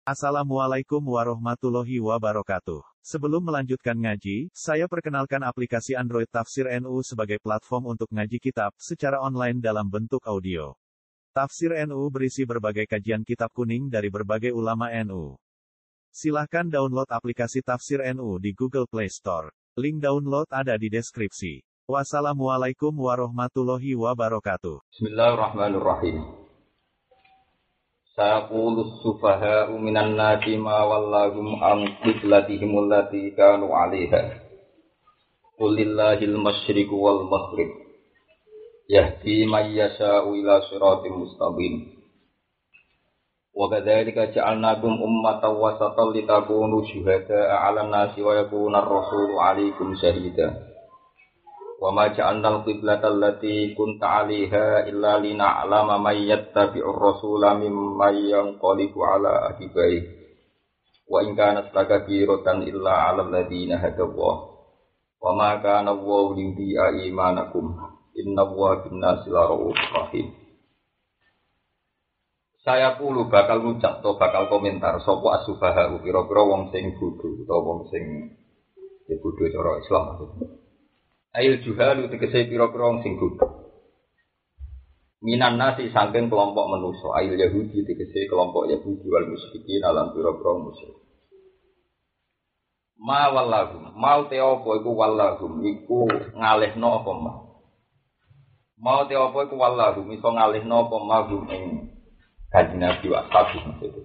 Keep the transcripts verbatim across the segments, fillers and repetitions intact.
Assalamualaikum warahmatullahi wabarakatuh. Sebelum melanjutkan ngaji, saya perkenalkan aplikasi Android Tafsir N U sebagai platform untuk ngaji kitab secara online dalam bentuk audio. Tafsir N U berisi berbagai kajian kitab kuning dari berbagai ulama N U. Silahkan download aplikasi Tafsir N U di Google Play Store. Link download ada di deskripsi. Wassalamualaikum warahmatullahi wabarakatuh. Bismillahirrahmanirrahim. Sayaqulu sufaha'u minan nasi ma wallahum an qiblatihim allati kanu 'alaiha. Qul lillahil masyriqu wal maghrib. Yahdi may yasha'u ila shiratim mustaqim. Wa kadzalika ja'alnakum ummatan wasatan litakunu syuhada'a 'alan nasi wa yakuna ar-rasulu 'alaikum shahida. Wa ma ja'alnal qiblatal lati kunta 'alaiha illa lina'lama may yattabi'ur rasula mimman yanqalibu 'ala aqibai wa in kanat lakabiratan illa 'alal ladina hadallah wa ma kana Allahu liyudhi'a imanakum innallaha bin-nasi la'ufur rahim. Saya pulu bakal ngucap atau bakal komentar sapa as-sufaha kira-kira wong sing bodho utawa wong sing ya bodho cara Islam maksudnya. Ail juhalu tegese pira-pira wong sing bodho. Minan nasi saking kelompok manusa, ail Yahudi tegese kelompok Yahudi wal musyrikin alam pira-pira musyrik. Ma wallahum, mau te apa iku wallahum iku ngalihno apa ma. Mau te apa iku wallahum iso ngalihno apa mahum ing kanjeng Nabi wa ashabi maksud.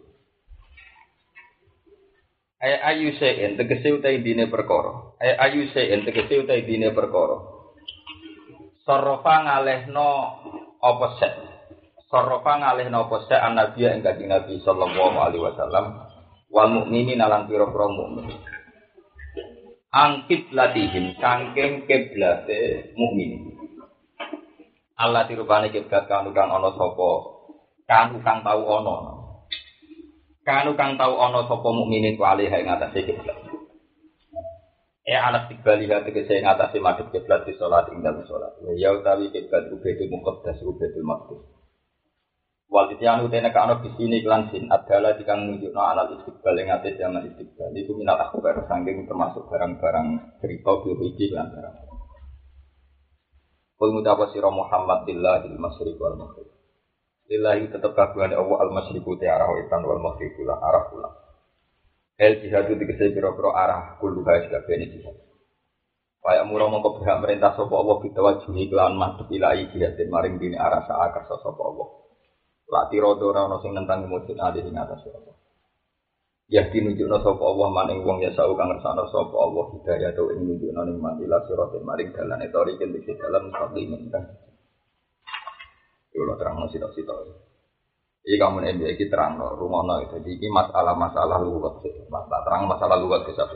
Ay ayu sein tegese utai dine perkara. Ay ayu sein tegese utai dine perkara. Sarafa ngalehno apa sek. Sarafa ngalehno apa sek an-nabi ing kanjeng Nabi sallallahu alaihi wasallam wal mukminin lan pira-pira mukmin. Angkit latihim kangking kiblate mukmin. Allah dirubane kiblat kang kang ana sapa kang kang tau ana. Kanu kang tau ana sapa mukminin ku alih ing atase kiblat. Eh anak tigali hati kese ing atase madhep kiblat di salat ing dalem salat. Ya utawi kiblat ubedul muqaddas ubedul maqdis. Wal tianu tene kana bisine lan sin adalah dikang nunjukno alal istiqbal ing atase jaman istiqbal. Iku minat akhbar saking termasuk barang-barang cerita biologi lan barang. Kul mutawassi sira Muhammad billahil masyriq wal maghrib. Lillahi tetap kagungan Allah al-masyriqu te arah wetan wal maghribu lan arah kulon. El jihadu tegese pira-pira arah kulluha sakabehane jihad. Kaya mura mongko berhak merintah sapa Allah bitawajuhi kelan madhep ilahi jihad maring dine arah saakar sapa Allah. Lati rodo ora ana sing nentang mujud ali ing atas Allah. Ya dinunjukna sapa Allah maning wong ya sau kang ngersakno sapa Allah hidayah to ing nunjukna ning manila siratal maring dalane tori ing dalam mustaqim kan. Kalau terang nasi tak sitok. Jadi kamu ini kita terang no rumah no. Jadi ini masalah-masalah lugat sih. Masalah terang masalah lugat sih.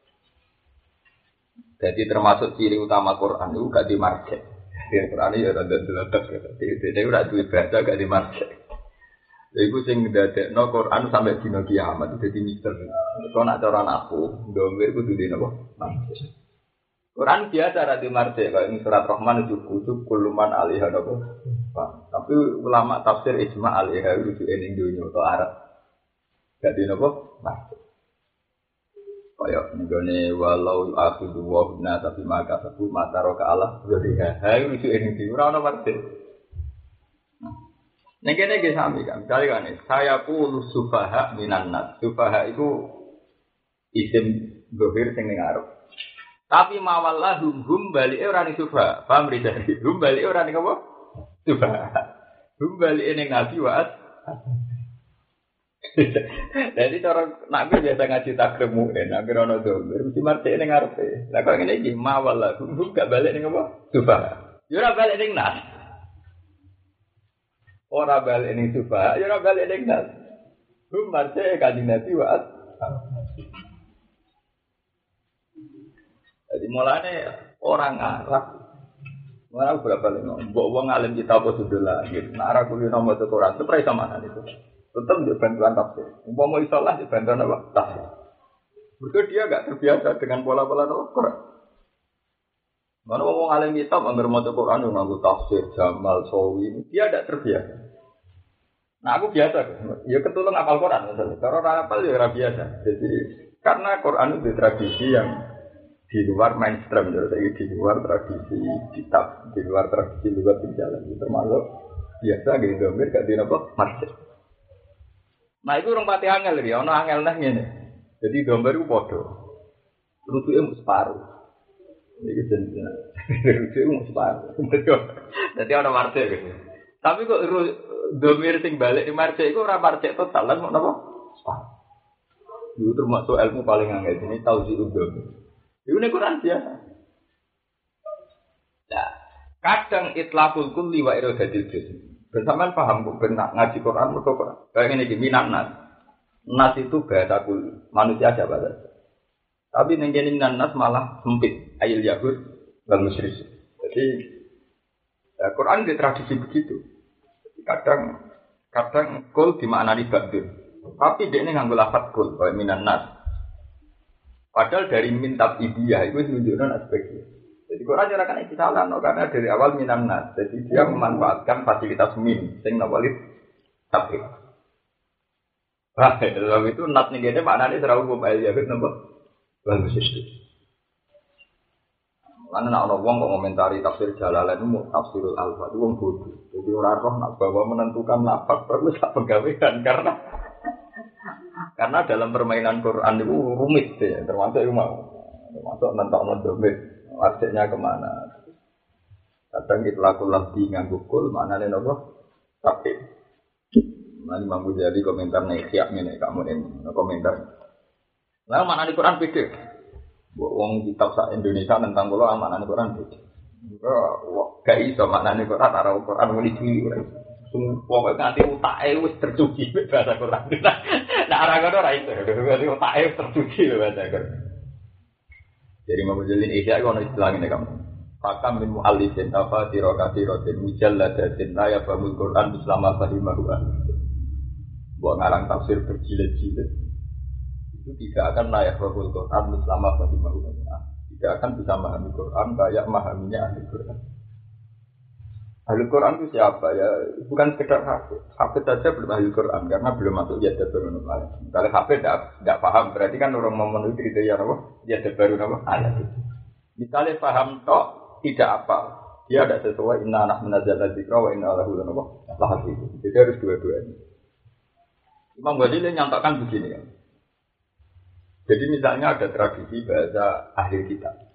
Jadi termasuk ciri utama Quran itu gak dimarjek. Di Quran ini ada delapan. Jadi udah duit baca gak dimarjek. Jadi aku sing ngedadek no Quran sampai dino kiamat. Jadi mister. Kalau nak cara aku, domir aku tuh di nopo marjek. Quran biasa ada di marjek. Kalau ini surat Rahman itu kutub kuluman alihah nopo. Tapi ulama tafsir ijma' alaiha rujuk ning dunya atau Arab. Gak dino apa? Nah. Kaya nggone walau akhidhu wa huna tapi maka sabu mata roka Allah jadi ha rujuk ning dunya ora ono marti. Nek kene iki sami kan. Misale kan saya qulu sufaha minan nas. Sufaha itu isim dohir sing ning Arab. Tapi mawallahum hum balike ora ning sufaha. Paham ridari? Hum balike ora ning apa? Coba, kembali ini ngaji waat. Jadi orang nabi biasa ngaji takremu, nabi rono domir, mesti marti ini ngarepe. Lah kau ini gimana malah, gak balik nih apa? Coba, jurah balik nih nas. Orang balik nih coba, jurah balik nih nas. Hum marti kaji nabi waat. Jadi mulanya orang Arab. Mana berapa lima? Bawa uang alim kita apa sudah lah. Gitu. Nah, arah kuliah nomor satu Quran itu pernah sama itu. Tetap di bantuan tafsir. Umpama mau isolah di bantuan apa? Tafsir. Berarti dia agak terbiasa dengan pola-pola Quran. Mana uang alim kita anggar mau Quran yang nganggo tafsir Jamal Sawi. Dia tidak terbiasa. Nah aku biasa, ya ketulung apal Quran misalnya. Kalau orang apal ya orang biasa. Jadi karena Quran itu tradisi yang di luar mainstream, jadi di luar tradisi kitab, di luar tradisi luar berjalan. Termasuk biasa gitu, domir gak di apa masjid. Nah itu orang pati angel ya, orang angel nah ini. Jadi domir itu bodoh, rujuke mu separuh. Ini jenisnya, rujuke mu separuh. Jadi orang marce gitu. Tapi kok domir sing balik di marce itu orang marce total lah, mau apa? Separuh. Itu termasuk ilmu paling angel ini tahu sih domir. Itu nih Quran biasa. Nah, kadang itlaqul kulli wa iradatil juz'. Bersamaan paham kok benar ngaji Quran atau Quran. Kayak ini minan nas. Nas itu bahasa kulli, manusia aja bahasa. Tapi ning kene minan nas malah sempit, ayil yahud wal musyrik. Jadi ya, Quran di tradisi begitu. Kadang kadang kul dimaknani ba'dun. Tapi dia ini nganggo lafaz kul kayak minan nas. Padahal dari mintab idiyah itu menunjukkan aspeknya. Jadi Quran jarakan itu salah, no? Karena dari awal minan nas. Jadi dia memanfaatkan fasilitas min, sing nawalit tapi. Wah, dalam itu nas nih gede maknanya terlalu mobile ya, kenapa? Bagus itu. Karena nak orang kok komentari tafsir Jalalain itu tafsirul alfa itu orang bodoh. Jadi orang roh nak bawa menentukan lafaz terus tak pegawaian karena karena dalam permainan Quran itu rumit ya, termasuk itu mau, termasuk nentok domir, artinya kemana? Kadang kita lakukan di nganggu kul, mana nih nopo? Tapi, mana mampu jadi komentar nih siap nih kamu ini komentar. Lalu mana di Quran beda? Wong kitab sa Indonesia tentang kulo mana nih Quran beda? Wah, gak iso mana nih Quran, arah Quran mulai dulu. Pokoknya nanti utaknya wis tercuci bahasa Quran. Nah orang itu orang itu, berarti utaknya tercuci bahasa Quran. Jadi mau jalin isya kalau istilah ini kamu. Pakam min mu'allifin tafasir katsiratin mujalladatin la yafhamul Quran bislama fahimahu. Buat ngarang tafsir berjilid-jilid itu tidak akan la yafhamul Quran bislama fahimahu. Tidak akan bisa memahami Quran kayak memahaminya ahli Quran. Ahli Quran itu siapa ya? Bukan sekedar hafid. Hafid saja belum ahli Quran karena belum masuk ya baru ayat. Kalau hafid tidak tidak paham berarti kan orang memenuhi kriteria apa? Ya baru apa? Ayat itu. Misalnya paham tok tidak apa? Dia tidak sesuai inna anak menazal dzikra wa inna lahu apa? Lahafidz. Jadi harus dua-duanya. Imam Ghazali nyatakan begini kan. Jadi misalnya ada tradisi bahasa ahli kitab.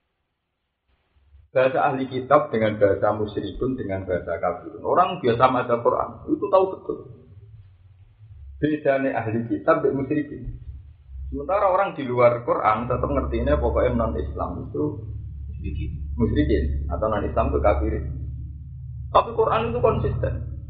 Bahasa ahli kitab dengan bahasa musyrikun dengan bahasa kafirun. Orang biasa baca Quran itu tahu betul. Bedanya ahli kitab dan musyrikin. Sementara orang di luar Quran tetap ngertinya pokoknya non Islam itu musyrikin atau non Islam itu kafirin. Tapi Quran itu konsisten.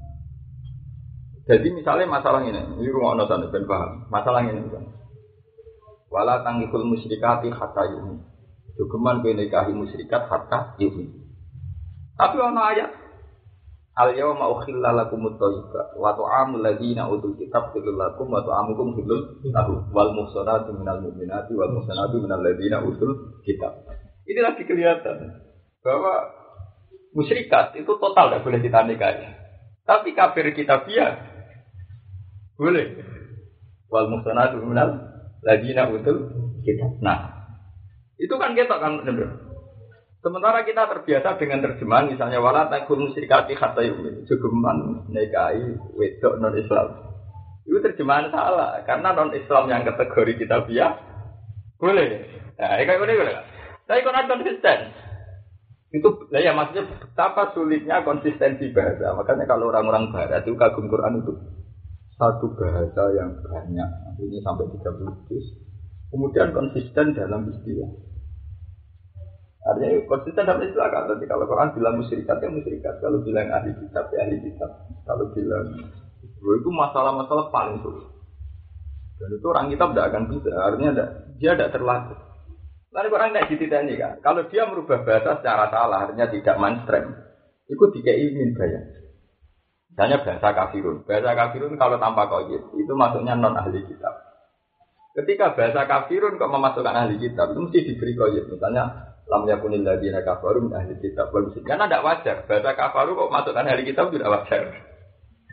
Jadi misalnya masalah ini, ini rumah ono sana ben paham. Masalah ini misalnya. Wala tangikul musyrikati hatta yu'min. Dugeman benekahi musyrikat hatta yu'min. Tapi ana ayat al yawma ukhilla lakumut thayyibat wa ta'amul ladzina utul kitab halal lakum wa ta'amukum halal lahum wal muhsanatu minal mu'minati wal muhsanatu minal ladzina utul kitab. Ini lagi kelihatan bahwa musyrikat itu total tidak boleh kita nikahi. Tapi kafir kitabiah boleh. Wal muhsanatu minal ladzina utul kitab. Nah, itu kan kita kan benar. Sementara kita terbiasa dengan terjemahan misalnya wala taqul musyrikati hatta yu'min. Jugeman nikahi wedok non Islam. Itu terjemahan salah karena non Islam yang kategori kitabiah boleh. Nah, kayak gini boleh. Tapi Quran konsisten. Itu lah ya maksudnya betapa sulitnya konsistensi bahasa. Makanya kalau orang-orang barat itu kagum Quran itu satu bahasa yang banyak. Ini sampai tiga puluh juz. Kemudian konsisten dalam istilah. Artinya konsisten dalam istilah kan. Tapi kalau Quran bilang musyrikat ya musyrikat. Kalau bilang ahli kitab ya ahli kitab. Kalau bilang itu masalah-masalah paling sulit. Dan itu orang kitab tidak akan bisa. Artinya ada, dia tidak terlatih. Lalu Quran tidak dititani kan. Kalau dia merubah bahasa secara salah, artinya tidak mainstream. Itu dikeimin bayang. Misalnya bahasa kafirun. Bahasa kafirun kalau tanpa qayyid itu masuknya non ahli kitab. Ketika bahasa kafirun kok memasukkan ahli kitab itu mesti diberi qayyid. Misalnya lam yakunil ladzina kafaru min ahli kitab wal musyrikin. Karena tidak wajar. Bahasa kafaru kok masukkan ahli kitab tidak wajar.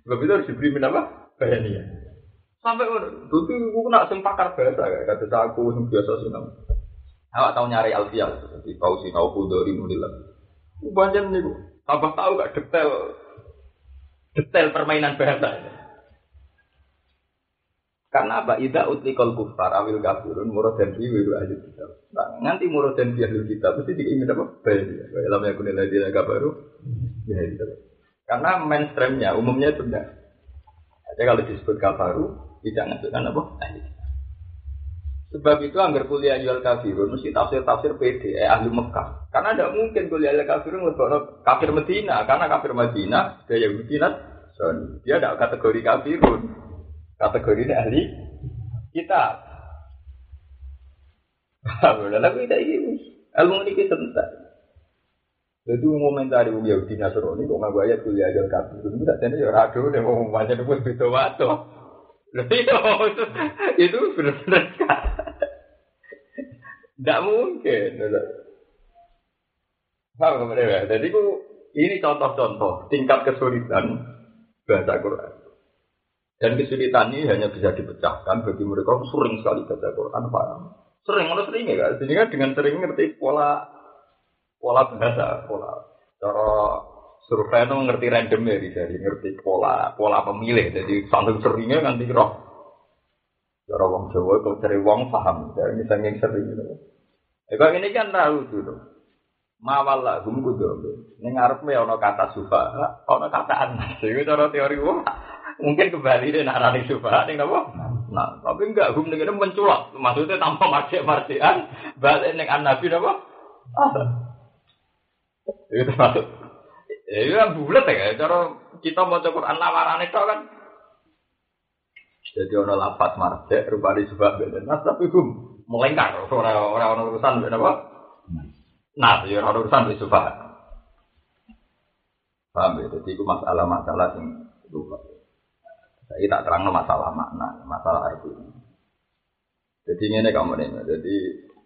Sebab itu harus diberi apa? Bayaniah. Sampai itu aku nak sing pakar bahasa kayak kata aku sing biasa sinau. Awak tahu nyari alfiah di tahu sinau kudori nulilah. Banyak nih, tambah tahu gak detail detail permainan bahasa. Karena apa? Ida utlikal kufar awil kafirun murad dan biru ahli kitab. Nah, nanti murad dan biru kitab pasti diingin apa? Baik. Dalam yang kunil lagi agak baru. Ya itu. Karena mainstreamnya umumnya itu enggak. Jadi kalau disebut kafaru tidak menunjukkan apa? Ahli. Sebab itu anggar kuliah jual kafirun mesti tafsir-tafsir P D eh, ahli Mekah. Karena tidak mungkin kuliah jual kafirun lebih kafir Medina. Karena kafir Medina dia Yahudi Nasrani. Dia tidak kategori kafirun. Kategorinya ahli kitab. Lalu kita ini ilmu ini kita sebentar. Jadi momentari Yahudi Nasrani kok nggak ayat kuliah jual kafirun. Tidak jadi ya rado deh mau macam itu betul wato. Itu itu benar-benar tidak mungkin. Paham kemudian? Jadi ini contoh-contoh tingkat kesulitan bahasa Quran. Dan kesulitan ini hanya bisa dipecahkan bagi mereka yang sering sekali baca Quran. Paham? Sering, mana sering ya kan? Jadi kan dengan sering ngerti pola pola bahasa, pola cara survei itu ngerti random ya, jadi ngerti pola pola pemilih. Jadi sambil seringnya kan dikira. Cara wong Jawa kalau cari wong paham, dari misalnya yang sering gitu. Eh kalau ini kan tahu dulu. Mawal lah, gum kudu. Ini ngarep me ono kata sufa, ono kata anas. Itu cara teori wong. Mungkin kembali deh nak rani sufa, nih apa? Nah, tapi enggak gum ini menculak. Maksudnya tanpa marjek-marjekan, balik neng anabi apa? Ah, itu termasuk. Ya itu kan bulat ya. Cara kita mau Quran lawaran itu kan. Jadi ono lapat marjek, rupanya sufa beda. Nah, tapi gum. Melengkar, orang-orang urusan apa? Nah, ya orang urusan itu sufa. Paham ya? Jadi itu masalah-masalah yang lupa. Saya tak terang masalah makna, masalah itu. Jadi ini kamu nih, jadi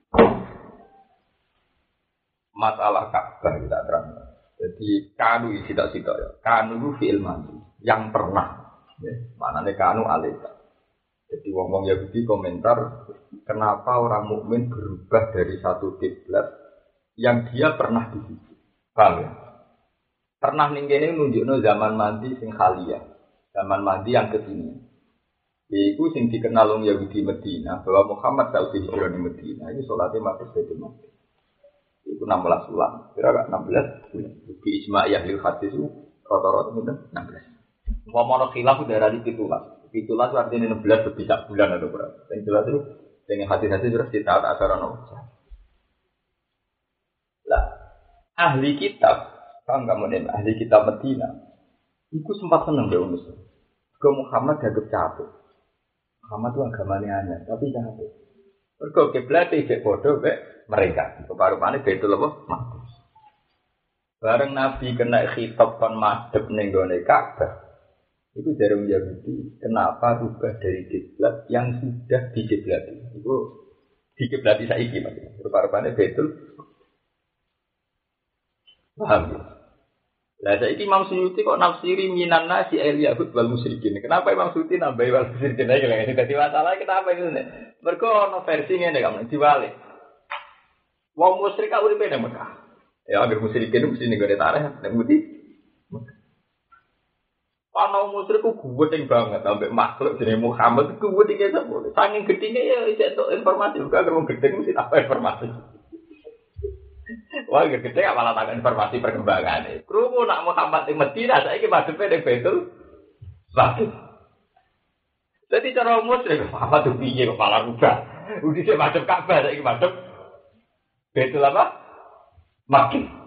masalah Ka'bah kita terang. Jadi kanu isi tak situ ya. Kanu itu fi'il madhi yang pernah. Ya, maknanya kanu alika. Jadi wong-wong Yahudi komentar kenapa orang mukmin berubah dari satu kiblat yang dia pernah di situ. Paham ya? Pernah ning kene nunjukno zaman mandi sing khaliyah. Zaman mandi yang kesini. Yaitu sing dikenal wong Yahudi Medina bahwa Muhammad tak usah hijrah di Medina. Ini salatnya masuk Baitul Maqdis. Itu enam belas bulan. Kira-kira enam belas bulan. Di Ijma' Ahlul Hadis itu rata-rata itu enam belas. Mau mono khilaf udah ada di pitulas. Pitulas artinya enam belas lebih sak bulan atau berapa. Yang jelas itu dengan hati-hati terus kita tak asaran Allah. Lah, ahli kitab, kan kamu nih ahli kitab Medina, itu sempat seneng deh umus. Ke Muhammad agak capek. Muhammad itu agamanya hanya, tapi capek. Mereka kiblat itu bodoh be mereka. Keparupannya betul apa? Mati. Bareng Nabi kena khitab kon madhep ning gone Ka'bah. Itu dari Yahudi, kenapa rubah dari kiblat yang sudah dikiblati? Itu dikiblati saiki maksudnya. Rupa-rupanya betul. Paham ya? Lah saiki Imam Suyuti kok nafsiri minan nasi al yahud wal musyrikin. Kenapa Imam Suyuti nambahi wal musyrikin lagi lagi? Dadi masalah kenapa itu nek? Mergo ono versi ngene kamu diwalik. Wong musyrik kok uripe nang Mekah. Ya agar musyrikin mesti ning gone tareh nek mudi. Ana musyrik ku gede banget sampai makhluk jenenge Muhammad ku gede iki sepuluh. Saking gedine ya isih entuk informasi juga karo gede mesti apa informasi. Wah gede gak malah tak informasi perkembangan. Krungu nak Muhammad ing Madinah saiki madhepe ning Baitul Maqdis. Dadi cara musyrik Muhammad tuh piye kok malah rubah. Udah sih madhep Ka'bah saiki madhep Baitul apa? Maqdis.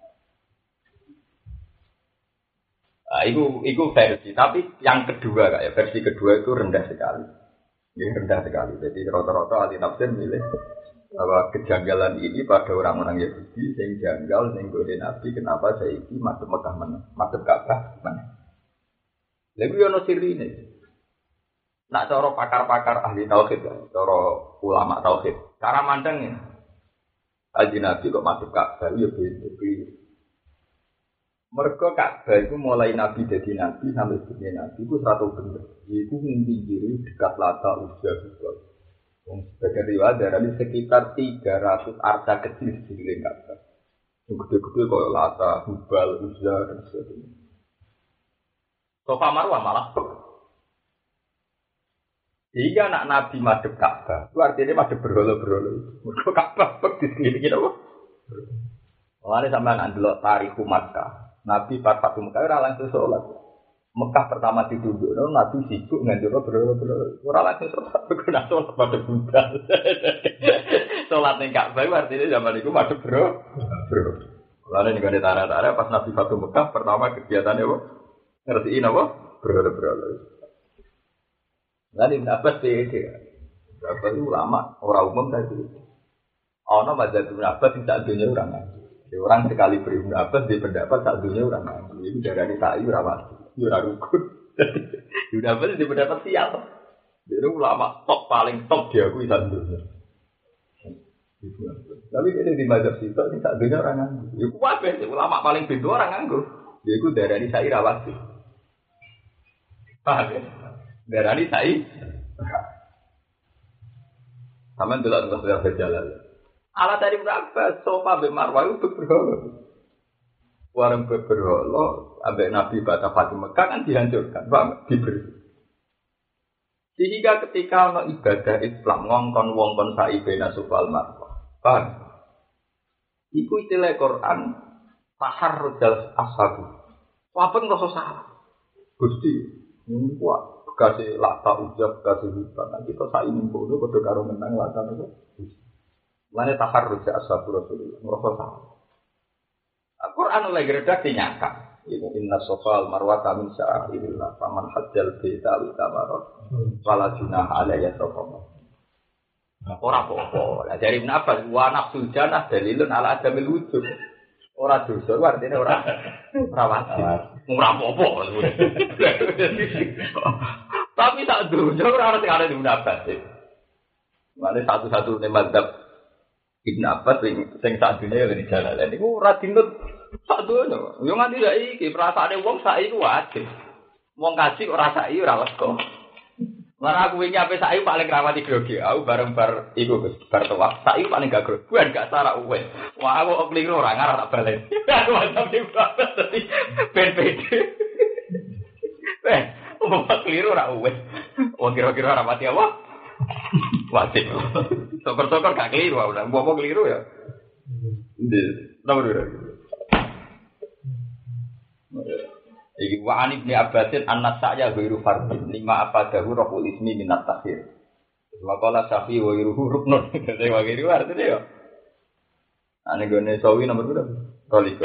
Nah, itu, itu versi, tapi yang kedua kayak versi kedua itu rendah sekali, ini rendah sekali. Jadi rata-rata ahli tafsir milih bahwa kejanggalan ini pada orang-orang Yahudi yang janggal, yang godin Nabi, kenapa saya ini masuk Mekah mana, masuk Ka'bah mana? Lalu yang siri ini, nak cara pakar-pakar ahli tauhid, cara ulama tauhid, cara mandangnya, Haji Nabi kok masuk Ka'bah, ya begitu. Mergo Ka'bah iku mulai Nabi dadi nabi sampai dadi nabi iku seratus bener. Iku ning pinggire dekat Lata Uzza juga. Wong sebagian riwayat darani sekitar tiga ratus arca kecil di sekeliling Ka'bah. Yang gede-gede kaya Lata, Hubal, Uzza dan sebagainya. Sofa Marwah malah. Jika anak Nabi madhep Ka'bah, itu artinya madhep berhala-berhala. Mergo Ka'bah di sekeliling apa? Mulane sampeyan nak delok tarikh Makkah. Nabi pas Fatu Mekah ora langsung sholat. Mekah pertama ditundukno Nabi sibuk nganjurno berhala-berhala. Ora langsung sholat, kena sholat pada budal. Sholat ning Ka'bah artinya zaman iku madhep bro. Bro. Lalu ning gone tanah-tanah pas Nabi Fatu Mekah pertama kegiatannya apa? Ngertiin apa? Berhala-berhala. Lalu Ibn Abbas beda. Ibn Abbas itu ulama, orang umum tadi. Ana mazhab Ibn Abbas sing sak dunya ora ngaji. Orang sekali beri Ibn Abbas di pendapat sak dunia orang ngaji. Itu darani sa'i ora wajib. Ora rukun. Ibn Abbas di pendapat sial. Dia ulama top paling top diakui sak dunia. Tapi ini di mazhab sitok sing sak dunia orang ngaji. Iku kabeh ulama paling pintu orang nganggo. Dia iku darani sa'i ora wajib. Paham ya? Darani sa'i. Sampeyan delok terus berjalan. Ala tadi berapa? Sofa be Marwah itu berhala. Warung berhala, ambek Nabi Bata Fatimah Mekah kan dihancurkan, Pak, diberi. Sehingga ketika ono ibadah Islam ngongkon wongkon sa'i bena Sofa Marwah. Paham? Iku istilah Quran taharrujal ashabu. Apa ngrasa salah? Gusti, kuat bekase Lata Uzza bekase hutan. Nah, kita sa'i ning kono padha karo menang Lata niku. Mana taharruj ashabu Rasulullah merasa salah. Al-Qur'an lagi redaksi nyata. Inna Safa wal-Marwa min sya'airillah. Faman hajjal baita wa tamara fala junaha alayhi safa. Ora apa-apa. Lah dari Ibnu Abbas wa nafsul jannah dalilun ala adamil wujud. Ora dosa artine ora ora wajib. Ora apa-apa. Tapi tak dosa ora ana sing arep Ibnu Abbas. Mane satu-satu ne madzhab Ibn Abbas sing sak dunya ya di jalan. Niku ora dinut sak dunya. Yo nganti saiki perasaane wong saiki wajib. Wong kaji ora saiki ora lega. Lah aku wingi ape saiki paling rawati grogi. Aku bareng bar iku Gus, bar tuwa. Saiki paling gak grogi. Bukan gak sarak uwes. Wah aku kok keliru ora ngarep tak balen. Aku mantap iki Bapak dadi ben pede. Eh, wong keliru ora uwes. Wong kira-kira ora mati apa? Wajib. Sokor-sokor gak keliru, udah. Bapak keliru ya. Ndek, nomor dua. Iki wa an Ibnu Abbasin annas sa'ya ghairu fardin lima afadahu raful ismi min at-takhir. Wa qala Syafi'i wa ghairuhu ruknun. Dadi wa ghairu artine ya. Ane gone sawi nomor berapa? Roliko.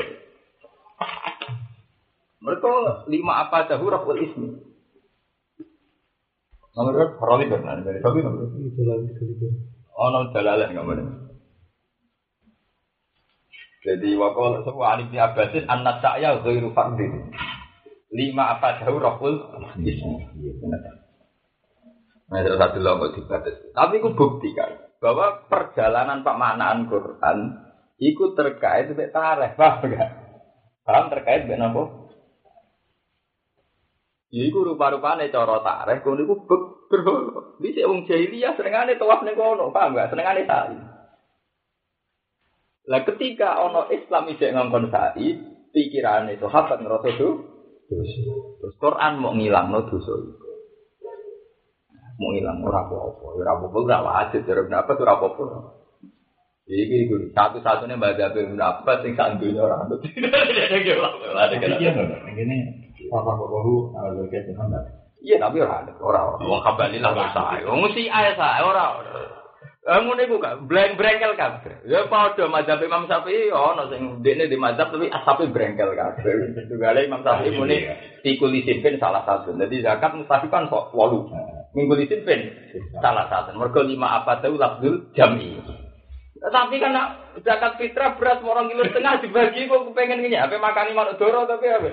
Mereka lima afadahu raful ismi. Nomor berapa? Roliko kan dari sawi nomor berapa? Oh, nomor dalalah enggak boleh. Jadi wa qala wa an Ibnu Abbasin annas sa'ya ghairu fardin. Lima apa jauh raful ismi. Nah, terus satu lagi dibatasi. Tapi aku buktikan bahwa perjalanan pemaknaan Quran itu terkait dengan tarikh, paham enggak? Paham terkait dengan apa? Ya iku rupa-rupane cara tarikh kono iku berhala. Dhisik wong jahiliyah senengane tawaf ning kono, paham enggak? Senengane sa'i. Lah ketika ana Islam isih ngongkon sa'i, pikirane sahabat ngrasa do terus Quran mau ngilangno dosa iku. Mau ngilang ora apa-apa, ora apa-apa ora wajib jare pendapat ora apa-apa. Iki iku satu-satunya mazhab Ibnu Abbas sing sak dunya ora anut. Ngene apa bahu ala kaya Muhammad. Iya tapi ora ora wong kabalilah sae. Wong mesti ae sae ora. Eh ngene iku gak breng-brengkel kabeh. Ya padha mazhab Imam Syafi'i ana sing ndekne di mazhab tapi asape brengkel kabeh. Tugale Imam Syafi'i muni tikulisin ben salah satu. Jadi zakat mustahil kan kok wolu. Minggulisin ben salah satu. Mergo lima apa tahu lafzul jam'i. Tapi kan zakat fitrah beras orang kilo setengah dibagi kok pengen ngene ape makani manuk doro tapi ape.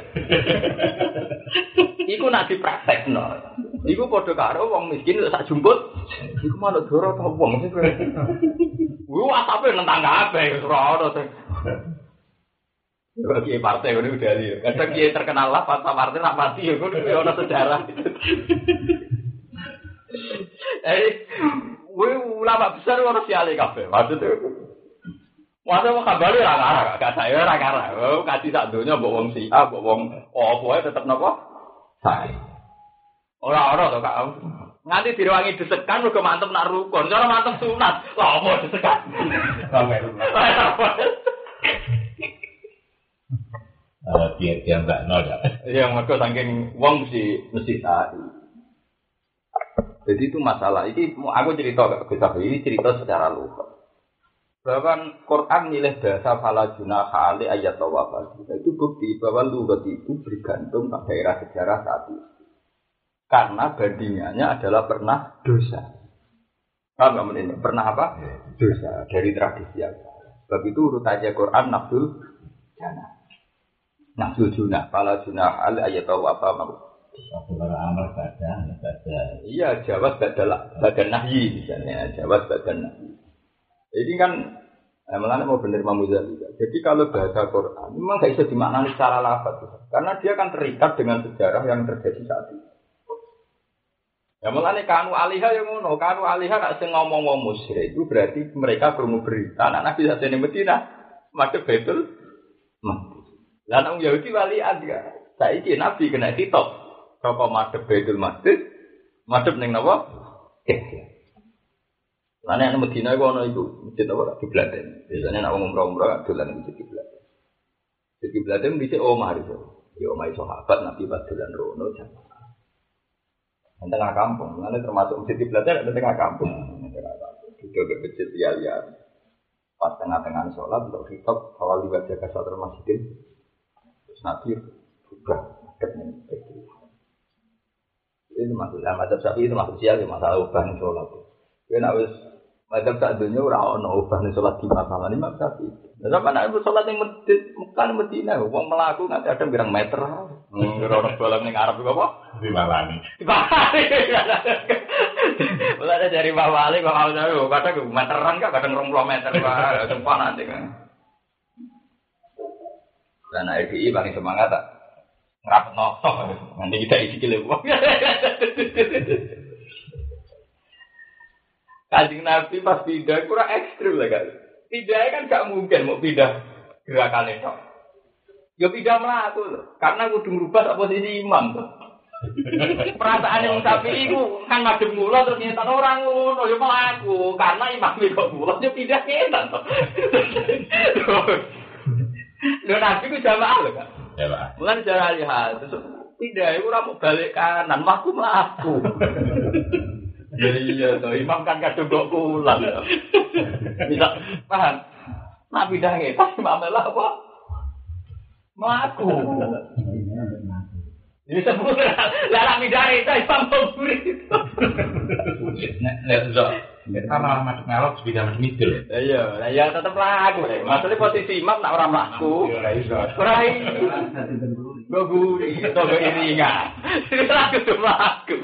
Iku nak dipraktekno. Iku padha karo wong miskin sak jumput. Iku manuk doro ta wong sing kowe. Wo asape nentang kabeh ora ono sing. Bagi partai udah udah lihat. Kadang kiai terkenal lah, pas partai nak mati ya, gue udah sejarah. Eh, gue ulama besar orang siali kafe. Maksudnya, maksudnya mau kabar ya rara, gak saya rara. Oh, kasih tak dunia bawang si, ah bawang, oh pokoknya tetap nopo. Saya. Orang-orang tuh kak. Nganti direwangi desekan uga mantep nak rukun. Cara mantep sunat. Lah apa desekan? Eh biar dia enggak nol ya. Iya, mergo saking wong mesti mesti sae. Jadi itu masalah. Ini aku cerita gak bisa ini cerita secara lugas. Bahwa Quran milih bahasa fala junaha ali ayat tawaf. Itu bukti bahwa lugat itu bergantung pada daerah sejarah saat itu. Karena bandingannya adalah pernah dosa. Paham enggak ini? Pernah apa? Dosa dari tradisi yang salah. Sebab itu urutannya Quran nafsul jannah. Nafsul junah, fala junah al ayat apa mau? Kalau amal badan, badan. Iya, jawab badan badan nahyi misalnya, jawab badan nahyi. Ini kan eh, melane mau bener Imam Ghazali juga. Jadi kalau bahasa Quran memang enggak bisa dimaknani secara lafaz, karena dia kan terikat dengan sejarah yang terjadi saat itu. Ya mulane kanu alihah yang ngono, kanu alihah nek sing ngomong-ngomong musyrik itu berarti mereka krungu berita anak Nabi sajane Madinah, madhep Baitul Maqdis. Lah nang Yahudi walian ya. Saiki Nabi kena kitab. Saka madhep Baitul Maqdis, madhep ning napa? Lah nek nang Madinah iku ana iku, masjid apa kiblaten. Biasane nek wong umroh-umroh dolan ning masjid kiblaten. Masjid kiblaten dhisik omah iso. Ya omah sahabat Nabi pas dolan rono jamaah. Di tengah kampung, mana termasuk masjid kiblatnya ada di tengah kampung. Juga ke masjid liar-liar. Pas tengah-tengah sholat, untuk khitab, awal dibaca kasatul masjidin. Terus Nabi juga dekat itu. Itu maksudnya, mazhab Syafi'i itu maksud sial, masalah ubah nih sholat. Karena wis mazhab tak dunia ora ono ubah nih sholat di masalah ini mazhab Syafi'i. Lah mana itu sholat yang masjid Mekah Madinah, wong melaku nganti ada birang meter. Hmm, orang dolan ning Arab iku apa? Di Malani. Di Malani. Mulai dari Pak Wali, Pak Wali itu kadang meteran kan, kadang dua puluh meter, Pak. Sempat nanti kan. Dan I P I paling semangat tak? Ngerapet notok. Nanti kita isi kilim. Kanjeng Nabi pas pindah kurang ekstrim lah kan. Pindahnya kan gak mungkin mau pindah gerakan itu. Ya pindah melaku karena kudu ngubah posisi imam tuh. Perasaan yang sapi itu kan madem mula terus nyetan orang ngono ya melaku karena imam itu mula dia pindah nyetan tuh. Lho Nabi ku jamaah lho kan. Jamaah. Bukan cara lihat terus pindah itu ora mau balik kanan mlaku mlaku. Jadi iya toh imam kan kadung kok pulang. Bisa paham? Nak pindah ngetas imam lah apa? Mlaku. Ini sebut lah pindah itu imam kubur itu. Nek nek zo. Kita malah masuk ngalok sepeda macam itu. Iya, lah ya tetep laku. Maksudnya posisi imam nak orang mlaku. Ora iso. Ora iso. Goguri, to iringan. Ini laku tuh laku.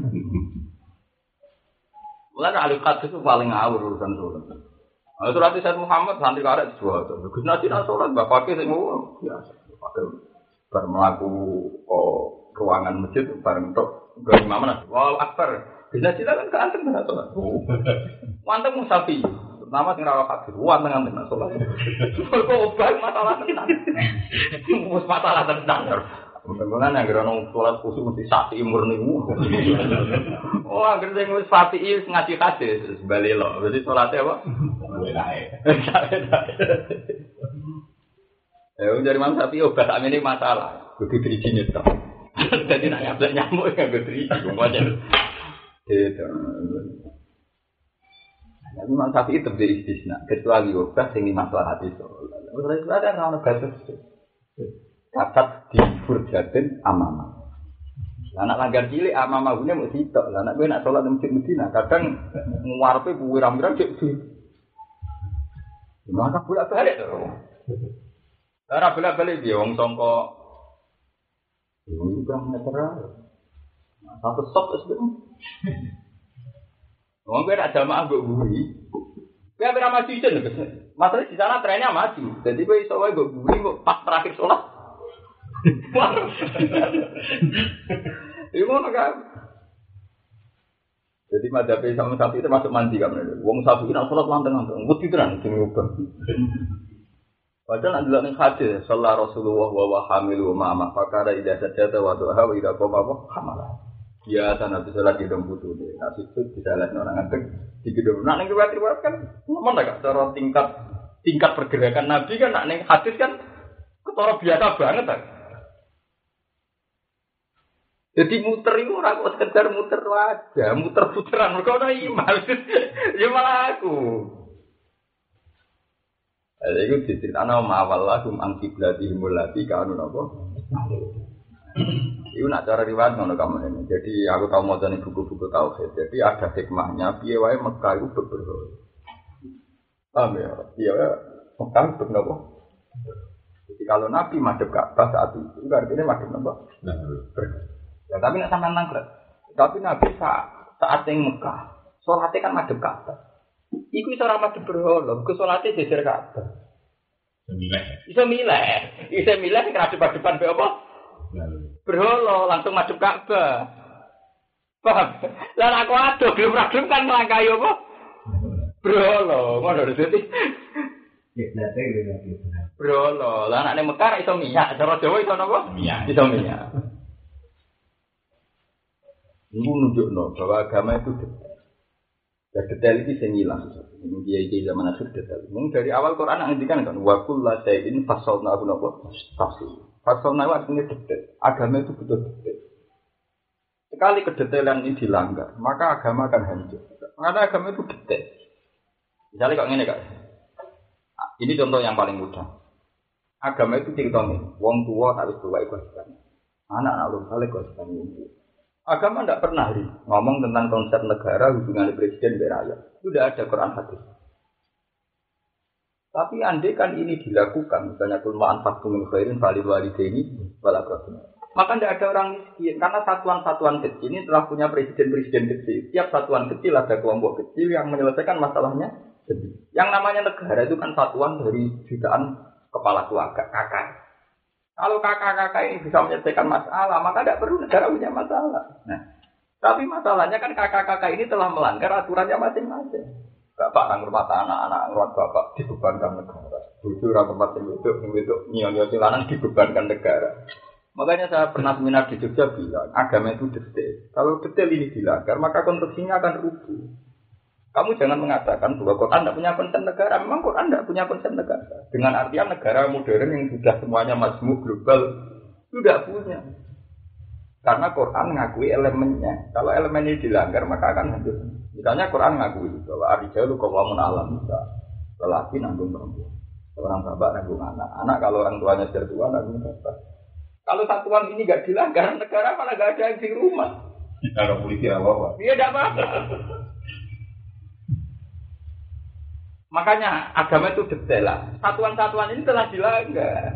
Mulai alikat itu paling ngawur urusan sholat. Nah, itu nanti Sayyid Muhammad nanti karek dua tuh. Gus Nasi nak sholat, bapaknya saya mau biasa. Pakai bermelaku oh, ruangan masjid bareng tok. Gak imam mana? Wow akbar. Gus Nasi kan keanteng nak sholat. Manteng musafi. Pertama sing rawat hadir, wanteng anteng nak sholat. Kok obat masalah tenan. Mus masalah tenan. Mudah-mudahan yang gerono sholat khusus mesti sapi murni. Oh, agar saya ngurus sapi itu ngaji hadis balik loh. Berarti sholatnya apa? Ya, dari mana sapi obat kami ini masalah. Begitu izinnya toh. Jadi nak nyampe nyamuk yang begitu izin semuanya. Gitu. Tapi memang sapi itu beri istisna. Kecuali obat yang ini masalah hadis. Terus ada orang batas. Catat di Furjatin Amama. Anak langgar cilik Amama gune mau sitok. Anak gue nak sholat di masjid Medina. Kadang nguarpe buwiram-wiram cek di. Gimana bolak balik tuh? Cara bolak balik dia wong songko. Ini kurang meter. Satu stop sebelum. Wong gue nak jamaah gue buri. Kayak berapa season lho. Masalah di sana trennya maju. Jadi kowe iso wae go guling kok pas terakhir sholat. Iku ngono kan. Jadi madhabe sama sapi itu masuk mandi kan. Wong sapi iki nek sholat lanteng-lanteng, wedi tenan sing ngubah. Padahal nek delok ning hadis, sallallahu Rasulullah wa wa hamilu ma ma fakara idza sajada wa duha wa idza qama hamala. Ya sana bisa lagi dong butuh deh. Nah situ bisa lihat orang ngantek di gedung. Nah neng riwayat-riwayat kan ngomong tak cara tingkat tingkat pergerakan Nabi kan nak neng hadis kan ketara biasa banget kan. Jadi muter itu orang kok sekedar muter aja, muter puteran mereka ada iman. Ya malah aku. Ada itu diceritakan sama awal lagu angkiblatihim mulati kanu apa? Itu nak cara riwayat ngono kamu ini. Jadi aku tahu mau nih buku-buku tauhid. Jadi ada hikmahnya. Piye wae Mekah itu berberhala. Paham ya? Piye wae Mekah berberhala. Jadi kalau Nabi madhep Ka'bah saat itu, itu artinya madhep apa? Ya tapi nak sampean nangkret. Tapi Nabi saat saat yang Mekah, sholatnya kan madhep Ka'bah. Iku iso ora madhep berhala, ke sholatnya jejer Ka'bah. Milih. Iso milih. Iso milih sing kadep-kadepan be apa? Berhala langsung madhep Ka'bah. Paham? Lah aku aduh gelem ra gelem kan melangkai apa? Berhala, ngono dadi. Kiblate lho. Berhala, lah nek Mekah iso minyak, cara Jawa iso napa? Minyak. Iso minyak. Ibu nunjukno bahwa agama itu detail. Dan detail itu sing ilang. Ini dia zaman akhir detail. Mung dari awal Quran ngendikan kan wa kullu shay'in fasalnahu napa? Tafsir. Fasalnahu artinya detail. Agama itu betul detail. Sekali kedetailan ini dilanggar, maka agama akan hancur. Karena agama itu detail. Misalnya kok ngene, Kak. Ini contoh yang paling mudah. Agama itu ceritanya, wong tua harus tua kewajiban. Anak-anak lu balik kewajiban itu. Agama tidak pernah ri, ngomong tentang konsep negara, hubungan presiden dan rakyat. Itu tidak ada Quran hadis. Tapi andai kan ini dilakukan, misalnya kulmaan faktum khairin valid walidaini walakrabin. Maka tidak ada orang miskin, karena satuan-satuan kecil ini telah punya presiden-presiden kecil. Tiap satuan kecil ada kelompok kecil yang menyelesaikan masalahnya sendiri. Yang namanya negara itu kan satuan dari jutaan kepala keluarga, kakak. Kalau kakak-kakak ini bisa menyelesaikan masalah, maka tidak perlu negara punya masalah. Nah, tapi masalahnya kan kakak-kakak ini telah melanggar aturannya masing-masing. Bapak yang rumah anak-anak rumah bapak dibebankan negara. Bujur orang tempat yang itu, yang itu nyonya silanan dibebankan negara. Makanya saya pernah seminar di Jogja bilang, agama itu detail. Kalau detail ini dilanggar, maka konstruksinya akan rubuh. Kamu jangan mengatakan bahwa Quran tidak punya konsep negara. Memang Quran tidak punya konsep negara. Dengan artian negara modern yang sudah semuanya majmuk global, itu tidak punya. Karena Quran mengakui elemennya. Kalau elemen ini dilanggar, maka akan hancur. Misalnya Quran mengakui bahwa arijalu qawwamun 'alan nisa. Lelaki nanggung perempuan. Orang bapak nanggung anak. Anak kalau orang tuanya sudah tua nanggung bapak. Kalau satuan ini tidak dilanggar, negara malah tidak ada yang di rumah. Kalau polisi apa-apa. Iya tidak apa-apa. Makanya agama itu detail lah. Satuan-satuan ini telah dilanggar.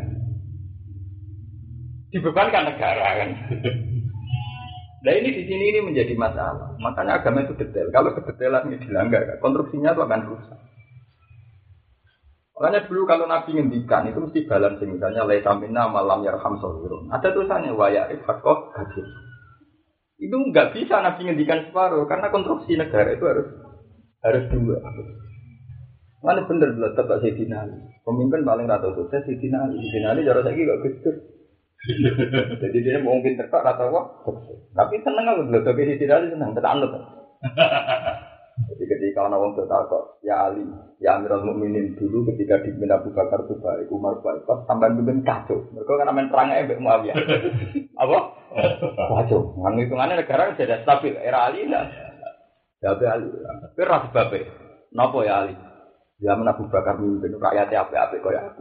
Dibebankan negara kan. Nah ini di sini ini menjadi masalah. Makanya agama itu detail. Kalau kedetailan ini dilanggar, konstruksinya itu akan rusak. Makanya dulu kalau Nabi ngendikan itu mesti balancing. Misalnya laisa minna malam yarham shawirun. Ada tulisannya wa ya'rif haqqo hadir. Itu enggak bisa Nabi ngendikan separuh karena konstruksi negara itu harus harus dua. Mana bener bener tetap Sayyidina Ali. Pemimpin paling rata sukses Sayyidina Ali. Sayyidina Ali jarang lagi gak gede. Jadi dia mungkin terpak atau apa? Tapi seneng aku bener tapi Sayyidina Ali seneng tetap anut. Jadi ketika orang orang berkata, ya Ali, ya Amirul Mukminin dulu ketika dipimpin Abu Bakar itu baik, Umar baik, pas sampai pimpin kacau. Mereka kan main perangnya Mbak Muawiyah. Apa? Kacau. Ngang hitungannya negara sudah stabil. Era Ali enggak. Ya Ali. Tapi ras babe. Napa ya Ali? Zaman Abu Bakar mimpin rakyatnya apik-apik kaya aku.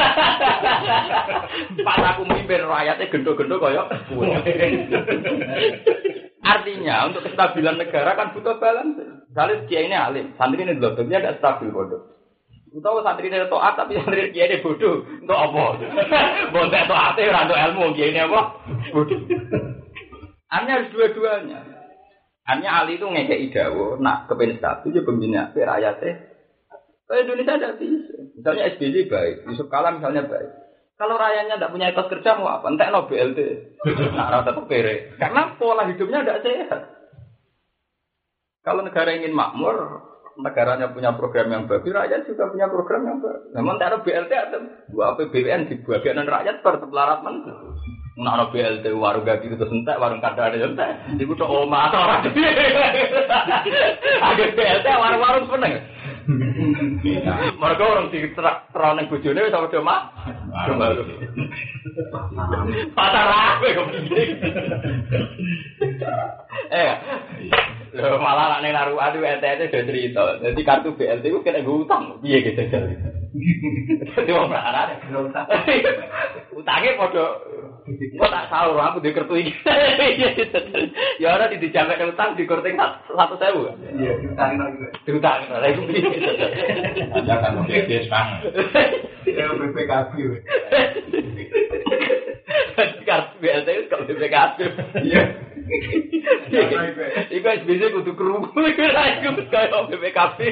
Pas aku mimpin rakyatnya gendo-gendo kaya aku. Artinya untuk kestabilan negara kan butuh balance. Misalnya kiai ini alim, santri ini bodoh, dia tidak stabil bodoh. Tahu santri ini toat tapi santri kiai ini bodoh, untuk apa? Bodoh toatnya rando ilmu kiai ini apa? Bodoh. Artinya harus dua-duanya. Artinya Ali itu ngekei dawo, nak kepen stabil, dia pembina rakyatnya. Kalau Indonesia tidak bisa. Misalnya S B Y baik, Yusuf Kala misalnya baik. Kalau rakyatnya tidak punya etos kerja mau apa? Entek no B L T. Nah, rata tetap pere. Karena pola hidupnya tidak sehat. Kalau negara ingin makmur, negaranya punya program yang bagus, rakyat juga punya program yang bagus. Memang tak ada B L T ada dua A P B N di bagian rakyat bertelarat men. Nak ada B L T warung gaji itu entek, warung kadang ada entek. Iku tok omah to ora. Ada B L T warung-warung seneng. Mereka orang di teraneng bojone wis padha mak. Pacar aku kok begini. Eh, lho malah nek naruhan itu N T T udah cerita. Jadi kartu B L T ku kena ngutang. Piye gitu. Dadi wong larane ngutang. Utange padha kok tak sahur aku di kartu iki. Ya ora dijamek utang di korting satu ribu. Iya, utang lagi. Utang lha iku piye. Ada kan B P S Bang. Ya B P K B. Kartu B L T itu kalau B P K B. Iya. Iku S B C kudu krungu iku ra iku kaya B P K B.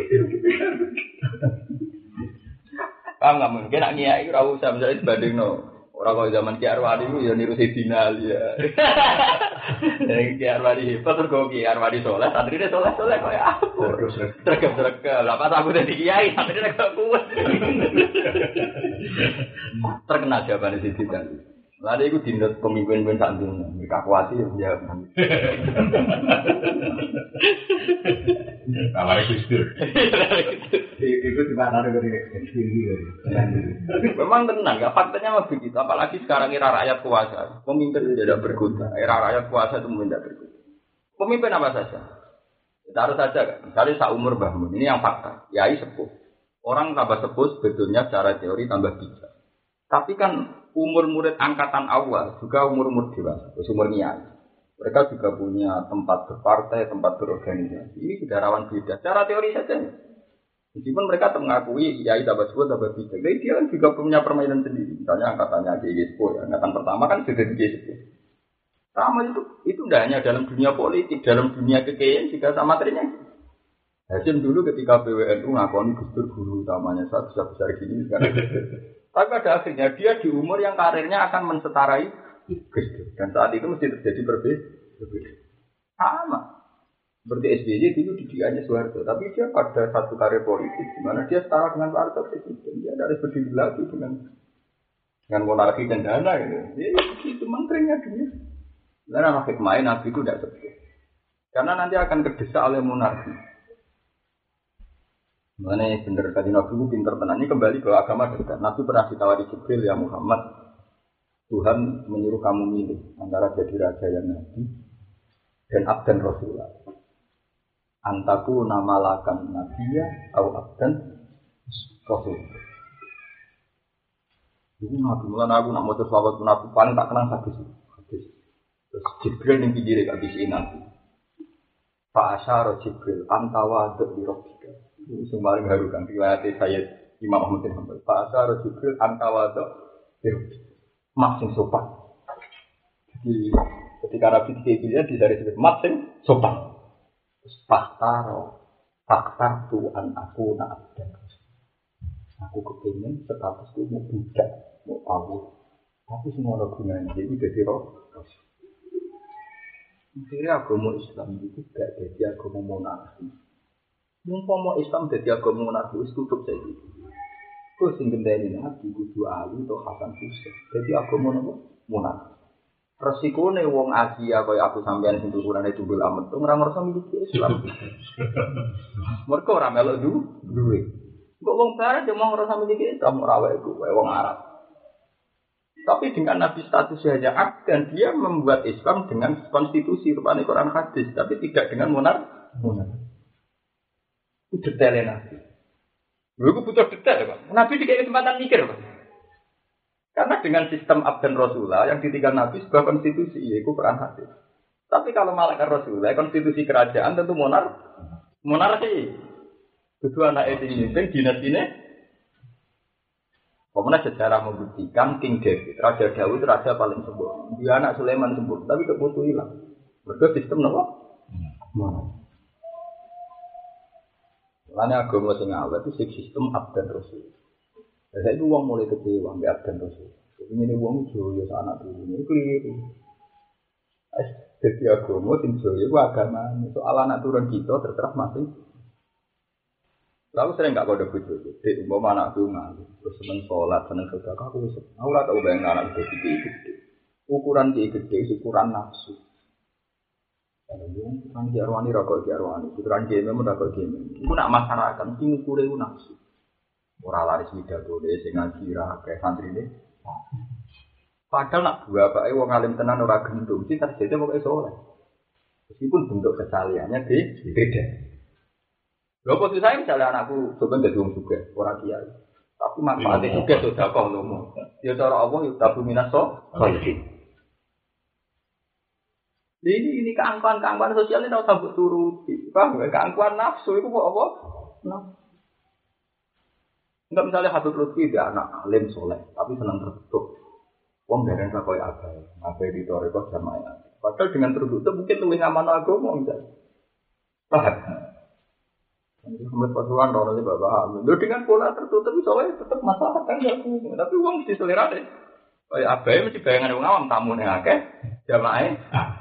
Paham enggak mungkin nak nyai ora usah misalnya dibandingno. Ora kaya zaman Ki Arwani ku ya niru Sidina ya. Nek Ki Arwani hebat terus Ki Arwani saleh, santrine saleh-saleh kaya aku. Tergem-tergem. Lah pas aku dadi kiai, santrine kok kuat. Terkenal jawabane Sidina. Lha iku dinut pemimpin-pemimpin sak dunya, mereka kuasi ya jawab. Kabar Gusdur. Itu di mana dari sini. Memang tenang, ya faktanya mah begitu. Apalagi sekarang era rakyat kuasa, pemimpin tidak berguna. Era rakyat kuasa itu tidak berguna. Pemimpin apa saja? Taruh saja kan. Misalnya seumur Mbah Mun, ini yang fakta. Yai sepuh. Orang tambah sepuh sebetulnya secara teori tambah bijak. Tapi kan umur murid angkatan awal juga umur-umur dewasa, umur niat. Mereka juga punya tempat berpartai, tempat berorganisasi. Ini sudah rawan beda. Secara teori saja. Meskipun mereka mengakui yai tambah sebut tambah bijak. Jadi dia kan juga punya permainan sendiri. Misalnya angkatannya G I S P O, ya. Angkatan pertama kan sudah di G I S P O. Sama itu, itu tidak hanya dalam dunia politik, dalam dunia kekayaan juga sama materinya. Hasim dulu ketika P W N U ngakoni Gusdur guru utamanya saat besar-besar gini sekarang. Tapi pada akhirnya dia di umur yang karirnya akan menseterai Gusdur. Dan saat itu mesti terjadi berbeda. Sama. Seperti S B Y dulu didikannya Soeharto. Tapi dia pada satu karir politik di mana dia setara dengan Pak Harto presiden. Dia harus berdiri lagi dengan dengan monarki dan dana gitu. Jadi itu menterinya dia. Dan anak hikmah Nabi itu tidak seperti. Karena nanti akan terdesak oleh monarki. Mana benar tadi Nabi itu pinter tenan. Ini kembali ke agama dekat. Nabi pernah ditawari Jibril, ya Muhammad, Tuhan menyuruh kamu milih antara jadi raja yang nabi dan abdan Rasulullah. Antaku nama lakan nabiya atau abdan Rasul. Itu Nabi mulai aku nak mau terselawat pun aku paling tak kenal hadis. Hadis. Terus Jibril yang pikir habis ini Nabi. Pak Asyara Jibril antawa dek dirobika. Itu semarin harukan riwayat saya Imam Ahmad bin Hanbal. Pak Asyara Jibril antawa dek dirobika. Mak sing sopan. Jadi ketika Nabi dikira di dari sebut mak sing sopan. Faktaro, faktar tuan aku nak abdan. Aku kepingin statusku mau budak, mau awal. Tapi semua orang gunanya jadi jadi roh. Akhirnya agama Islam itu tidak jadi agama monarki. Mumpama Islam jadi agama monarki itu tutup saja. Kau singgung dari Nabi Kudu Ali atau Hasan Hussein. Jadi agama monarki. Resikonya wong Asia kaya aku sampean sing tuturane jubul amet ora ngerasa miliki Islam. Mergo ora melok duwe. Kok wong barat yo mau ngerasa miliki Islam ora wae ku wong Arab. Tapi dengan Nabi statusnya hanya abd dan dia membuat Islam dengan konstitusi rupane Quran hadis tapi tidak dengan monar monar. Itu detailnya Nabi. Lha iku butuh detail, Pak. Nabi dikasih kesempatan mikir, Pak. Karena dengan sistem abdan Rasulullah yang ditinggal Nabi sebuah konstitusi, yaitu Quran hadis. Tapi kalau malaikat Rasulullah, konstitusi kerajaan tentu monar, monarki. Kedua anak itu ini, dinas ini. Kemudian sejarah membuktikan King David, Raja Daud, raja paling sempurna. Dia anak Sulaiman sempurna, tapi tidak butuh hilang. Berarti sistem apa? Monarki. Lane agama sing awet itu sistem abdan rasul. Saya itu uang mulai kecewa ambek abdan rasul. Jadi ini uang joyo anak turun ini keliru. Jadi agama sing joyo itu agama. Soal anak turun kita terserah masing. Lalu sering nggak kode bojo. Dek umpama anak tungal, terus seneng sholat, seneng sedekah, aku wis. Aku ora tau bayang anak gede gede. Ukuran dia gede, ukuran nafsu. Kalau yang ukuran dia arwani rokok dia arwani, ukuran dia memang rokok dia. Itu nak masyarakat, mesti ngukur itu nafsu. Orang laris widah boleh, sing ngaji ra kayak santri deh. Padahal nak dua pak, wong alim tenan ora gendung, sih terjadi pokoknya soleh. Meskipun bentuk kesaliannya beda. Lho kok saya misalnya anakku coba jadi wong juga, orang kiai. Tapi manfaatnya juga sudah kau lomo. Ya cara Allah itu tabu minaso. Ini ini keangkuhan-keangkuhan sosial ini harus sambut turuti. Paham? Keangkuhan nafsu itu kok apa? Nafsu. Enggak misalnya Habib Lutfi dia anak alim soleh, tapi senang tertutup. Wong dari yang kau abai, abai di toreko jamaah. Padahal dengan tertutup mungkin lebih aman agama misalnya. Paham? Ini Muhammad Pasuruan orang ini bapak hamil. Lo dengan pola tertutup soalnya tetap masalah kan ya. Tapi uang mesti selera deh. Kayak abai mesti bayangan orang awam tamu nih akeh jamaah.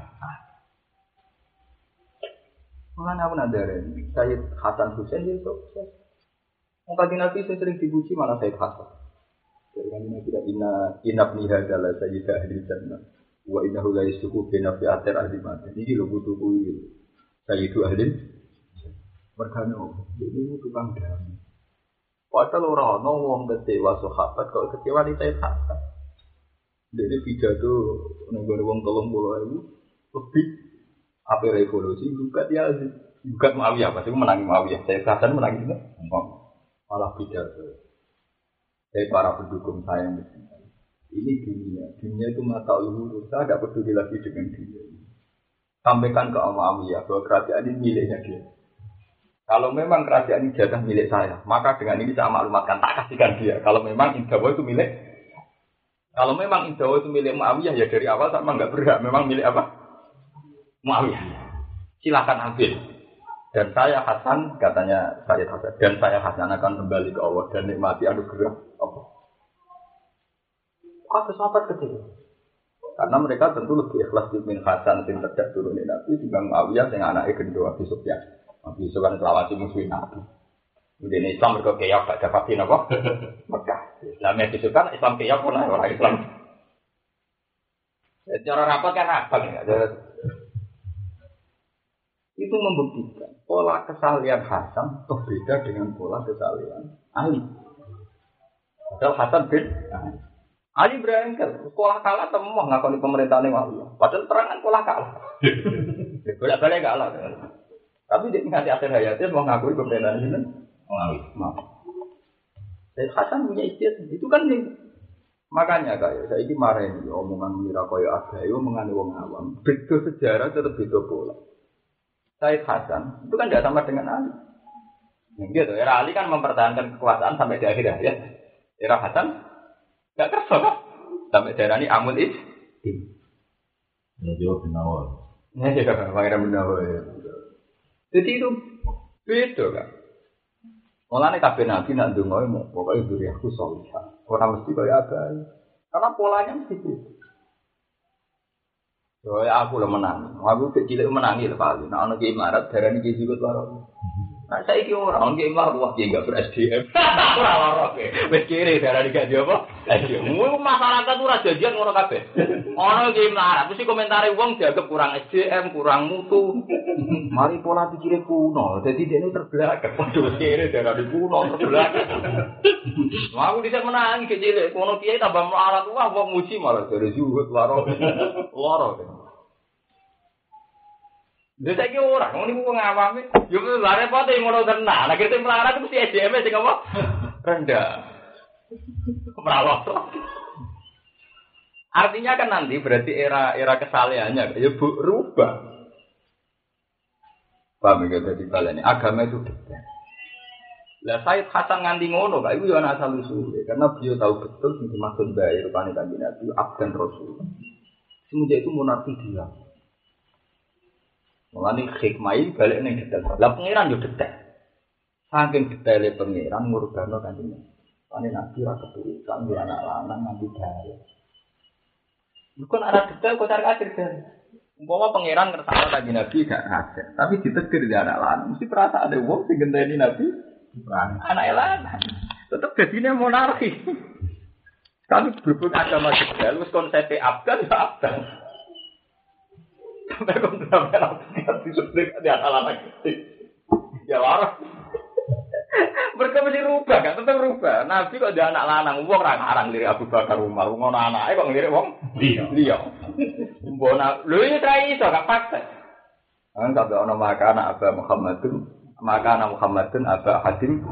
Mana aku nadarin Sayyid Hasan Hussein dia sukses. Mungkin Nabi sering dipuji malah Sayyid Hasan. Jadi kan ini tidak ina inap nihadalah Sayyid ahli jannah. Wa innahu la yasuku bina fi atir ahli mati. Ini lo butuh kuih. Sayyid ahli mergano, ini tukang damai. Padahal orang orang kecewa sahabat, kalau kecewa di Sayyid Hasan. Jadi pidato negara wong tolong pulau itu lebih apa revolusi juga dia juga Muawiyah, pasti menangi Muawiyah. Sayyid Hasan menangi itu, malah pidato. Saya para pendukung saya ini dunia, dunia itu mata luhur. Saya tidak peduli lagi dengan dunia. Sampaikan ke Muawiyah bahwa kerajaan ini miliknya dia. Kalau memang kerajaan ini jatah milik saya, maka dengan ini saya maklumatkan, tak kasihkan dia. Kalau memang Indawa itu milik, kalau memang Indawa itu milik Muawiyah, ya dari awal sama nggak berhak. Memang milik apa? Muawiyah. Silakan ambil. Dan saya Hasan, katanya saya Hasan, dan saya Hasan akan kembali ke Allah dan nikmati anugerah Allah. Kata sahabat kecil. Karena mereka tentu lebih ikhlas min Hasan yang tidak turunin Nabi dibanding Muawiyah yang anaknya gendong Abi Sufyan. Nabi Yusuf kan selawasi musuhin Nabi. Kemudian Islam mereka kaya gak dapatin apa? Mekah. Islam yang disukan Islam kaya pun orang Islam. Cara rapat kan abang ya. Itu membuktikan pola kesalian Hasan berbeda dengan pola kesalian Ali. Padahal Hasan bin Ali berengkel. Sekolah kalah semua ngakoni pemerintahan Muawiyah. Padahal terangan sekolah kalah. Bolak-balik kalah. Tapi dia nganti akhir hayatnya mau ngakui pemerintahan ini, Muawiyah. Maaf. Sayyid Hasan punya istiadat, itu kan nih. Makanya kayak saya ini marah ini omongan mira koyo agayo omongan wong awam. Beda sejarah tetap beda pola. Sayyid Hasan itu kan tidak sama dengan Ali. Gitu, era Ali kan mempertahankan kekuasaan sampai di akhir hayat. Era Hasan nggak kerasa kan? Sampai daerah ini Amul Is. Ya jawab benawar. Ya juga pangeran benawar. Jadi itu beda kan. Mulane kabeh nabi nak ndonga mau pokoke duriahku salihah. Ora mesti kaya apa. Karena polanya mesti beda. Yo ya aku lho menang. Aku kecil menangi lho Pak. Nek ana ki imarat darani ki sikut loro. Nah saiki ora ana ki imarat wah ki enggak ber-S D M. Ora loro ke. Wis kiri darani gak dia apa? Mu masyarakat ora janjian ngono kabeh. Ana ki imarat mesti komentare wong dianggap kurang S D M, kurang mutu. Mari pola pikirnya kuno, jadi dia ini terbelakang. Waduh, kiri darah di kuno terbelakang. Aku bisa menang kecil, kuno kiai tambah melarat wah, wong muji malah dari zuhud laro, laro. Dia tak kira orang, ini bukan ngawam. Yo, lari apa tuh yang ngono tenang? Nah, kita melarat itu mesti S D M sih apa? Rendah, meralot. Artinya kan nanti berarti era era kesalehannya, ya bu rubah. Paham ya jadi balane agama itu detail. Lah Sayyid Hasan nganti ngono Kak iku yo ana asal usule karena beliau tahu betul sing dimaksud bae rupane kanjeng Nabi abdan rasul. Semenjak itu monarki dia. Mulane hikmah balik ning detail. Lah pangeran yo detail. saking detaile pangeran ngurgano kanjeng. Ane nabi ra keturutan di anak lanang nganti dae. Bukan ana detail kok cari akhir kan. Umpama pangeran ngersakno kanjeng nabi gak ada, tapi ditetir di anak lanang mesti perasa ada wong sing ngenteni nabi anak lanang. Tetep dadine monarki. Kami berhubung agama detail wis konsep abdan ya abdan. Sampai kontra berarti disebut di anak lanang. Ya waras. Mereka mesti rubah, kan tetap rubah. Nabi kok dia anak lanang, wong ra ngarang lirik Abu Bakar Umar, ngono anake kok ngelirik wong liya. Liya. Mbona, lho iki tra iso gak fakta. Kan kabeh ana maka anak Aba Muhammadun, maka anak Muhammadun Aba Hadim.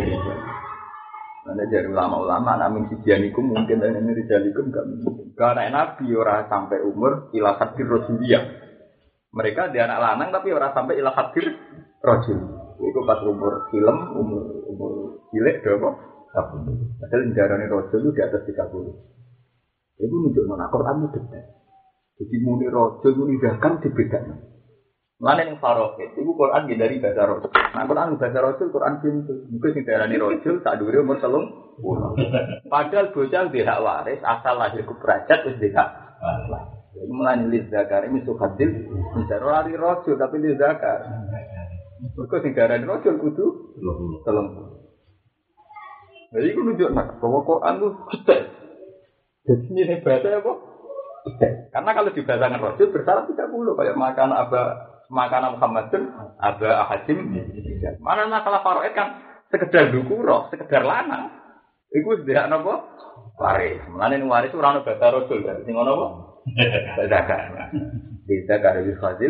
Ana dari ulama-ulama anak min sidianiku mungkin dan ini rijalikum gak mungkin. Karena Nabi ora sampai umur ila hadir rasuliyah. Mereka dia anak lanang tapi ora sampai ila hadir rasul. Iku pas umur film, umur umur cilik berapa? tiga puluh. Padahal darane raja itu di atas tiga puluh. Itu nunjukno nek Quran itu detail. Jadi muni raja muni zakam dibedakan. Lan ning Faroqet iku Quran dari bahasa raja. Nah Quran bahasa raja Quran pintu. Mungkin sing darani raja sak dhuwure umur telung puluh. Padahal bocah dhek waris asal lahir ku derajat wis dhek. Iku mulane li zakar iki sukhadil. Misal ora raja tapi li zakar. Mereka sing darani rasul kudu telung. Jadi aku nunjuk nak bahwa Quran itu detail. Jadi ini bahasa apa? Detail. Karena kalau dibahasakan rasul bersyarat tiga puluh kayak makan aba makanan Muhammadun aba Hadim. Mana masalah Faroid kan sekedar dukuro, sekedar lanang. Iku tidak apa? Waris. Mulane ning waris ora ono bahasa rasul. Sing ono apa? Zakar. Di zakar wis fadil.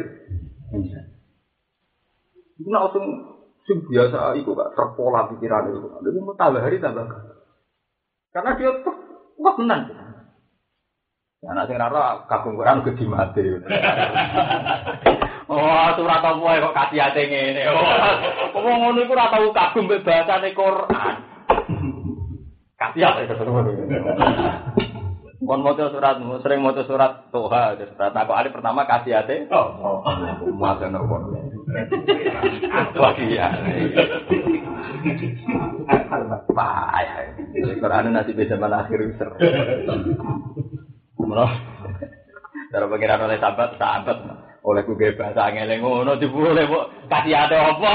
Itu nak langsung sing biasa iku gak terpola pikiran itu. Dia mau tambah hari tambah. Karena dia kuat tenan. Anak sing rara kagum Quran gede mati. Oh, surat apa kok kasih ate ngene. Oh, wong ngono iku ora tau kagum mbek bahasane Quran. Kasih ate terus. Kon maca surat, sering maca surat Toha, surat aku ali pertama kasih ate. Oh, maca no kon. Wah iya. Wah ya. Quran nanti bisa mana akhir user. Menurut cara pengiran oleh sahabat, sahabat oleh kuge bahasa angel ngono dibule kok kasih ate apa.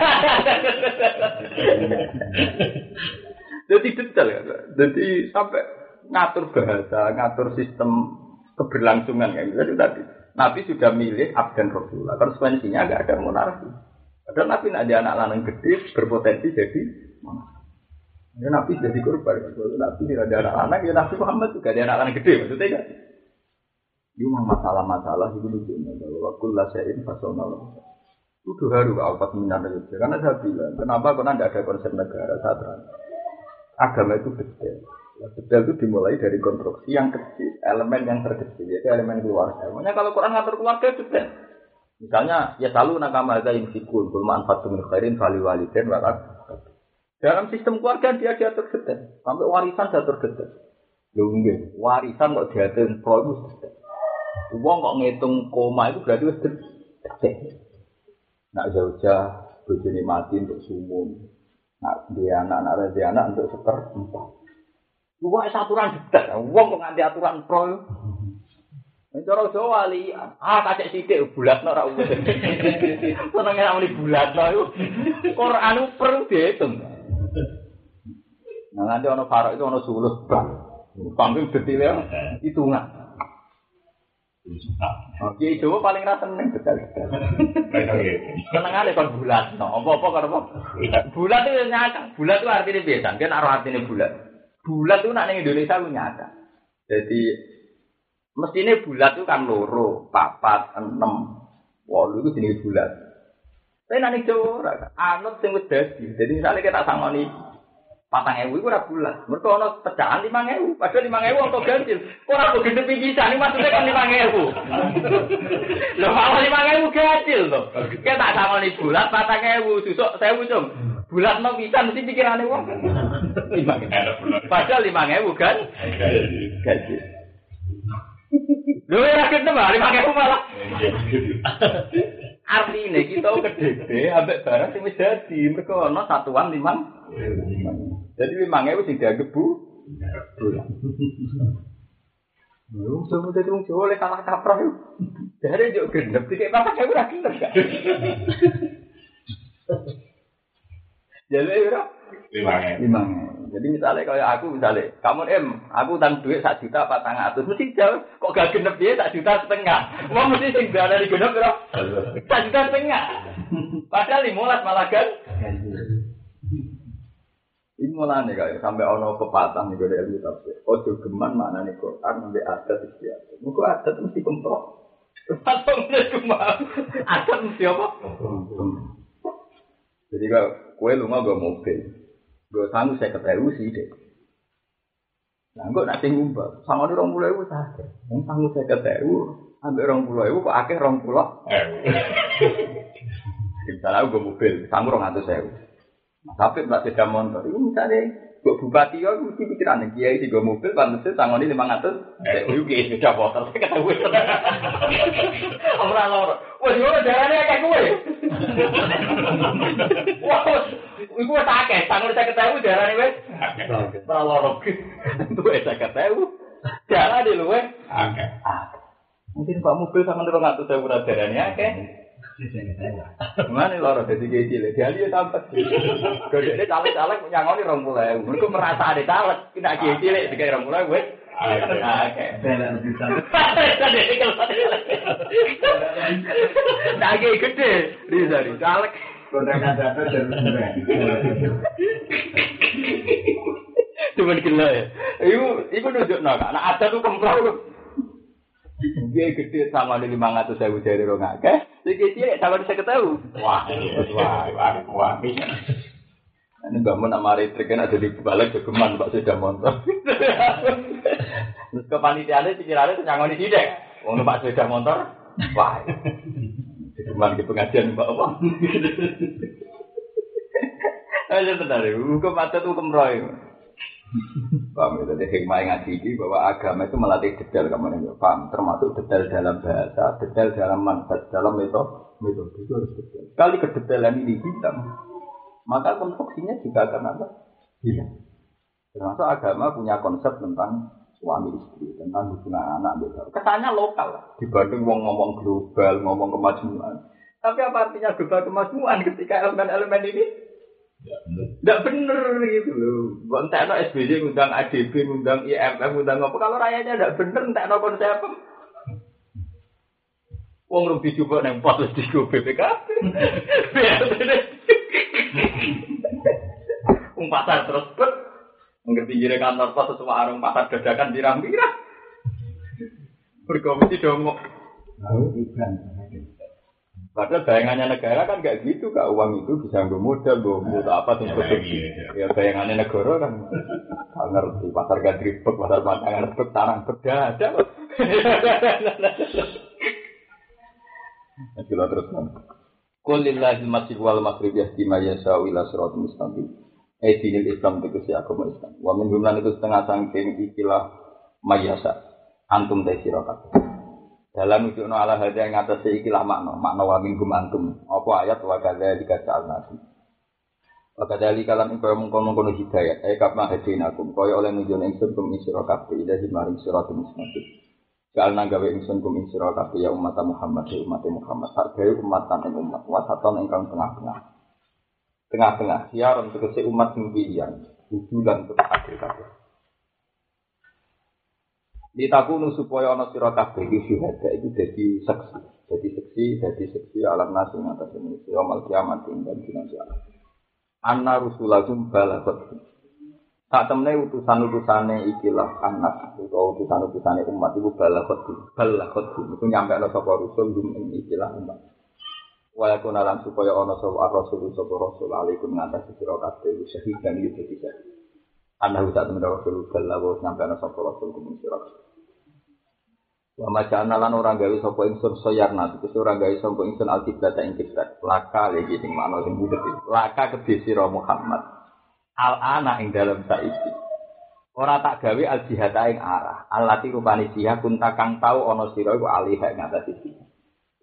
Jadi detail ya. Jadi sampai ngatur bahasa, ngatur sistem keberlangsungan kayak gitu tadi. Nabi sudah milih abdan Rasulullah. Konsekuensinya enggak ada monarki. Padahal Nabi ada anak lanang gede berpotensi jadi monarki. Ya Nabi jadi korban. Kalau Nabi tidak ada anak anak, ya Nabi Muhammad juga ada anak anak gede maksudnya kan. Ini memang masalah-masalah itu lucunya. Bahwa kullu syai'in fasalnahu. Itu haru alfat minan aja. Karena saya bilang, kenapa karena tidak ada konsep negara saat ini. Agama itu detail. Detail itu dimulai dari konstruksi yang kecil, elemen yang terkecil, yaitu elemen keluarga. Makanya kalau Quran ngatur keluarga detail. Misalnya, ya selalu nakama ada insikun, kulma anfatum min khairin fali waliden warak. Dalam sistem keluarga dia diatur detail, sampai warisan diatur detail. Lho nggih, warisan kok diatur produk detail. Wong kok ngitung koma itu berarti wis detail. Nak jauh-jauh bojone mati untuk sumum. Nak dia anak, nak dia anak untuk seperempat. Wah, aturan detail. Wong kok nganti aturan pro. Cara Jawa walian. Ah, kacek sithik bulatno ra umur. Senenge nek muni bulatno iku Quran perlu diitung. Nah, nanti ana farok itu ana sulus bang. Panggung detail hitungan. Oke, Jawa paling ra seneng detail-detail. Senengane kon bulatno. Apa-apa karo apa? Bulat itu nyata. Bulat itu artinya biasa. Kan artinya bulat. Bulat itu nak ning Indonesia ku nyata. Jadi mestine bulat itu kan loro, papat, enam, wolu itu jenenge bulat. Tapi nak ning Jawa ora anut sing wis dadi. Jadi misale kita sangoni patang ewu iku ora bulat. Mergo ana pecahan lima ewu, padahal lima ewu angka ganjil. Kok ora kok gede pisan iki maksudnya kan lima ewu. Lho malah lima ewu ganjil to. Kita tak sangoni bulat patang ewu, susuk sewu cung. Bulat no pisan mesti pikirane wong. lima Padahal lima ewu kan? Gaji. Lho ya kita malah lima ewu malah. Artine kita kedede ambek barang sing wis dadi, mergo ana satuan limang. Jadi limang ewu sing dianggep bu. Lu semua dadi wong Jawa oleh kalah kaprah yo. Jare yo gendep iki apa kae ora gendep gak. Jadi ora limang. Jadi misalnya kalau aku misalnya, kamu em, aku utang duit satu juta apa tangga atus, mesti jauh, kok gak genep dia satu juta setengah, mau mesti sing dari genep berapa? Satu juta setengah, padahal limolas malah kan? Ini malah nih kayak sampai ono pepatah nih dari ilmu tafsir, ojo geman mana nih Quran sampai adat istiadat, muka adat mesti kemprok, atau mesti geman, adat mesti apa? Jadi kalau kue lu nggak gue mobil. Gue sanggup saya ketahui sih deh. Nah, gue nanti ngumpul. Sama di orang pulau itu saja. Yang sanggup saya ketahui. Ambil orang pulau itu kok akhir orang pulau. Misalnya gue mobil, sanggup orang atas saya. Nah, tapi tak sepeda motor. Itu misalnya gue bupati ya, gue mesti pikiran kiai di gue mobil, pantasnya sanggup ini lima ratus. Eh, gue kiai sepeda motor. Saya ketahui. Orang lor. Wah, gimana jalannya kayak gue? Wah. Iku wis akeh, sangun saya ketahui darane wis. Ora loro. Itu wis saya ketahui. Darane luwe akeh. Mungkin Pak mobil sama dua ratus ribu darane akeh. Mana loro dadi cilik. Dia lihat tampak. Gedene caleg-caleg nyangoni dua puluh ribu. Mergo merasa ada caleg, kena cilik dikai dua puluh ribu wis. Akeh. Nage gede, Rizari caleg. Kontrakan data dan beneran. Cuman gila ya. Iku, iku nunjuk nak. Nah ada tuh kemprau. Dia gede sama di lima ratus ribu dari orang akeh. Jadi dia sama di saya ketahui. Wah, wah, wah, wah. Ini bangun nama retrik kan ada di balik kegeman Pak Sepeda Motor. Terus kepanitiaannya pikirannya nyangoni sidik. Wong Pak Sepeda Motor. Wah. Cuman ke pengajian Mbak apa? Ayo tenar, hukum adat hukum roy. Paham itu dari hikmah ngaji ini bahwa agama itu melatih detail kamu nih, paham? Termasuk detail dalam bahasa, detail dalam manfaat, dalam metode, metode itu harus detail. Kali kedetailan ini hilang, maka konstruksinya juga akan apa? Hilang. Termasuk agama punya konsep tentang suami istri, tentang hubungan anak beda. Kesannya lokal dibanding wong ngomong global, ngomong kemajuan. Tapi apa artinya global kemajuan ketika elemen-elemen ini tidak benar gitu loh. Entekno S B Y ngundang A D B, ngundang I M F, ngundang apa? Kalau rakyatnya tidak benar, entekno konsep. Wong rugi juga nang pos di B P K. Wong pasar terus bet. Ngerti jire kantor pos sesuai arung pasar dadakan pirang-pirang. Berkomisi dongok. Padahal bayangannya negara kan gak gitu, Kak. Uang itu bisa nggo modal, nggo mutu apa sing produksi. Ya bayangannya negara kan ngerti pasar gadribek, pasar pantangan rebek, tarang beda-beda. Kita terus kan. Qul lillahil masjid wal maghrib yahdi may yasha'u ila siratal mustaqim. Eh dinil Islam itu si agama Islam. Wa min jumlah itu setengah sangking ikilah mayasa antum tesirakat. Dalam itu no ala hada yang atas ikilah makna makna wa min gum antum. Apa ayat wa kadzalika ja'alnakum. Wa kadzalika lan kaya mungkon-mungkon hidayat. Eh kapna hadinakum kaya oleh nunjukne ingsun kum isirakat ila maring siratal mustaqim. Jalna gawe ingsun kum isirakat ya umat Muhammad ya umat Muhammad. Sak gawe umatan ing umat wasatan ingkang tengah-tengah. Tengah-tengah siaran tegese umat sing pilihan tujuan untuk akhir kabeh. Ditakunu supaya ana sira kabeh iki syuhada iki dadi saksi, dadi saksi, dadi saksi alam nas ing atas manusia mal kiamat ing dina kiamat. Anna rusulakum balaghat. Sak temne utusan-utusane ikilah anas utawa utusan-utusane umat iku balaghat. Balaghat iku nyampe ana sapa rusul ing ikilah umat. Wala kuna lan supaya ana sapa rasul sapa rasul alaikum ngatasi sira kabeh syahid dan iki dadi syahid. Ana utak temen rasul sallallahu sampe ana sapa rasul kuwi sira. Wa macana lan ora gawe sapa ingsun soyarna iki ora gawe sapa ingsun alkiblat ing kiblat. Laka iki sing makna sing budet. Laka kedhe sira Muhammad. Al ana ing dalem saiki. Ora tak gawe al jihad ing arah. Allati rupane jihad kunta kang tau ana sira iku alih ing ngatasi sira.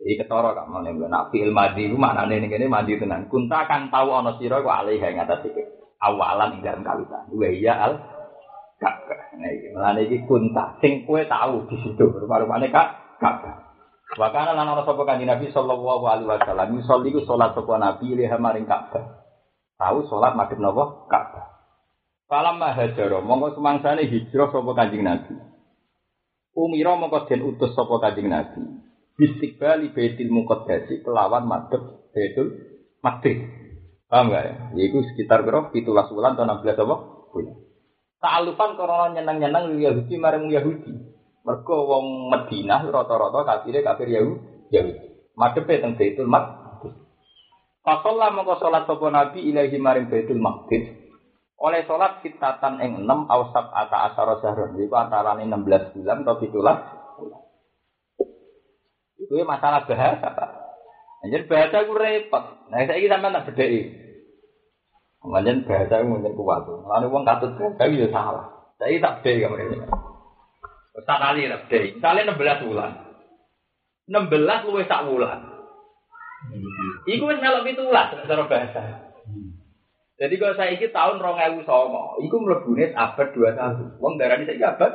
Iki ketara kok mene nak fi'il madhi ku maknane ning kene mandi tenan. Kunta kan tau ana sira ku alih ing atas iki. Awalan ing dalem kawitan. Wa ya al Ka'bah. Nah iki mulane iki kunta sing kowe tau di situ rupa-rupane Kak Ka'bah. Wa kana lan ana sapa Kanjeng Nabi sallallahu alaihi wasallam musolli ku salat sapa Nabi liha maring Ka'bah. Tau salat madhep napa Ka'bah. Falamma hajara monggo semangsane hijrah sapa Kanjeng Nabi. Umira mongko den utus sapa Kanjeng Nabi. Istiqbali Baitul Muqaddas kelawan madhep Baitul Maqdis. Paham gak ya? Yaiku sekitar piro? tujuh belas bulan atau enam belas apa? Bulan. Ta'alufan karena nyenang-nyenang Yahudi marang Yahudi. Mergo wong Madinah rata-rata kafire kafir Yahudi. Madhepe teng Baitul Maqdis. Faqalla mongko salat sapa Nabi ilahi maring Baitul Maqdis. Oleh salat kitatan ing enam awsab ata asara sahron. Iku antarane enam belas bulan atau tujuh belas bulan. Itu masalah bahasa, Pak. Anjen bahasa ku repot. Nah, saiki sampean tak bedheki. Anjen bahasa ku mung kuat. Lan wong katut gawe ya salah. Saiki tak bedheki kamane. Wis tak kali tak bedheki. Misale enam belas bulan. enam belas luwih sak wulan. Iku wis melok pitulas cara bahasa. Jadi kalau saiki tahun dua ribu sembilan, iku mlebune abad dua puluh satu. Wong darani saiki abad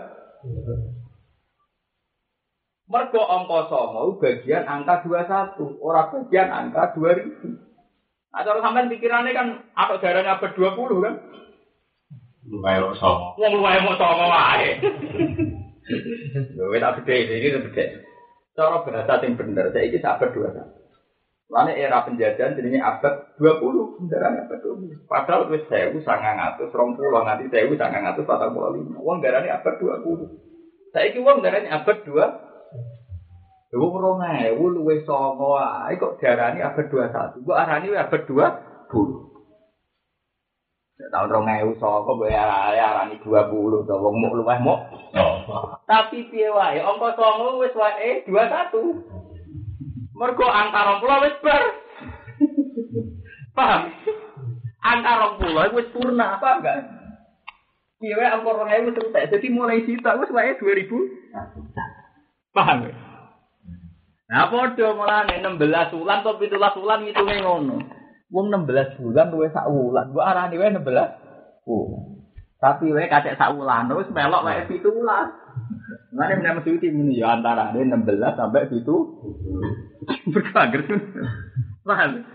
mergo angka sama bagian angka dua puluh satu, ora bagian angka dua ribu. Nah, cara sampean pikirannya kan apa darane abad dua puluh kan? Lumayan sama. Wong lumayan mau sama wae. Lho wis tak bedhe iki bedhe. Cara bahasa sing bener saiki abad dua puluh satu. Lane era penjajahan jenenge abad dua puluh, darane abad dua puluh. Padahal wis seribu sembilan ratus dua puluh nganti seribu sembilan ratus empat puluh lima. Wong darane abad dua puluh. Saiki wong darane abad dua puluh. Wong rong ewu luwih saka ae kok diarani abad dua puluh satu. Kok arani abad dua puluh. Ya tahun rong ewu saka mbok arani dua puluh to wong muk luwih muk. Oh. Tapi piye wae angka songo wis wae dua puluh satu. Mergo angka rong puluh wis bar. Paham? Angka rong puluh wis purna apa enggak? Piye wae angka rong ewu terus dadi mulai sita wis wae dua ribu. Paham? Nah, padha mulane enam belas wulan atau tujuh belas wulan ngitunge ngono. Wong enam belas bulan luwih sak wulan. Mbok arani wae enam belas wulan. Tapi wae kacek sak wulan wis melok wae tujuh belas. Mane menawa mesti muni ya antarane enam belas sampai tujuh berkager. Paham?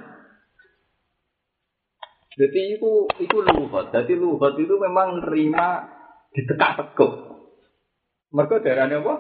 Jadi itu itu lugat. Jadi lugat itu memang nerima ditekak-tekuk. Mergo darane apa?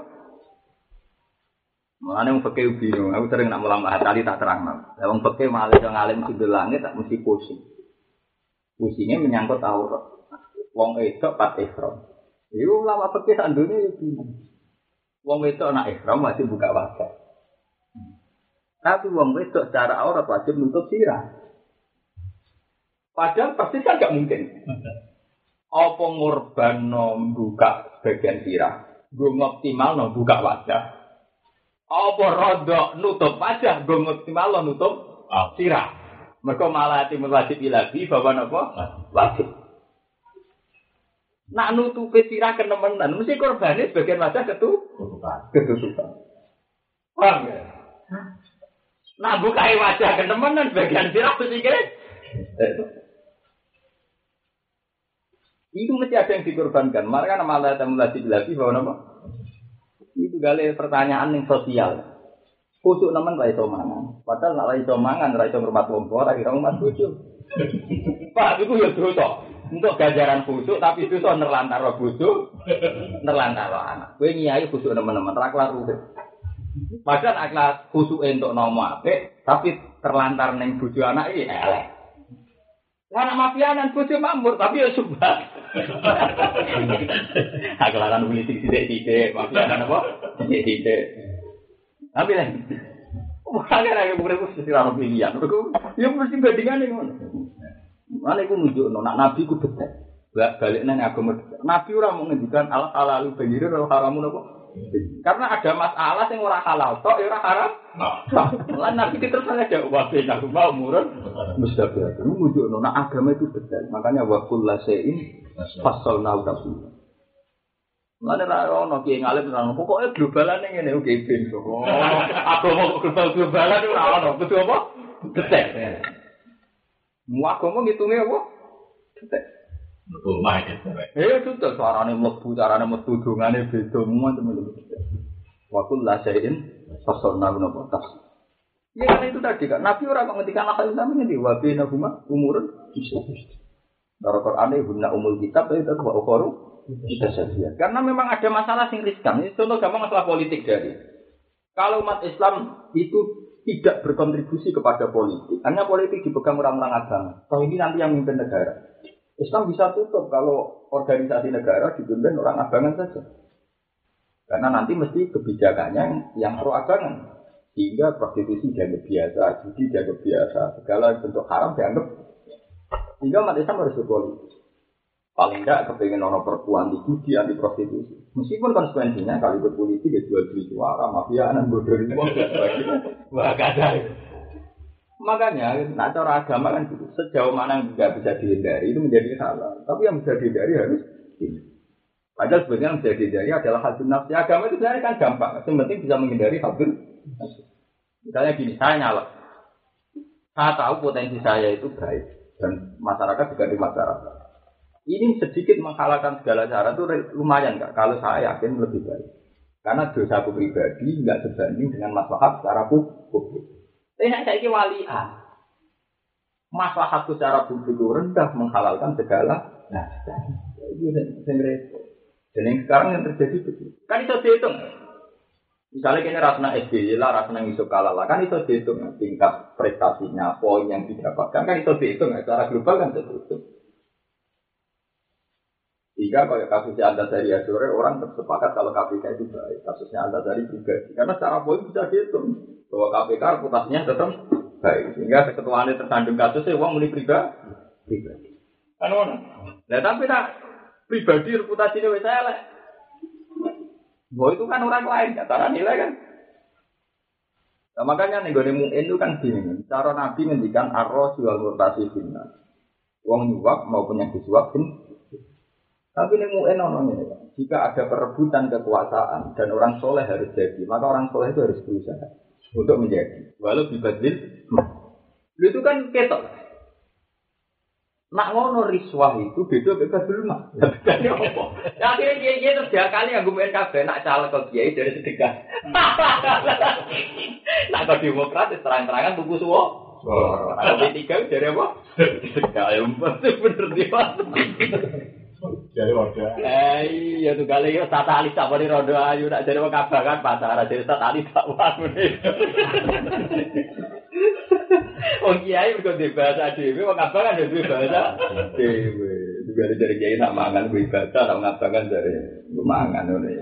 Mulane wong fikih bingung, aku sering nak mulang kali tak terangno. Lah wong fikih malah iso ngalim sudul langit tak mesti pusing. Pusingnya menyangkut aurat. Wong wedok pat ihram. Iku ulama fikih sak dunya yo bingung. Wong wedok nak ihram wajib buka wajah. Tapi wong wedok secara aurat wajib nutup sirah. Padahal pasti kan enggak mungkin. Apa ngorbanno buka bagian sirah? Gue ngoptimal no buka wajah. Apa rodok nutup wajah, gue maksimal nutup oh. Sirah. Mereka malah timul wajib ilahi, bawa napa? Wajib. Nak nutup sirah kenemenan, mesti korbannya sebagian wajah ketutupan. Ketutupan. Paham ya? Nak bukai wajah kenemenan, sebagian sirah mesti kira. Itu mesti ada yang dikorbankan. Maka malah timul wajib ilahi, bawa napa? Itu gale pertanyaan yang sosial. Kusuk nemen ra iso mangan. Padahal nek ra iso mangan, ra iso ngurmat wong tuwa, ra kira ngurmat bojo. Pak, iku ya dosa. Untuk ganjaran kusuk tapi dosa nerlantar bojo, nerlantar anak. Kowe nyai kusuk nemen-nemen ra kelar urip. Padahal akhlak kusuk entuk nama apik, tapi terlantar ning bojo anak iki elek. Anak mafianan bojo makmur tapi ya subah. Aklaran politik sithik-sithik, mafianan apa? Sithik-sithik. Tapi lah. Ora kira kira mesti ora pilihan. Ya mesti bandingane ngono. Mane iku nunjukno nek nabi ku betet. Balik nang agama. Nabi ora mau ngendikan al halalu bayyinun wal haramun apa? Karena ada masalah sing ora halal tok ya ora haram. Lan nabi terus ada wae nak mau murun mustaqil. Itu nunjukno nek agama itu betet. Makanya wa kullu syai'in fasalna tafsir. Mulane ra ono ki ngalim nang pokoke globalan ngene oke ben kok. Oh, agama global-globalan ora ono. Kudu apa? Detek. Mu agama ngitunge apa? Detek. Betul mah itu. Eh itu suarane mlebu, carane metu dongane beda temen-temen. Wa kullu syai'in fasalna napa tas. Ya kan itu tadi kan Nabi ora kok ngendikan akal sampeyan di wa bina huma umurun bisa. Dalam Qur'an itu guna umul kitab itu wa ukhuru bisa saja. Karena memang ada masalah sing riskan. Ini contoh gampang masalah politik dari. Kalau umat Islam itu tidak berkontribusi kepada politik, hanya politik dipegang orang-orang agama. Kalau ini nanti yang memimpin negara. Islam bisa tutup kalau organisasi negara dipimpin orang abangan saja. Karena nanti mesti kebijakannya yang pro abangan. Sehingga prostitusi dianggap biasa, judi dianggap biasa, segala bentuk haram dianggap. Sehingga umat Islam harus berpolitik. Paling tidak kepengen orang perempuan di judi, anti prostitusi. Meskipun konsekuensinya kalau ikut politik ya jual beli suara, mafia, anak bodoh ini mau wah ada. Makanya, nah cara agama kan gitu. Sejauh mana yang tidak bisa dihindari itu menjadi halal. Tapi yang bisa dihindari harus ini. Padahal sebenarnya yang bisa dihindari adalah hadun nafsi. Agama itu sebenarnya kan gampang. Yang penting bisa menghindari hadun nafsi. Misalnya gini, saya nyala. Saya tahu potensi saya itu baik. Dan masyarakat juga di masyarakat. Ini sedikit menghalalkan segala cara itu lumayan Kak. Kalau saya yakin lebih baik. Karena dosa aku pribadi nggak sebanding dengan maslahat secara publik. Tapi saya ini walian. Maslahat secara publik itu rendah menghalalkan segala. Nah, itu yang repot. Dan yang sekarang yang terjadi begitu. Kan itu dihitung. Misalnya kini rasanya S B Y lah, rasanya ngisuk kalah lah. Kan itu dihitung. Tingkat prestasinya, poin yang didapatkan. Kan itu dihitung. Secara global kan tertutup. Jika kalau kasusnya Antasari Azhar, orang bersepakat kalau K P K itu baik. Kasusnya Antasari pribadi. Karena secara poin bisa dihitung. Bahwa K P K reputasinya tetap baik. Sehingga keketuaannya tersandung kasusnya, uang mulai pribadi. Kan mana? Nah tapi tak pribadi reputasinya saya lah. Bahwa itu kan orang lain. Cara nilai kan. Nah, makanya nih gue nemuin itu kan gini. Cara Nabi ngendikan arroh jual murtasi finna. Uang nyuap maupun yang disuap pun. Tapi ini mu'en nononnya, jika ada perebutan kekuasaan dan orang soleh harus jadi, maka orang soleh itu harus berusaha untuk menjadi. Walau dibadlin, itu kan ketok. Nak ngono riswah itu beda bebas dulu mah. Bedanya apa? Ya akhirnya dia dia terus dia kali yang gue kabeh nak caleg ke kiai dari sedekah. Nak ke demokrat terang-terangan tuku suwo. Kalau P tiga dari apa? Sedekah ayo bener dia. Jadi roda. Eh iya tuh kali yo tata alis tak boleh roda ayu nak jadi wong kabangan pasar jadi tata alis tak wangun. Wong kiai kok dibahasa dhewe wong kabangan yo duwe bahasa dhewe. Juga dari kiai nak mangan kuwi bahasa nak ngabangan dari mangan ngene.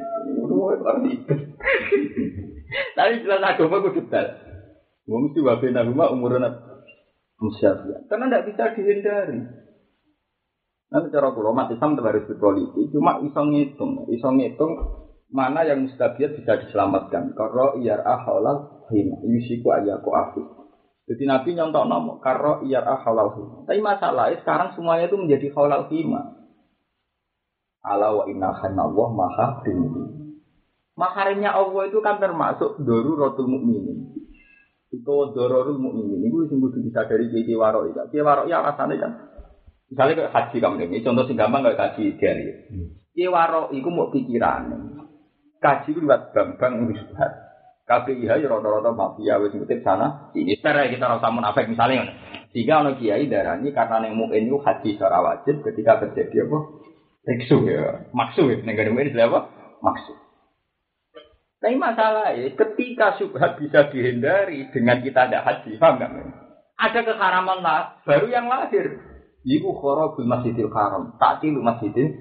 Tapi jelas agama kudu dal. Wong mesti wae nang rumah umurna musyafia. Karena ndak bisa dihindari. Nanti cara kulo umat Islam harus berpolitik, cuma iso ngitung, iso ngitung mana yang mustabiat bisa diselamatkan. Karo iyar ahalal hina, yusiku ayaku afi. Jadi Nabi nyontok nomor, karo iyar ahalal hina. Tapi masalahnya sekarang semuanya itu menjadi halal hina. Ala wa inna khanallah maha tinggi. Maharimnya Allah itu kan termasuk daruratul mukminin. Itu darurul mukminin. Itu sing kudu disadari kiai warok iki. Kiai warok ya rasane kan. Misalnya kayak haji kamu ini, contoh sing gampang kayak haji ideal. Kiai warok iku mau pikiran. Kaji itu buat bambang wisbat. K P I H ya rata-rata mafia wis ngutip sana. Ini secara kita rasa munafik misalnya. Jika ono kiai darani karena neng muin itu haji secara wajib ketika terjadi apa? Teksu ya, maksud ya. Neng gak ini apa? Maksud. Tapi masalah ya, ketika syubhat bisa dihindari dengan kita tidak haji, paham nggak? Ada keharaman lah, baru yang lahir. Iku kharabul masjidil haram, ta'til masjidil.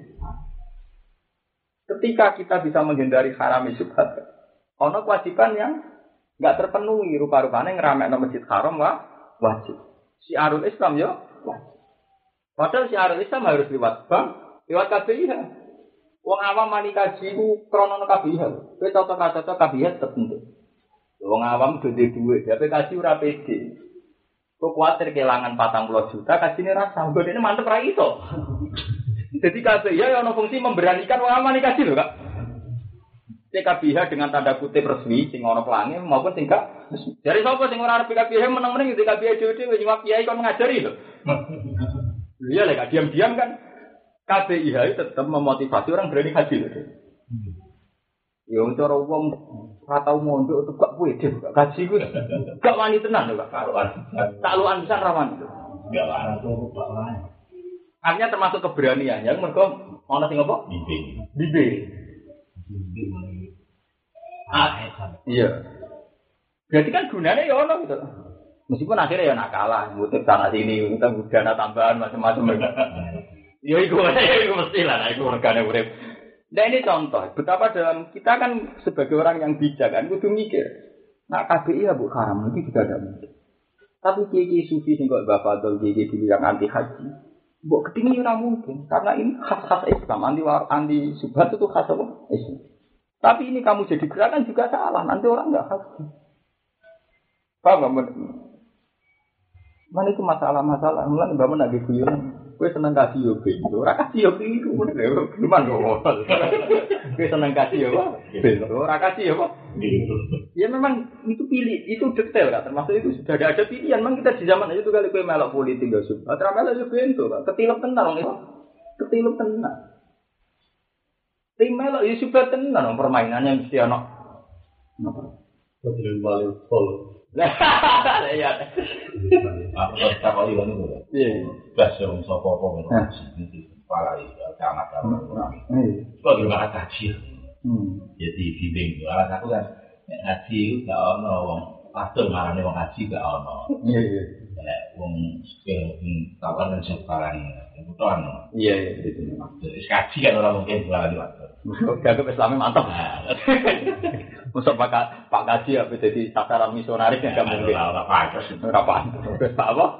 Ketika kita bisa menghindari haram syubhat, ono kewajiban yang enggak terpenuhi, rupa-rupane ngramekno masjid haram wah wajib. Syiarul Islam yo wajib. Padahal syiarul Islam harus lewat bank, lewat K B I H. Wong awam mani kaji ku krono K B I H. Kowe cocok-cocok K B I H tertentu. Wong awam gede duit, tapi kaji ora pede. Kok kuatir kehilangan patang puluh juta, kasihnya rasa. Gue ini mantep ra iso. Jadi K B I ya ono fungsi memberanikan wong aman dikasih lho, Kak. T K B H dengan tanda kutip resmi sing ana pelangi maupun sing gak resmi. Dari sapa sing ora arep T K B H meneng-meneng T K B H dhewe wis nyuwap kiai kon ngajari lho. Iya lek diam-diam kan K B I H itu tetap memotivasi orang berani haji lho. Ya cara wong ora tau mondok untuk gak pede gak gaji ku. Gak wani tenan lho Kak. Taklukan pisan ra wani. Enggak lah, itu gak lah. Artinya termasuk keberanian yang mergo ana sing apa? Bimbing. Bimbing. Ah, iya. Berarti kan gunanya ya ono gitu. Meskipun akhirnya ya nakalan, ngutip sana sini, ngutip dana tambahan macam-macam. Ya itu, itu mesti lah, itu organnya urip. Nah ini contoh, betapa dalam kita kan sebagai orang yang bijak kan, kudu mikir. Nah K B I ya bu haram itu juga ada mungkin. Tapi kiai sufi sing kok bapak atau kiai dulu yang anti haji, bu ketinggi ora mungkin, karena ini khas-khas Islam, anti anti subhat itu khas apa? Islam. Tapi ini kamu jadi gerakan juga salah, nanti orang nggak haji. Paham nggak? Mana itu masalah-masalah, mulai mbak mana gitu ya? Gue seneng kasih yoga, orang kasih yoga itu, gimana kok? Gue seneng kasih yoga, orang kasih yoga. Ya memang itu pilih, itu detail kan, termasuk itu sudah ada, ada pilihan. Memang kita di zaman itu kali gue melok politik gak suka, terus melok yoga itu, ketilep tenang, ketilep tenang. Tim melok ya sudah tenan permainannya mesti ana. Napa? Betul balik full. Lah ya. Aku tak kali ngono kok. Iya. Bas yo sapa-sapa ngono. Para iki camat-camat. Iya. Kok yo ora kaji. Hmm. Jadi bimbing yo ala aku kan ngaji gak ono wong pastor marane wong ngaji gak ono. Iya iya. Nek wong skill kawan sekarang kebutuhan. Iya iya itu. Wis kaji kan ora mungkin bulan waktu. Dianggap Islami mantap. Masuk Pak Pak Kaji apa jadi sasaran misionaris yang gak mungkin. Ora pantes. Ora pantes. Terus Pak apa?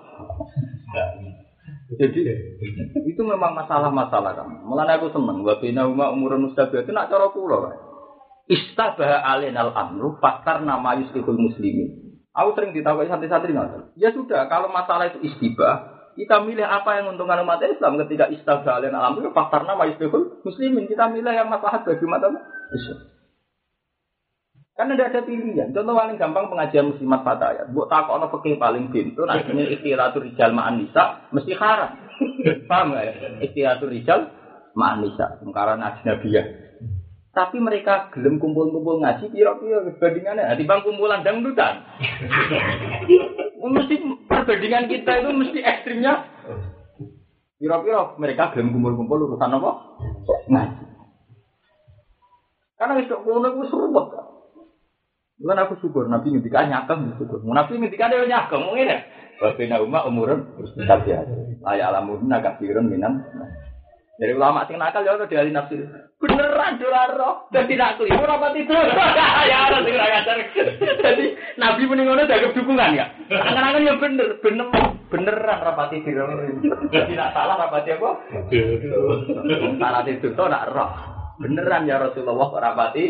Jadi itu memang masalah-masalah kan. Mulane aku seneng wa bina umma umurun mustabihat itu nak cara kula. Istabah alinal amru fakar nama yusrikul muslimin. Aku sering ditakoki santri-santri ngoten. Ya sudah, kalau masalah itu istibah, kita milih apa yang menguntungkan umat Islam ketika istabah alinal amru fakar nama yusrikul muslimin. Kita milih yang maslahat bagi umat Islam. Karena tidak ada pilihan. Contoh paling gampang pengajian muslimat fatayat. Mbok takokno fikih paling pintu, artinya ikhtilatul rijal ma'an nisa mesti haram. Paham enggak ya? Ikhtilatul rijal ma'an nisa, karena ajnabiyah. Tapi mereka gelem kumpul-kumpul ngaji pira-pira perbandingannya. Nah, timbang kumpulan dangdutan. Mesti perbandingan kita itu mesti ekstrimnya. Pira-pira mereka gelem kumpul-kumpul urusan apa? Ngaji. Karena itu kono itu seruput. Bukan aku syukur, Nabi ngendikan nyakeng syukur. Nabi ngendikan dia nyakeng, mungkin ya. Wabena umat umurun tabiat. Layak alamudna kafirun minan. Dari ulama sing nakal ya udah dialih nafsir. Beneran doraro dan tidak keliru apa tidur. Ya orang sing ngajar. Jadi Nabi muni ngono dianggap dukungan ya. Angan-angan ya bener, bener beneran rapati tidur. Tidak salah rapati apa? Salah tidur to nak roh. Beneran ya Rasulullah rapati.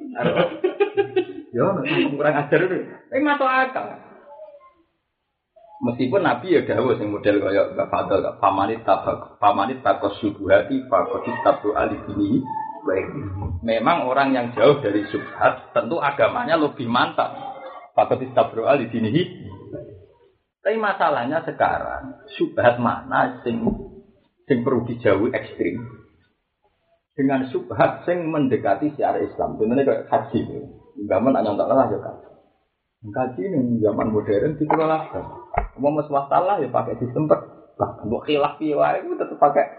Yo, kurang ajar itu. Tapi masuk akal. Meskipun Nabi ya dawuh sing model kaya Mbak Fadl, pamanit tabak, pamanit takos syubhati, fakotis tabu alibini. Memang orang yang jauh dari syubhat, tentu agamanya lebih mantap. Fakotis tabu alibini. Tapi masalahnya sekarang, syubhat mana sing sing perlu dijauhi ekstrim? Dengan syubhat sing mendekati syiar Islam. Contohnya kayak haji. Zaman hanya untuk lah ya kan. Haji ini zaman modern dikelola. Mau swasta lah ya pakai sistem per. Bahkan buat khilaf piwai itu tetap pakai.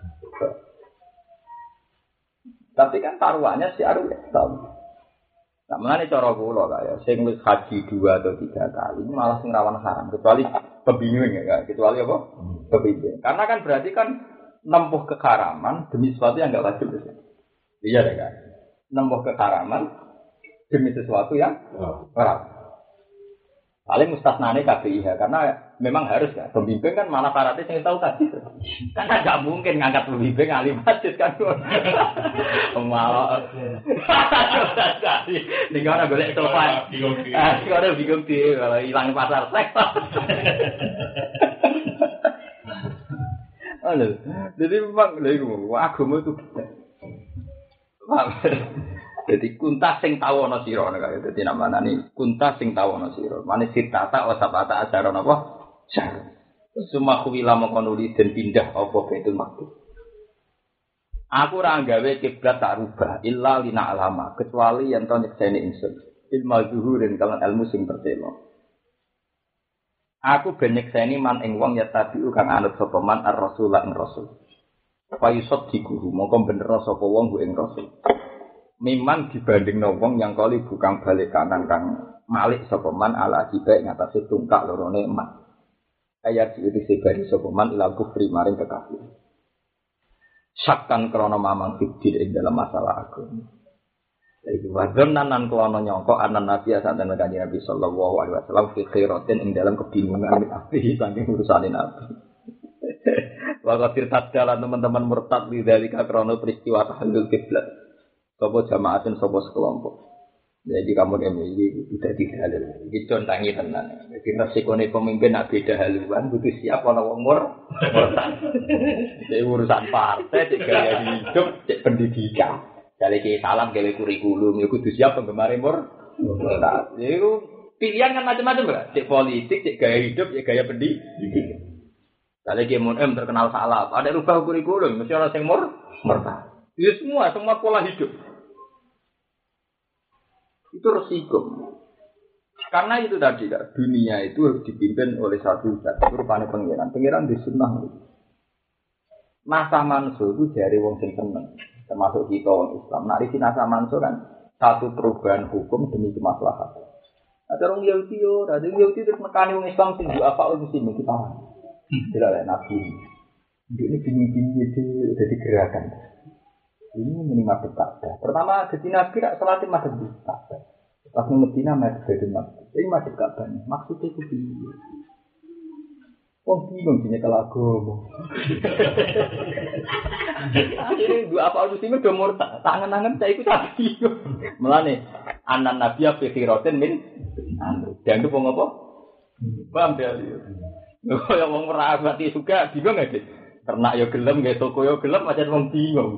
Tapi kan taruhannya syiar Islam. Nah, mengenai cara kula kaya sing wis haji dua atau tiga kali malah sing rawan haram kecuali pembingung ya, kecuali apa? Pembingung. Karena kan berarti kan nempuh keharaman demi sesuatu yang enggak wajib. Iya deh kan. Nempuh keharaman demi sesuatu yang haram. Paling mustasnane K B I H karena memang harus ya. Pembimbing kan malah syaratnya sing tahu tadi. Karena enggak mungkin ngangkat pembimbing alim masjid kan. Malah. Ning ora golek sofa. Ah, sing ora bingung di kalau ilang pasar seks. Halo. Jadi memang lha iku agama itu. Jadi kunta sing tau ana sira kaya dadi namane ni kunta sing tau ana sira. Mane sitata wa sabata ajaran apa? Syar. Suma kuwila mongkonuli den pindah apa Baitul Maqdis. Aku ora gawe kiblat tak rubah illa lina alama kecuali yen to nyekseni ingsun. Ilmu zuhurin kalan ilmu sing pertelo. Aku ben nyekseni man ing wong ya tabiu kang anut sapa man ar-rasul lan rasul. Fa yusad dikuhu mongko bener sapa wong ku ing rasul. Memang dibanding wong yang kali bukan balik kanan kang malik sapa man ala akibat ngatasi tungkak lorone emas. Ayat iki sebari sapa man ila kufri maring kekafir. Sakkan krana mamang fikir ing dalam masalah agama. Iki wadon nanan krana nyangka anan nabi santen kanjeng Nabi sallallahu alaihi wasallam fi khairatin ing dalam kebingungan api saking urusane nabi. Waqatir tadala teman-teman murtad li dalika krana peristiwa tahlul kiblat. Sopo jamaatin sopo sekelompok. Jadi kamu ini sudah tidak halal. Ini contohnya tenan. Jadi resikonya pemimpin nak beda haluan, butuh siap kalau umur murtad. Jadi urusan partai, cek gaya hidup, cek pendidikan. Dari ke salam, ke kurikulum, ya butuh siap penggemar umur murtad. Jadi pilihan kan macam-macam lah. Cek politik, cek gaya hidup, cek gaya pendidikan. Dari ke M M terkenal salah, ada rubah kurikulum, mesti orang yang murtad. Ya semua, semua pola hidup. Itu resiko. Karena itu tadi kan, dunia itu harus dipimpin oleh satu zat. Itu rupanya pengiran. Pengiran di sunnah. Nasa manso itu dari wong sing seneng. Termasuk kita orang Islam. Nah, di nasa manso kan satu perubahan hukum demi kemaslahatan. Ada orang Yahudi, ada orang Yahudi terus mekani wong Islam sing juga apa orang Muslim kita. Tidak ada nabi. Ini bingung-bingung itu udah digerakkan. Ini minimal Ka'bah. Pertama jadi nabi rak salatin madhep Ka'bah. Pas Medina madhep Baitul Maqdis. Ini madhep Ka'bah. Maksudnya itu piye? Wong bingung dene kelago. Akhire dua apa usime do murtad. Tangan-tangan saya iku tak bingung. Mulane anan nabi fi khiratin min amr. Dan itu wong apa? Paham ya? Kaya wong ora mati juga bingung gak? Ternak yo gelem, nggih toko yo gelem, macam wong bingung.